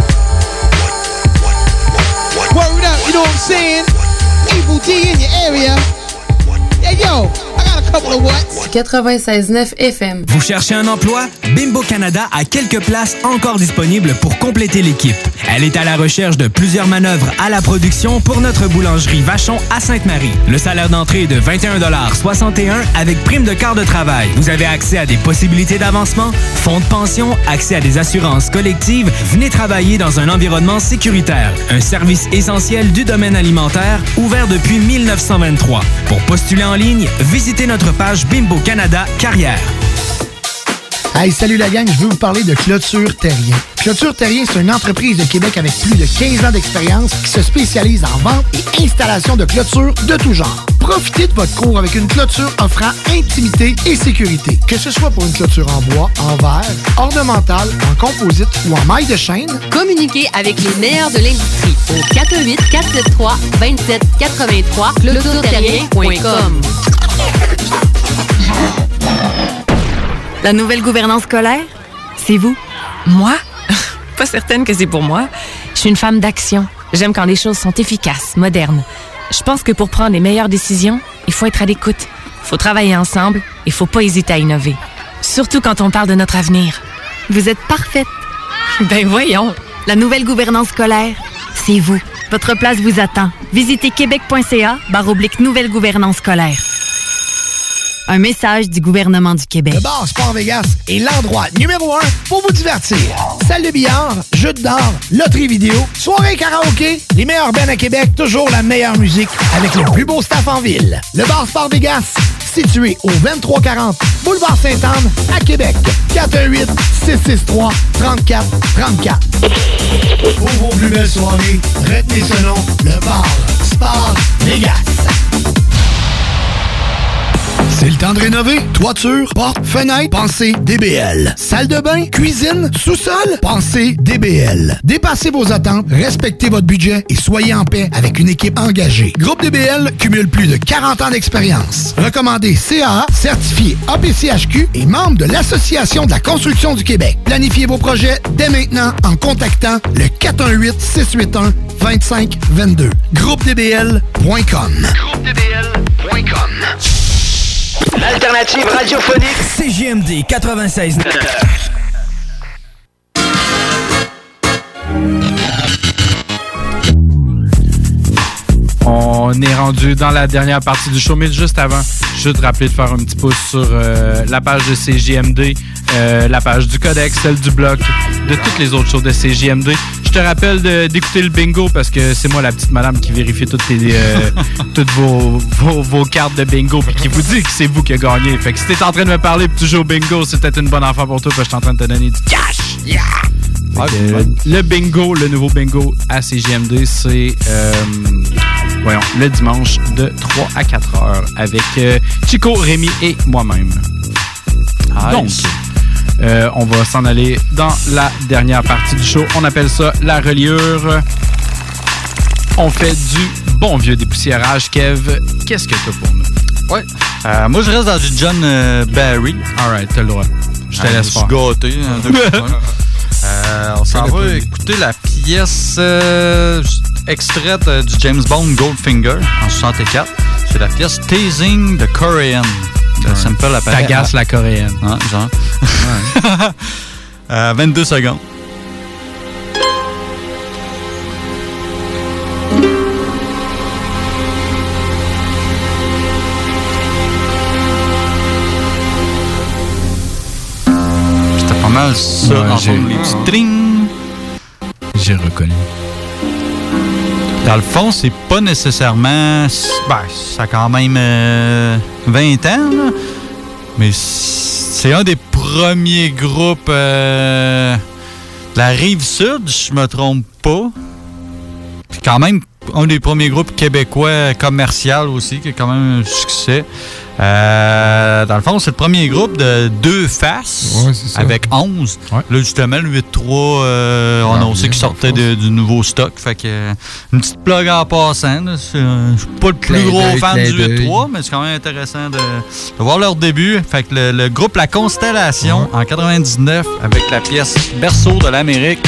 What? Word up, you know what I'm saying? Evil D in your area. Hey yo, I got a couple of whats. quatre-vingt-seize neuf F M. Vous cherchez un emploi? Bimbo Canada a quelques places encore disponibles pour compléter l'équipe. Elle est à la recherche de plusieurs manœuvres à la production pour notre boulangerie Vachon à Sainte-Marie. Le salaire d'entrée est de vingt et un soixante et un avec prime de quart de travail. Vous avez accès à des possibilités d'avancement, fonds de pension, accès à des assurances collectives. Venez travailler dans un environnement sécuritaire. Un service essentiel du domaine alimentaire, ouvert depuis mille neuf cent vingt-trois. Pour postuler en ligne, visitez notre page Bimbo Canada Carrière. Hey, salut la gang, je veux vous parler de Clôture Terrien. Clôture Terrien, c'est une entreprise de Québec avec plus de quinze ans d'expérience qui se spécialise en vente et installation de clôtures de tout genre. Profitez de votre cour avec une clôture offrant intimité et sécurité. Que ce soit pour une clôture en bois, en verre, ornementale, en composite ou en maille de chaîne, communiquez avec les meilleurs de l'industrie au quatre un huit, quatre sept trois, deux sept huit trois clôture terrien point com. La nouvelle gouvernance scolaire, c'est vous. Moi? Pas certaine que c'est pour moi. Je suis une femme d'action. J'aime quand les choses sont efficaces, modernes. Je pense que pour prendre les meilleures décisions, il faut être à l'écoute. Il faut travailler ensemble et il faut pas hésiter à innover. Surtout quand on parle de notre avenir. Vous êtes parfaite. Ben voyons. La nouvelle gouvernance scolaire, c'est vous. Votre place vous attend. Visitez québec.ca barre oblique nouvelle gouvernance scolaire. Un message du gouvernement du Québec. Le bar Sport Vegas est l'endroit numéro un pour vous divertir. Salle de billard, jeux d'or, loterie vidéo, soirée karaoké, les meilleurs bands à Québec, toujours la meilleure musique avec le plus beau staff en ville. Le bar Sport Vegas, situé au vingt-trois quarante Boulevard Sainte-Anne à Québec. quatre un huit, six six trois, trois quatre trois quatre. Pour vos plus belles soirées, retenez ce nom, le bar Sport Vegas. C'est le temps de rénover. Toiture, porte, fenêtre, pensez D B L. Salle de bain, cuisine, sous-sol, pensez D B L. Dépassez vos attentes, respectez votre budget et soyez en paix avec une équipe engagée. Groupe D B L cumule plus de quarante ans d'expérience. Recommandé C A A, certifié A P C H Q et membre de l'Association de la construction du Québec. Planifiez vos projets dès maintenant en contactant le quatre un huit, six huit un, deux cinq deux deux. groupe d b l point com. groupe d b l point com. L'alternative radiophonique C J M D quatre-vingt-seize neuf. On est rendu dans la dernière partie du show, mais juste avant, je veux te rappeler de faire un petit pouce sur euh, la page de C J M D, euh, la page du Codex, celle du Bloc, de toutes les autres shows de C J M D. Je te rappelle de, d'écouter le bingo parce que c'est moi la petite madame qui vérifie toutes, tes, euh, toutes vos, vos, vos cartes de bingo et qui vous dit que c'est vous qui avez gagné. Fait que si t'es en train de me parler et que tu joues au bingo, c'est peut-être une bonne affaire pour toi parce que je suis en train de te donner du cash. Yeah! Fait que, euh, le bingo, le nouveau bingo à C J M D, c'est... Euh, voyons, le dimanche de trois à quatre heures avec euh, Chico, Rémi et moi-même. Nice. Donc, euh, on va s'en aller dans la dernière partie du show. On appelle ça la reliure. On fait du bon vieux dépoussiérage. Kev, qu'est-ce que t'as pour nous? Ouais. Euh, moi, je reste dans du John euh, Barry. All right, t'as le droit. Je te ah, laisse faire. Je suis gâté. Hein, euh, on s'en va écouter la pièce euh, extraite euh, du James Bond Goldfinger en soixante-quatre. C'est la pièce Teasing the Korean. Le sample apparaît. T'agaces la coréenne. Ah, genre. Ouais. euh, vingt-deux secondes. C'était pas mal ça, ouais, en forme les petits tring. J'ai reconnu. Dans le fond, c'est pas nécessairement... Ben, ça a quand même euh, vingt ans, là. Mais c'est un des premiers groupes euh, de la Rive-Sud, je me trompe pas. Puis quand même, un des premiers groupes québécois commercial aussi, qui a quand même un succès. Euh, dans le fond, c'est le premier groupe de deux faces, ouais, avec onze. Ouais. Là, justement, le huit trois, euh, on a annoncé qu'il sortait de, du nouveau stock. Fait que, euh, une petite plug en passant. Là, c'est, euh, je suis pas le plus gros d'œil, fan du huit trois, mais c'est quand même intéressant de, de voir leur début. Fait que le, le groupe La Constellation, ouais. En quatre-vingt-dix-neuf, avec la pièce Berceau de l'Amérique.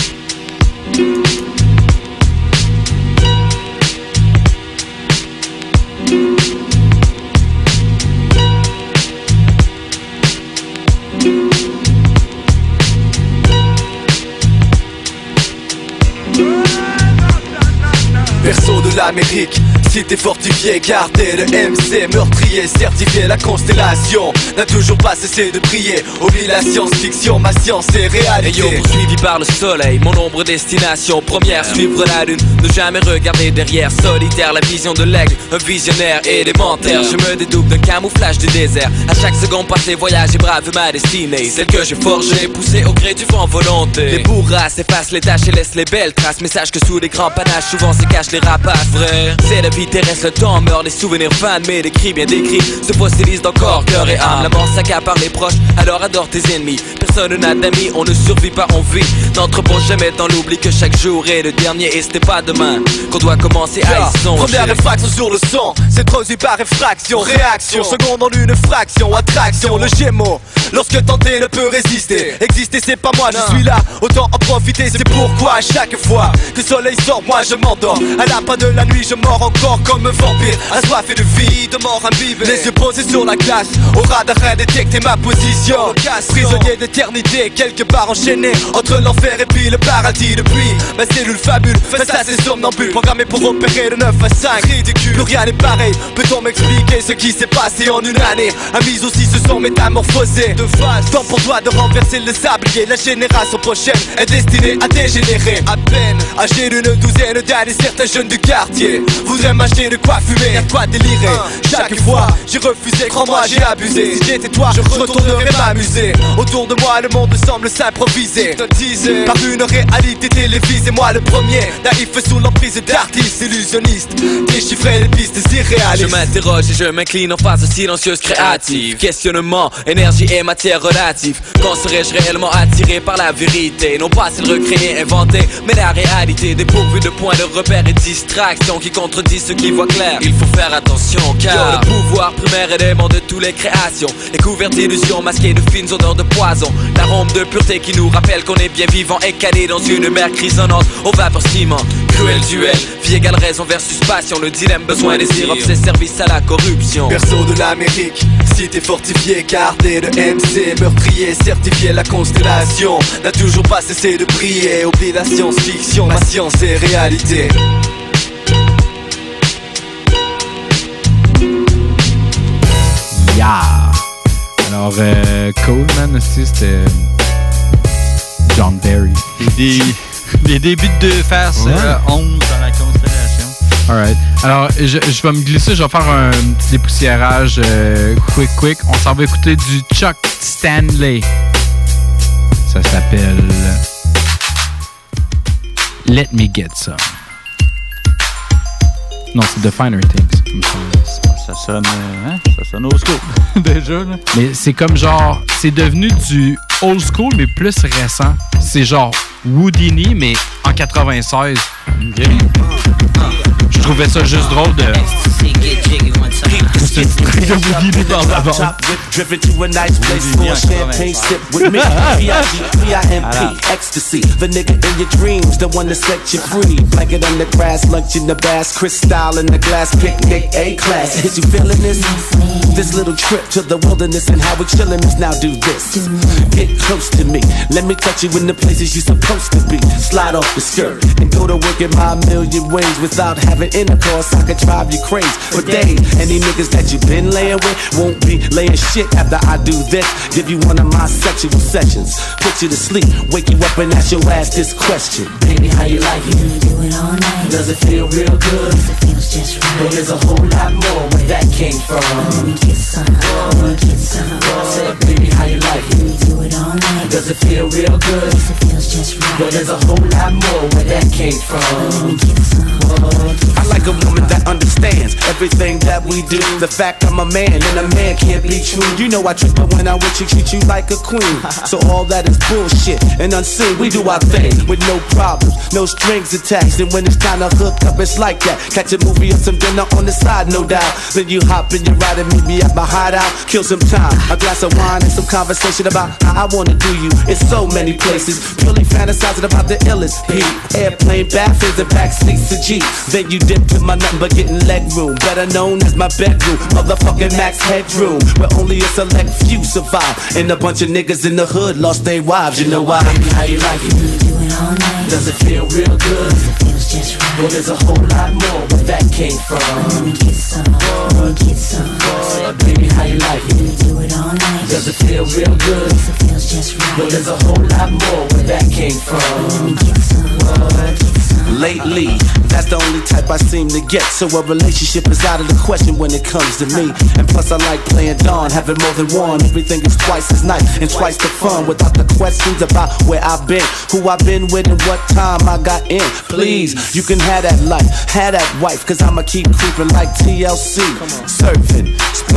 Berceau de l'Amérique, cité fortifiée, cartel de M C, meurtrier, certifié, la constellation n'a toujours pas cessé de briller. Oublie la science-fiction, ma science est réalité. Hey yo, poursuivi par le soleil, mon ombre destination première, suivre la lune, ne jamais regarder derrière. Solitaire, la vision de l'aigle, un visionnaire élémentaire. Je me dédouble d'un camouflage du désert. À chaque seconde passée, voyage et brave ma destinée. Celle que j'ai forgée, poussée au gré du vent volonté. Les bourrasques effacent les tâches et laissent les belles traces. Mais sache que sous les grands panaches, souvent se cachent les rapaces. Vrai, c'est la vie terrestre, le temps meurt, les souvenirs fans, mais les cris bien décrits se fossilisent dans corps, cœur et âme. La mort s'accapare les proches, alors adore tes ennemis. Personne n'a d'amis, on ne survit pas, on vit. N'entrepose jamais dans l'oubli que chaque jour est le dernier et ce n'est pas demain qu'on doit commencer à y songer. Première réfraction sur le son, c'est produit par effraction. Réaction, seconde en une fraction, attraction. Le Gémeaux, lorsque tenter ne peut résister. Exister c'est pas moi, je suis là, autant en profiter. C'est pourquoi à chaque fois que le soleil sort, moi je m'endors. À la fin de la nuit, je mords encore comme un vampire, assoiffé de vie, de mort imbibé. Les yeux posés sur la glace, au radar détecter ma position. Prisonnier d'éternité, quelque part enchaîné entre l'enfer et puis le paradis. Depuis ma cellule fabule, face à ces somnambules, programmé pour opérer de neuf à cinq. Ridicule, plus rien n'est pareil. Peut-on m'expliquer ce qui s'est passé en une année? Amis aussi se sont métamorphosés de face. Temps pour toi de renverser le sablier. La génération prochaine est destinée à dégénérer. À peine âgé d'une douzaine d'années, certains jeunes du quartier voudraient m'acheter de quoi fumer, de quoi délirer. Chaque fois j'ai refusé, crois-moi j'ai abusé. Si j'étais toi, je retournerais m'amuser. Autour de moi le monde semble s'improviser, hypnotisé par une réalité télévisée. Moi le premier, naïf sous l'emprise d'artistes illusionnistes, déchiffrer les pistes irréalistes. Je m'interroge et je m'incline en phase silencieuse créative. Questionnement, énergie et matière relative. Quand serais-je réellement attiré par la vérité? Non pas celle recréée, inventée, mais la réalité dépourvue de points de repère et distractions qui contredisent ceux qui voient clair. Il faut faire attention car le pouvoir primaire élément de toutes les créations est couvert d'illusions masquées de fines odeurs de poison. L'arôme de pureté qui nous rappelle qu'on est bien vivant et calé dans une mer grisonnante aux vapeurs ciment. Cruel duel, vie égale raison versus passion. Le dilemme, besoin, désir, obsès, service à la corruption. Berceau de l'Amérique, cité fortifiée, gardée de M C, meurtrier, certifié la constellation. N'a toujours pas cessé de briller. Oublie la science-fiction, ma science est réalité. Yeah! Alors, euh, Cool, man, aussi, c'était John Barry. Des, des débuts de face ouais. euh, onze dans la constellation. Alright. Alors, je, je vais me glisser, je vais faire un petit dépoussiérage euh, quick, quick. On s'en va écouter du Chuck Stanley. Ça s'appelle Let Me Get Some. Non, c'est The Finer Things. Ça sonne, hein? Ça sonne old school, déjà, là. Mais c'est comme genre, c'est devenu du old school, mais plus récent. C'est genre Whodini, mais en quatre-vingt-seize. Okay. Je trouvais ça juste drôle de... C'est très de Whodini dans la bande. Driven to a nice place for a champagne sip with me. P I G, P I M P, ecstasy. The nigga in your dreams, the one that set you free. Blanket on the grass, lunch in the bass, crystal in the glass, picnic, A-class. Is you feeling this? This little trip to the wilderness and how we chillin' is now do this. Get close to me, let me touch you in the places you're supposed to be. Slide off the skirt and go to work in my million ways. Without having intercourse, I could drive you crazy for days. Any niggas that you been laying with won't be laying shit after I do this. Give you one of my sexual sessions, put you to sleep, wake you up and ask your ass this question. Baby, how you like it? You do it all night. Does it feel real good? It feels just right. Well, there's a whole lot more where that came from. Let me get some, let me get some. Say, baby, how you like it? You do it all night. Does it feel real good? It feels just right. Well, there's a whole lot more where that came from. Let me get some. I like a woman that understands everything that we do. The fact I'm a man and a man can't be true. You know I trip, but when I'm with you, treat you like a queen. So all that is bullshit and unseen. We do our thing with no problems, no strings attached. And when it's time to hook up, it's like that. Catch a movie or some dinner on the side, no doubt. Then you hop in your ride and meet me at my hideout. Kill some time, a glass of wine and some conversation about how I wanna do you. It's so many places, purely fantasizing about the illest P. Airplane, bathrooms, and back seats of G. Then you dip to my nothing but getting leg room, better known as my bedroom, motherfucking max headroom, where only a select few survive, and a bunch of niggas in the hood lost their wives. You know why? Baby, how you like it? You do it all night. Does it feel real good? It feels just right. Well, there's a whole lot more where that came from. Let me get some, let me get some. Uh, baby, how you like it? You do it all night. Does it feel real good? It feels just right. Well, there's a whole lot more where that came from. Let me get some, uh, get some. Lately, that's the only type I seem to get. So a relationship is out of the question when it comes to me. And plus I like playing Dawn, having more than one. Everything is twice as nice and twice the fun. Without the questions about where I've been, who I've been with, and what time I got in. Please, you can have that life, have that wife, cause I'ma keep creeping like T L C. Surfing, splurging,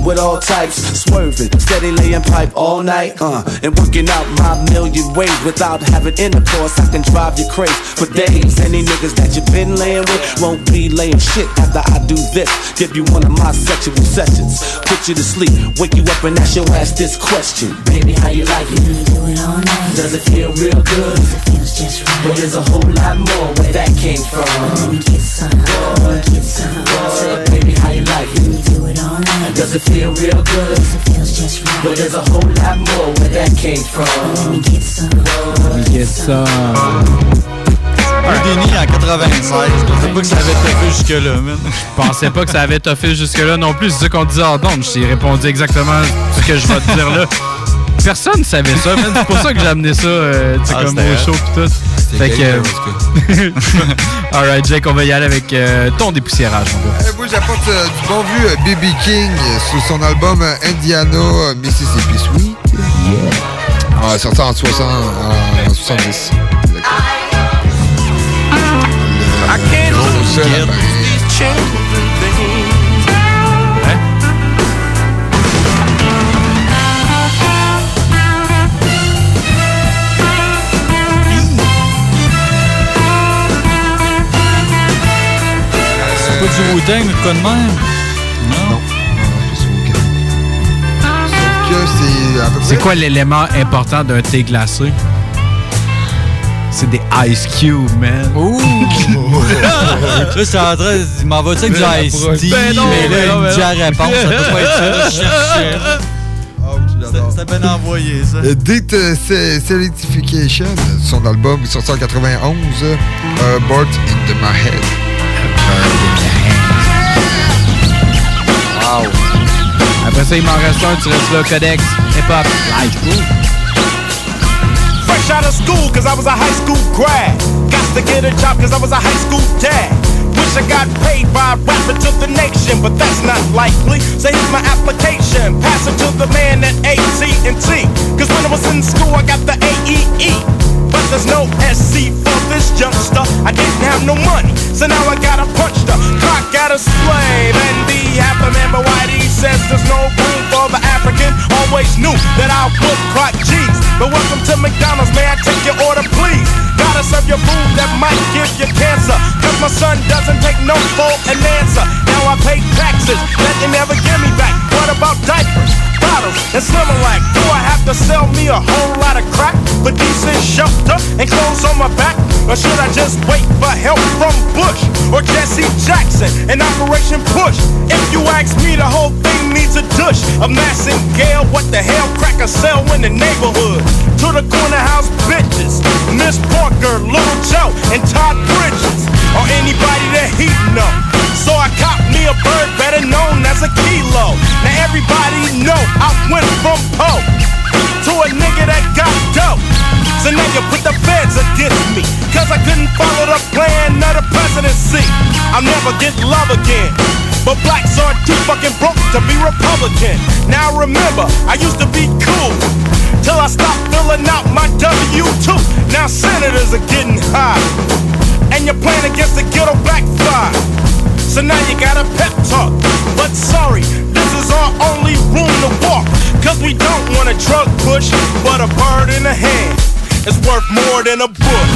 with all types, swerving, steady laying pipe all night, uh, and working out my million ways without having intercourse. I can drive you crazy for days. Any niggas that you been laying with won't be laying shit after I do this. Give you one of my sexual sessions, put you to sleep, wake you up and ask your ass this question: baby, how you like it? You do it all night. Does it feel real good? It feels just right. But there's a whole lot more where that came from. Let me get some. Boy, get some. Boy, baby, how you like it? You do it all night. Does it feel real good? It feels just right. But there's a whole lot more where that came from. Let me get some. Let me get some. Houdini en quatre-vingt-seize. Je pensais pas que ça avait toffé jusque-là, man. Je pensais pas que ça avait toffé jusque-là non plus. C'est ça qu'on disait en don. Je t'ai répondu exactement ce que je vais te dire là. Personne ne savait ça, man. C'est pour ça que j'ai amené ça euh, ah, comme au show pis tout. Fait que... Euh... Alright, Jake, on va y aller avec euh, ton dépoussiérage, mon gars. Euh, moi, j'apporte euh, du bon vieux B B King euh, sous son album euh, Indiana euh, Mississippi Sweet. Yeah. Ah, sorti en soixante, en soixante-dix. I can't lose these children, baby. Hein? C'est pas du Wu-Tang ou de quoi de même? Non. Non. Sauf que c'est à peu près... C'est quoi l'élément important d'un thé glacé? C'est des Ice Cube, man. Ouh! Là, c'est en train... Il m'en va-tu avec du Ice Tea? Ben non, mais là, ben non, il me dit ben la réponse. Ça peut pas être ça. Je cherchais. Oh, tu l'adores. C'était bien envoyé, ça. Euh, Date uh, Selectification, son album sorti en quatre-vingt-onze, uh, Bird in My Head. Wow. Après ça, il m'en reste un. Tu restes là, Codex, hip-hop, live, cool. Fresh out of school, cause I was a high school grad. Got to get a job, cause I was a high school dad. Wish I got paid by rapping to the nation, but that's not likely. So here's my application, pass it to the man at A T and T. Cause when I was in school, I got the A E E. But there's no S C for this youngster. I didn't have no money, so now I gotta punch the clock at a slave. And the happy man, but Whitey says there's no room for the African. Always knew that I would clock G's. But welcome to McDonald's, may I take your order, please? Gotta serve your food that might give you cancer. Cause my son doesn't take no for an answer. Now I pay taxes that they never give me back. What about diapers, bottles, and Similac? Do I have to sell me a whole lot of crack for decent shelter and clothes on my back? Or should I just wait for help from Bush or Jesse Jackson and Operation Push? If you ask me, the whole thing needs a douche of Massingale. What the hell crack a sell in the neighborhood? To the corner house bitches, Miss Parker, Little Joe, and Todd Bridges, or anybody that he know. So I cop me a bird better known as a kilo. Now everybody know I went from Poe to a nigga that got dope. So now you put the feds against me, cause I couldn't follow the plan of the presidency. I'll never get love again, but blacks are too fucking broke to be Republican. Now remember, I used to be cool, till I stopped filling out my W two. Now senators are getting high, and you're playing against the ghetto backfire. So now you got a pep talk, but sorry, this is our only room to walk. Cause we don't want a drug push, but a bird in the hand is worth more than a book.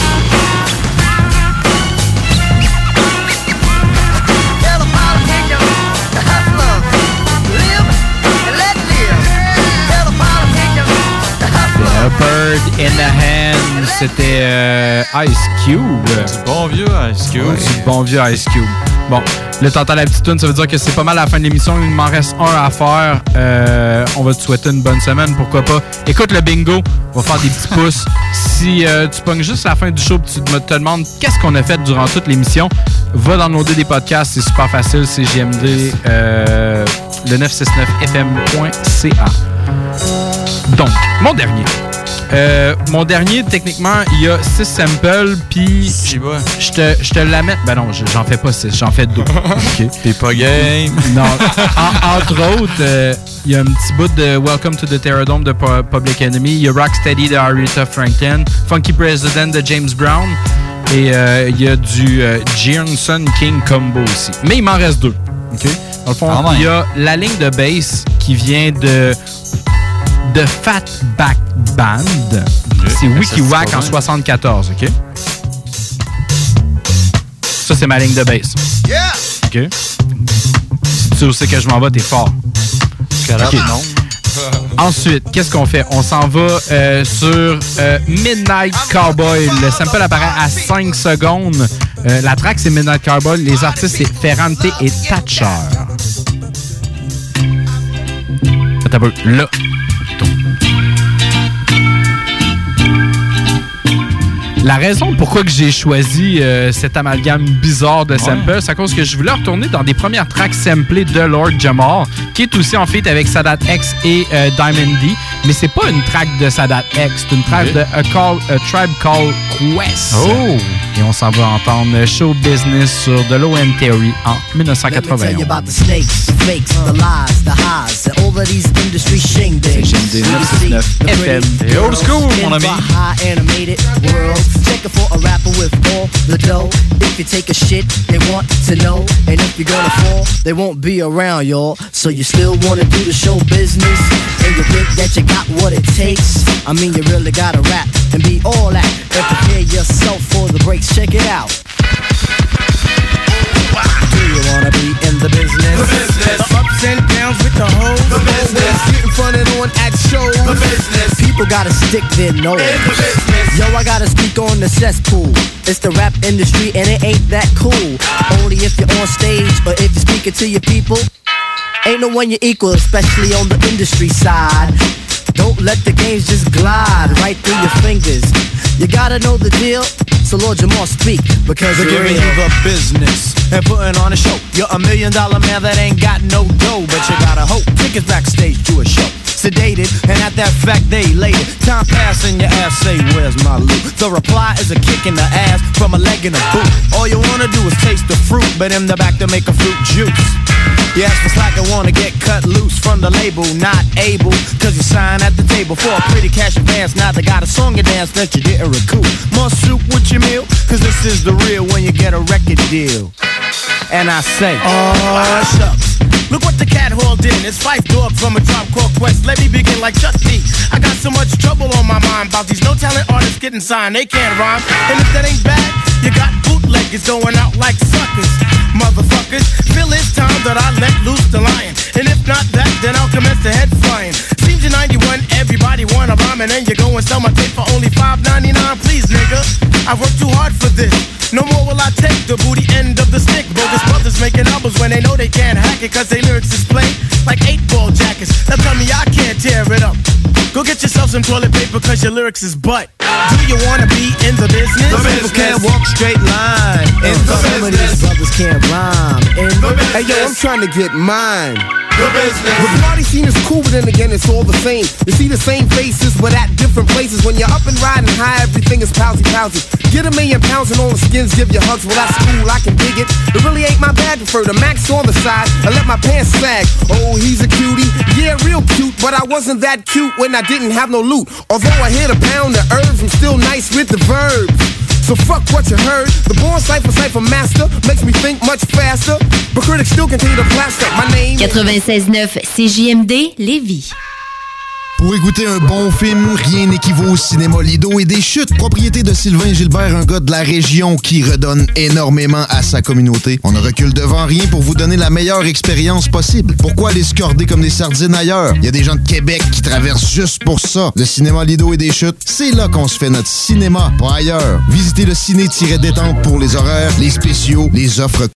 A Bird in the Hand, c'était euh, Ice Cube. Du bon vieux Ice Cube. Ouais, du bon vieux Ice Cube. Bon, là, t'entends la petite tune, ça veut dire que c'est pas mal à la fin de l'émission. Il m'en reste un à faire. Euh, on va te souhaiter une bonne semaine, pourquoi pas. Écoute le bingo, on va faire des petits pouces. Si euh, tu pognes juste la fin du show et tu te demandes qu'est-ce qu'on a fait durant toute l'émission, va downloader des podcasts, c'est super facile. C'est G M D, euh, le neuf cent soixante-neuf F M point C A. Donc, mon dernier. Euh, mon dernier, techniquement, il y a six samples, puis je te, je te la mets. Ben non, j'en fais pas six, j'en fais deux. Okay. T'es pas game. Non. En, entre autres, il euh, y a un petit bout de Welcome to the Terrordome de Public Enemy. Il y a Rocksteady de Aretha Franklin, Funky President de James Brown, et il euh, y a du euh, Johnson King combo aussi. Mais il m'en reste deux. OK? Dans le fond, il y a la ligne de bass qui qui vient de, de Fatback Band. C'est Wikiwack en soixante-quatorze, OK? Ça, c'est ma ligne de bass. Yeah! OK? Si tu sais où c'est que je m'en vais, t'es fort. Okay. Non. Ensuite, qu'est-ce qu'on fait? On s'en va euh, sur euh, Midnight Cowboy. Le sample apparaît à cinq secondes. Euh, la track, c'est Midnight Cowboy. Les artistes, c'est Ferrante et Thatcher. Attends un peu. Là. La raison pourquoi que j'ai choisi euh, cet amalgame bizarre de samples, ouais. c'est à cause que je voulais retourner dans des premières tracks samplées de Lord Jamar, qui est aussi en feat avec Sadat X et euh, Diamond D, mais c'est pas une track de Sadat X, c'est une track okay. de A, Call, A Tribe Called Quest. Oh! Et on s'en va entendre Show Business sur The Low End Theory en dix-neuf cent quatre-vingt-onze. C'est G M D neuf cent soixante-neuf F M. Et old school, mon ami. Check it for a rapper with all the dough. If you take a shit, they want to know. And if you're gonna fall, they won't be around, y'all. So you still wanna do the show business? And you think that you got what it takes? I mean, you really gotta rap and be all that. And prepare yourself for the breaks. Check it out. Do you wanna be in the business? The business. The ups and downs with the hoes. The business. Getting fronted on at shows. The business. People gotta stick their nose. In the business. Yo, I gotta speak on the cesspool. It's the rap industry and it ain't that cool. Only if you're on stage or if you're speaking to your people. Ain't no one you equal, especially on the industry side. Don't let the games just glide right through your fingers. You gotta know the deal, so Lord Jamar speak, because they're giving you the business and putting on a show. You're a million dollar man that ain't got no dough, but you gotta hope tickets backstage to a show. Sedated, and at that fact they elated. Time passing, your ass say, where's my loot? The reply is a kick in the ass from a leg in a boot. All you wanna do is taste the fruit, but in the back to make a fruit juice. You ask for slack and wanna get cut loose from the label, not able, cause you sign at the table for a pretty cash advance. Now they got a song and dance that you didn't recoup. More soup with your meal, cause this is the real when you get a record deal. And I say, oh shucks. Look what the cat hauled in. It's Phife Dawg from a Tribe Called Quest. Let me begin like Chuck D. I got so much trouble on my mind about these no talent artists getting signed. They can't rhyme. And if that ain't bad, you got bootleggers going out like suckers. Motherfuckers, feel it's time that I let loose the lion. And if not that, then I'll commence the head flying. Seems you're ninety-one, everybody wanna rhyme, and then you go and sell my tape for only five ninety-nine. Please, nigga, I worked too hard for this. No more will I take the booty end of the stick. Bogus brothers making albums when they know they can't hack it, cause they lyrics is plain like eight ball jackets. Now tell me I can't tear it up. Go get yourself some toilet paper, cause your lyrics is butt. Do you wanna be in the business? The business. People can't walk straight line. In the Some of these brothers can't rhyme. In the Hey yo, I'm trying to get mine. The business. The party scene is cool, but then again, it's all the same. You see the same faces, but at different places. When you're up and riding high, everything is pousy-pousy. Get a million pounds and all the skins give you hugs. Well, that's cool, I can dig it. It really ain't my bag. Prefer the max on the side. I let my pants sag. Oh, he's a cutie. Yeah, real cute, but I wasn't that cute when I didn't have no loot. Although I hit a pound of herbs, I'm still nice with the verbs. So fuck what you heard. The born cipher cipher master makes me think much faster. But critics still continue to plaster my name. quatre-vingt-seize neuf C J M D Lévis. Pour écouter un bon film, rien n'équivaut au cinéma Lido et des chutes. Propriété de Sylvain Gilbert, un gars de la région qui redonne énormément à sa communauté. On ne recule devant rien pour vous donner la meilleure expérience possible. Pourquoi aller se corder comme des sardines ailleurs? Il y a des gens de Québec qui traversent juste pour ça. Le cinéma Lido et des chutes, c'est là qu'on se fait notre cinéma, pas ailleurs. Visitez le ciné-détente pour les horaires, les spéciaux, les offres